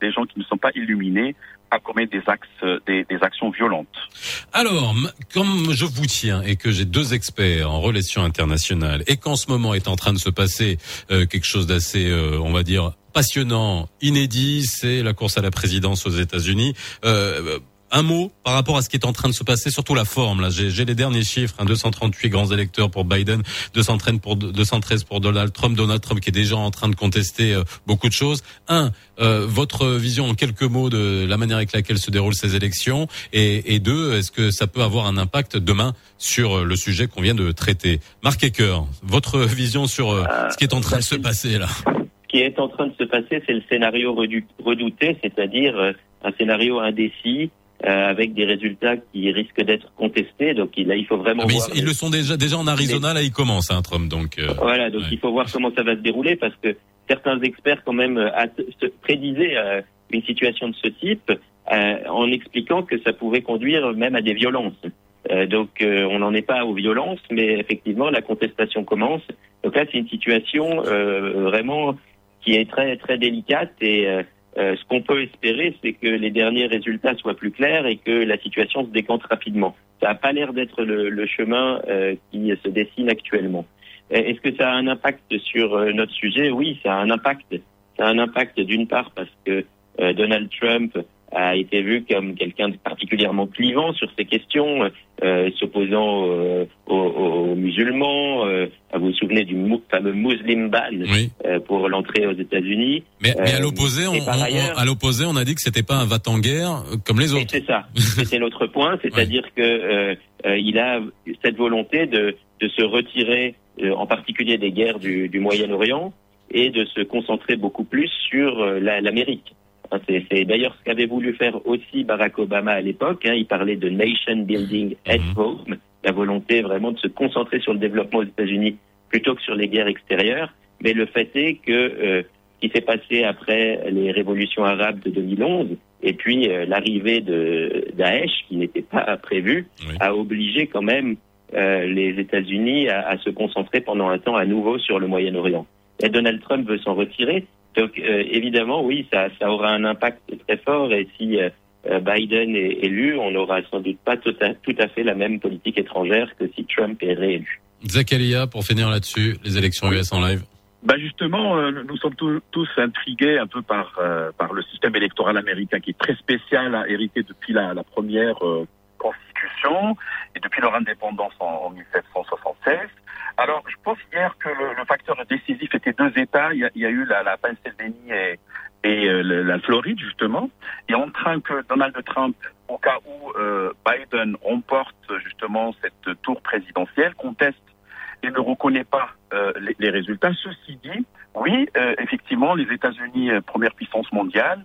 à commettre des actions violentes. Alors, comme je vous tiens et que j'ai deux experts en relations internationales et qu'en ce moment est en train de se passer quelque chose d'assez, on va dire, passionnant, inédit, c'est la course à la présidence aux États-Unis. Un mot par rapport à ce qui est en train de se passer, surtout la forme. Là, j'ai les derniers chiffres, 238 grands électeurs pour Biden, 213 pour Donald Trump qui est déjà en train de contester beaucoup de choses. Votre vision en quelques mots de la manière avec laquelle se déroulent ces élections, et deux, est-ce que ça peut avoir un impact demain sur le sujet qu'on vient de traiter? Marc Hacker, votre vision sur ce qui est en train de se passer là. Ce qui est en train de se passer, c'est le scénario redouté, c'est-à-dire un scénario indécis, avec des résultats qui risquent d'être contestés. Donc là, il faut vraiment voir. Ils le sont déjà en Arizona, là, ils commencent, Trump. Donc voilà, donc il faut voir comment ça va se dérouler, parce que certains experts quand même prédisaient une situation de ce type en expliquant que ça pouvait conduire même à des violences. Donc on n'en est pas aux violences, mais effectivement la contestation commence. Donc là, c'est une situation vraiment qui est très très délicate, et ce qu'on peut espérer, c'est que les derniers résultats soient plus clairs et que la situation se décante rapidement. Ça n'a pas l'air d'être le chemin qui se dessine actuellement. Est-ce que ça a un impact sur notre sujet ? Oui, ça a un impact. Ça a un impact d'une part parce que Donald Trump a été vu comme quelqu'un de particulièrement clivant sur ces questions, s'opposant aux musulmans. Vous vous souvenez du fameux Muslim ban pour l'entrée aux États-Unis. Mais à l'opposé, on a dit que c'était pas un va-t-en-guerre comme les autres. C'est ça. C'était l'autre point, c'est-à-dire que il a cette volonté de se retirer, en particulier des guerres du Moyen-Orient, et de se concentrer beaucoup plus sur l'Amérique. C'est d'ailleurs ce qu'avait voulu faire aussi Barack Obama à l'époque. Il parlait de nation building at home, la volonté vraiment de se concentrer sur le développement aux États-Unis plutôt que sur les guerres extérieures. Mais le fait est que ce qui s'est passé après les révolutions arabes de 2011 et puis l'arrivée de Daesh, qui n'était pas prévue, a obligé quand même les États-Unis à se concentrer pendant un temps à nouveau sur le Moyen-Orient. Et Donald Trump veut s'en retirer. Donc évidemment, oui, ça aura un impact très fort, et si Biden est élu, on n'aura sans doute pas tout à fait la même politique étrangère que si Trump est réélu. Zakaria, pour finir là-dessus, les élections US en live. Justement, nous sommes tous intrigués un peu par le système électoral américain, qui est très spécial, hérité depuis la première Constitution et depuis leur indépendance en 1776. Alors, je pense hier que le facteur décisif était deux États. Il y a eu la Pennsylvanie et la Floride, justement. Et on craint que Donald Trump, au cas où Biden remporte justement cette tour présidentielle, conteste et ne reconnaît pas les résultats. Ceci dit, oui, effectivement, les États-Unis, première puissance mondiale,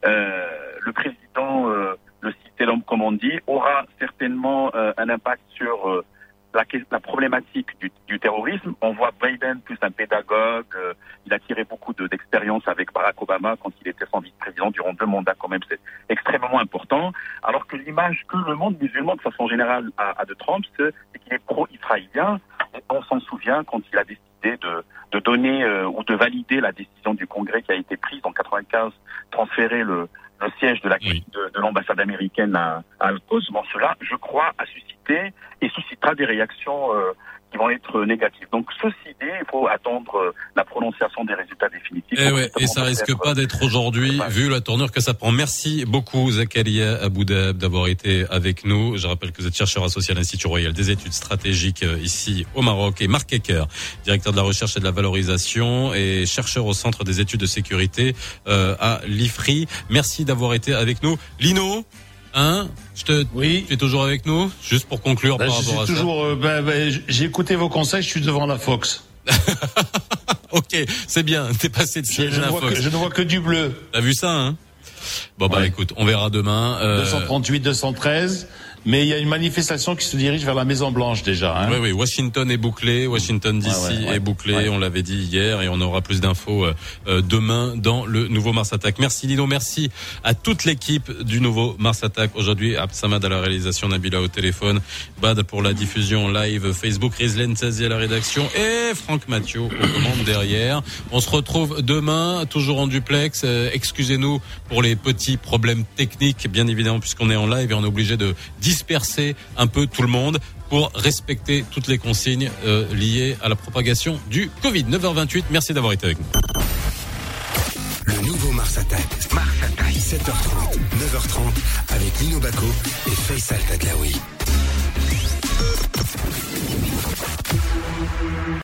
le président, le cité l'homme comme on dit, aura certainement un impact sur la problématique du terrorisme. On voit Biden plus un pédagogue. Il a tiré beaucoup d'expérience avec Barack Obama quand il était son vice-président durant 2 mandats, quand même, c'est extrêmement important. Alors que l'image que le monde musulman, de façon générale, a de Trump, c'est qu'il est pro-israélien. On s'en souvient quand il a décidé de donner ou de valider la décision du Congrès qui a été prise en 95, transférer le siège de l'ambassade américaine à Al-Quds. Bon, cela, je crois, a suscité et suscitera des réactions qui vont être négatives. Donc, ceci dit, il faut attendre la prononciation des résultats définitifs. Et ça risque pas d'être aujourd'hui, vu la tournure que ça prend. Merci beaucoup, Zakaria Aboudab, d'avoir été avec nous. Je rappelle que vous êtes chercheur associé à l'Institut Royal des études stratégiques ici au Maroc, et Marc Ecker, directeur de la recherche et de la valorisation et chercheur au Centre des études de sécurité à l'IFRI. Merci d'avoir été avec nous. Lino, tu es toujours avec nous, juste pour conclure par rapport à ça. J'ai écouté vos conseils, je suis devant la Fox. Ok, c'est bien, t'es passé de siège à la Fox. Je ne vois que du bleu. T'as vu ça, hein? Bon, écoute, on verra demain. 238, 213. Mais il y a une manifestation qui se dirige vers la Maison Blanche déjà. Oui, Washington est bouclé, Washington DC est bouclé. On l'avait dit hier, et on aura plus d'infos demain dans le nouveau Mars Attack. Merci Lino, merci à toute l'équipe du nouveau Mars Attack. Aujourd'hui, Absamad à la réalisation, Nabila au téléphone, Bad pour la diffusion live Facebook, Rizlen Tzazi à la rédaction et Franck Mathieu aux commandes derrière. On se retrouve demain, toujours en duplex. Excusez-nous pour les petits problèmes techniques, bien évidemment, puisqu'on est en live et on est obligé de disperser un peu tout le monde pour respecter toutes les consignes liées à la propagation du Covid. 9h28, merci d'avoir été avec nous. Le nouveau Mars Attack. 7h30, 9h30 avec Lino Bacco et Faisal Tadlaoui.